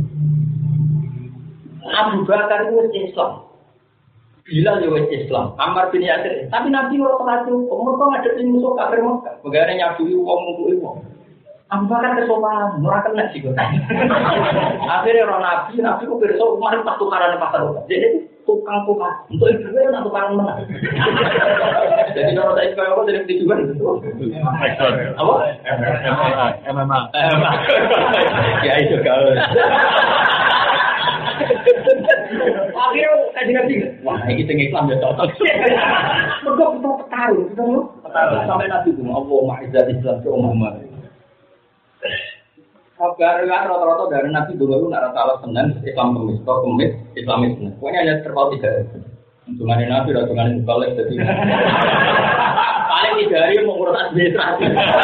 Abu Bakar itu Islam, Bilal juga Islam, Ammar bin Yasir. Tapi Nabi orang pengasuh, mereka ngadepin musuh kafir Mekah. Bagaimana nyabui uang untuk uang. Abu Bakar kesopanan, murah kena sih. Akhirnya orang Nabi kok besok kemarin pas tukaran pasar. Jadi tukang untuk ibu nak tukaran mana? Jadi kalau saya sekarang aku jadi tujuan gitu. Apa? MMA. Ya itu kalau. Akhirnya kaji nabi. Wah ini tinggi Islam ya cocok. Mereka betul petarung, betul. Sampai nabi itu Allah ma'izat Islam ke Muhammad. Kabar rata-rata dari Nabi dulu nak rata Senin Islam Kemis, Islamis. Pokoknya hanya terpaut 3. Untungannya Nabi, untungannya balik jadi. Paling 3 hari mau ngurus administrasi.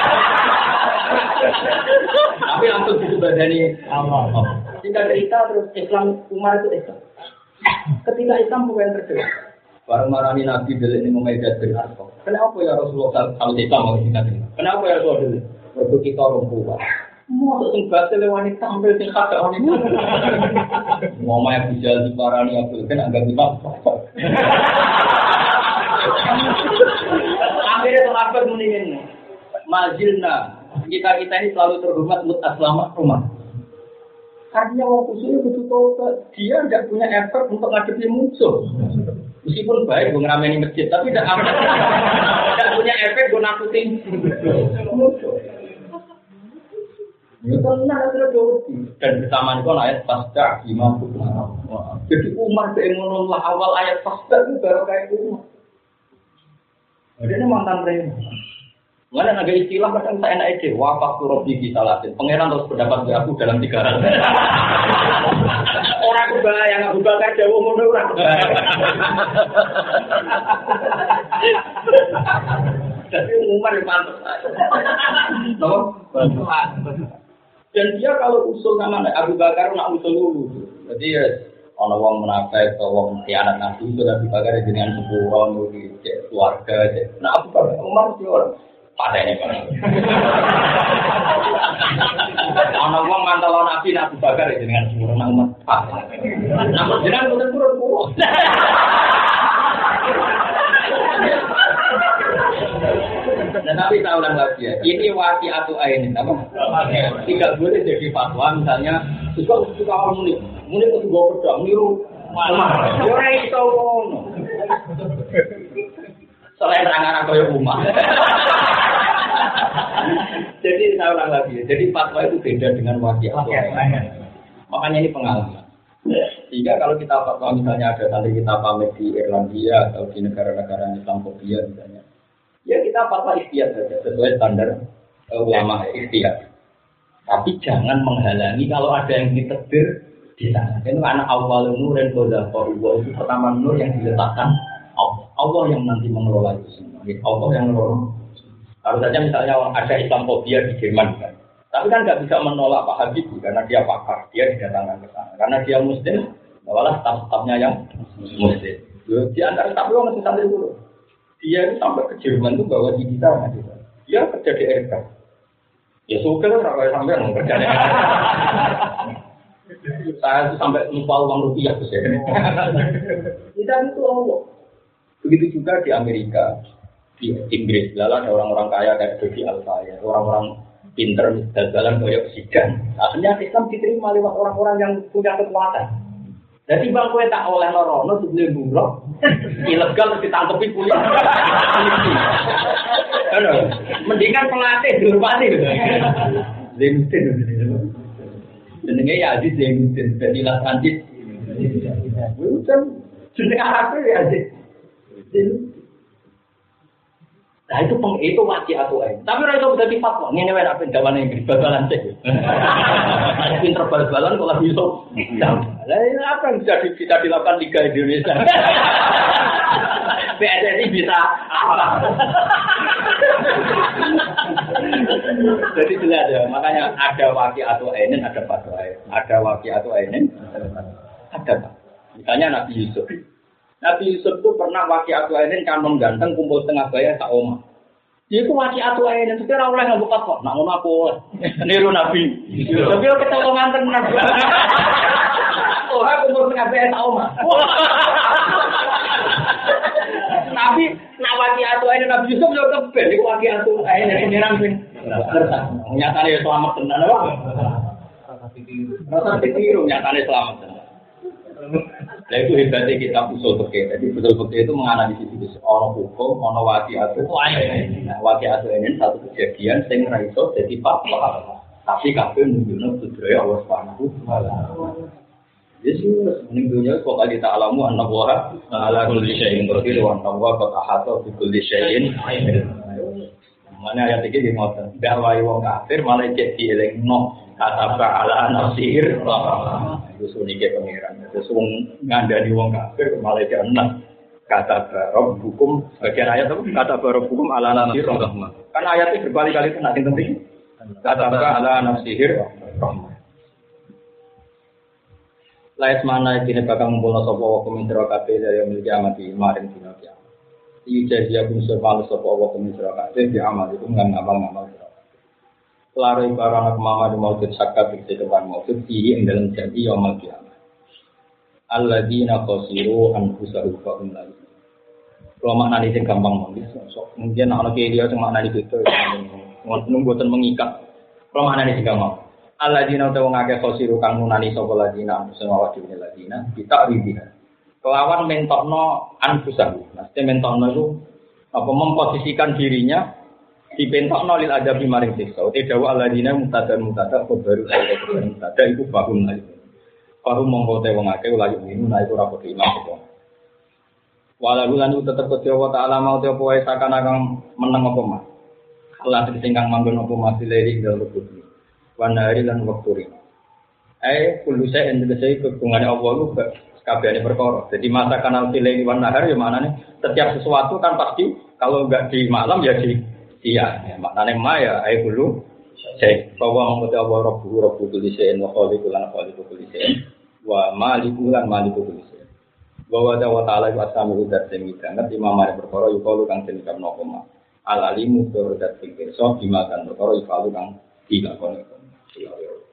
Tapi langsung disebadani Allah. Singkat cerita terus Islam Umar itu Islam. Ketika Islam bukan terjadi. Baru marani Nabi delik ini memejat bin Arqam. Kenapa ya Rasulullah kalau Islam mau singkat cerita? Kenapa ya Rasulullah? Waktu kita orang tua. Mau sing batil wanita tampil sing kada wanita. Ngomongnya bijal diparani Abdul kan agak dimap. Akhirnya sahabat mendingin. Majilna kita ini selalu terhormat mutaslamah rumah. Karena orang khususnya betul dia tidak punya effort untuk ngadepi musuh. Meskipun baik gue ngerameni masjid, tapi tidak punya efek gue nakutin musuh. Itu benar sudah jauh dan bersamaan itu ayat pasca imam Umar. Jadi Umar berengunan lah awal ayat pasca itu baru kayak Umar. Jadi ini mantan preman. Mana agak istilah kadang saya enak ide. Wafak turun di salatin. Pangeran terus berdapat aku dalam 3 hari. Orang kebayang Abu Bakar jauh mundur orang. Jadi Umar yang pantas. Dan dia kalau usul nama Abu Bakar nak usul dulu. Jadi ya orang wong menafsir atau wong khianat Nabi sudah Abu Bakar dengan sepuluh di keluarga. Nah Abu Bakar Umar dia orang padanya kan. Orang wong mantel Nabi Abu Bakar dengan sepuluh nama umat. Nama jenengan betul-betul Tapi saya ulang lagi ya, ini waqi'atu ainin apa? Tidak boleh jadi fatwa misalnya suka orang muni itu juga pedang niru malah. Ora iso ngono. Selain rangan kaya umah. Jadi saya ulang lagi ya, jadi fatwa itu beda dengan waqi'atu ainin. Makanya ini pengalaman. Sehingga kalau kita fatwa misalnya ada tadi kita pamit di Irlandia atau di negara-negara Islamofobia misalnya, ya kita fatwa ikhtiyat saja sesuai standar ulama ikhtiyat. Tapi jangan menghalangi kalau ada yang ditegur di sana. Itu karena awal nur dan qadha itu pertama nur yang diletakkan Allah. Allah yang nanti mengelola itu semua. Allah yang mengelola. Kalau saja misalnya ada Islamofobia di Jerman kan. Tapi kan nggak bisa menolak Pak Habibie karena dia pakar, dia didatangkan ke sana. Karena dia Muslim, bawalah staf-stafnya yang Muslim. Di antara staf itu masih sampai dulu. Dia itu sampai ke Jerman itu bawa di kita, dia kerja di RK. Ya suka lah kalau sampai kerja di RK. Saya itu sampai lupa uang rupiah tuh saya. Kita itu Allah. Begitu juga di Amerika, di Inggris, lalu ada orang-orang kaya kayak Dodi Alfaya, orang-orang pinter jalan koyok sidan. Akhirnya Islam diterima lewat orang-orang yang punya kekuatan. Jadi bang kowe tak oleh lorono sebelum buruh, ilegal ditangkepi polisi. Mendingan pelatih dihormati. Zainuddin. Jenenge ya Aziz Zainuddin, Fadilah Transit. Bukan jeneng Arab ya Aziz. Nah itu waqi'atu ain. Tapi ora iso dadi fatwa. Ngene wae nek pendawane Inggris bal-balan sik. Nek pinter bal-balan kok lagi iso. Lah apa yang bisa dilakukan Liga Indonesia? PSSI bisa apa? Jadi jelas ya, makanya ada waqi'atu ainin, ada fatwa. Ada waqi'atu ainin, ada. Misalnya Nabi Yusuf. Nabi Yusuf itu pernah waqi'atu ainin kan mengganteng kumpul tengah bayar sak omah. Dia itu waqi'atu ainin sekarang oleh nggak buka kok, nak ngono aku niru Nabi. Tapi kita mau nganter Nabi. Oh, aku kumpul tengah bayar sak omah. Nabi nak waqi'atu ainin Nabi Yusuf yo keben iku waqi'atu ainin nirang pin. Nyatane selamat tenan apa? Rasa ditiru nyatane selamat tenan. Nah itu hebatnya kita usul fikih. Jadi usul fikih itu menganalisis itu ono hukum, ono waqi'atu ainin. Nah, waqi'atu ainin satu kejadian sing ra iso dadi fatwa. Tapi kabeh nunjukno budaya Allah Subhanahu wa taala. Yesus ning dunya kok ali ta'lamu anna wa ala kulli syai'in qadir wa anna wa qad ahata bi kulli syai'in ilm. Mana ayat iki ngoten. Dakwai wong kafir malah cek dielingno kata ala nasir. Itu sunike pengiran. Terus wong ngandani wong kafir malah cek enak. Kata barok hukum bagian ayat apa? Kata barok hukum ala nasir rahmah. Kan ayatnya berkali-kali kena sing penting. Kata ala nasir rahmah. Lais mana dene bakal ngumpulna sapa wa kumintro kabeh dari miliki amati maring dina kiamat. Ijazah pun sepal sapa wa kumintro kabeh di amal itu ngamal-ngamal. Lare barang mama di maujud sakat di depan maujud di dalam janji yaumul kiamat. Alladzina khasiru anfusahum fa hum la yu'minun. Kalau maknane sing gampang monggo. Mungkin ana kiye dia sing maknane beda. Ngono mboten mengikat. Kalau maknane sing gampang. Alladzina utawa ngake khasiru kang nunani sapa ladina sing awak dhewe ladina kita ribina. Kelawan mentokno anfusahum. Mesti mentokno itu apa memposisikan dirinya dipentokno lil adabi maring siksa. Uti dawa alladzina mutadar baru mutada iku bahum lagi. Bahum mongko te wong akeh ula yumin ora ora padha iman kok. Walau lan tetep Gusti Allah taala mau te apa wae sakana kang meneng apa mah. Allah sing kang manggon apa mah dileri dalem kubur. Wanari lan wakturi. Kullu shay'in tegese kegungane Allah ku kabehane perkara. Jadi masa kanal dileri wan nahar ya maknane setiap sesuatu kan pasti kalau enggak di malam ya di siang. Ya maknane ma ya kullu syai'. Bahwa mengkote Allah Rabbu kulli syai'in wa khaliqul lan khaliqul kulli syai'in wa malikul lan malikul kulli syai'in. Bahwa ta'ala wa sami'u dat sing ngerti mamare perkara yukalu kang den kamno koma. Al alimu tur dat sing pirsa dimakan perkara yukalu kang dilakoni.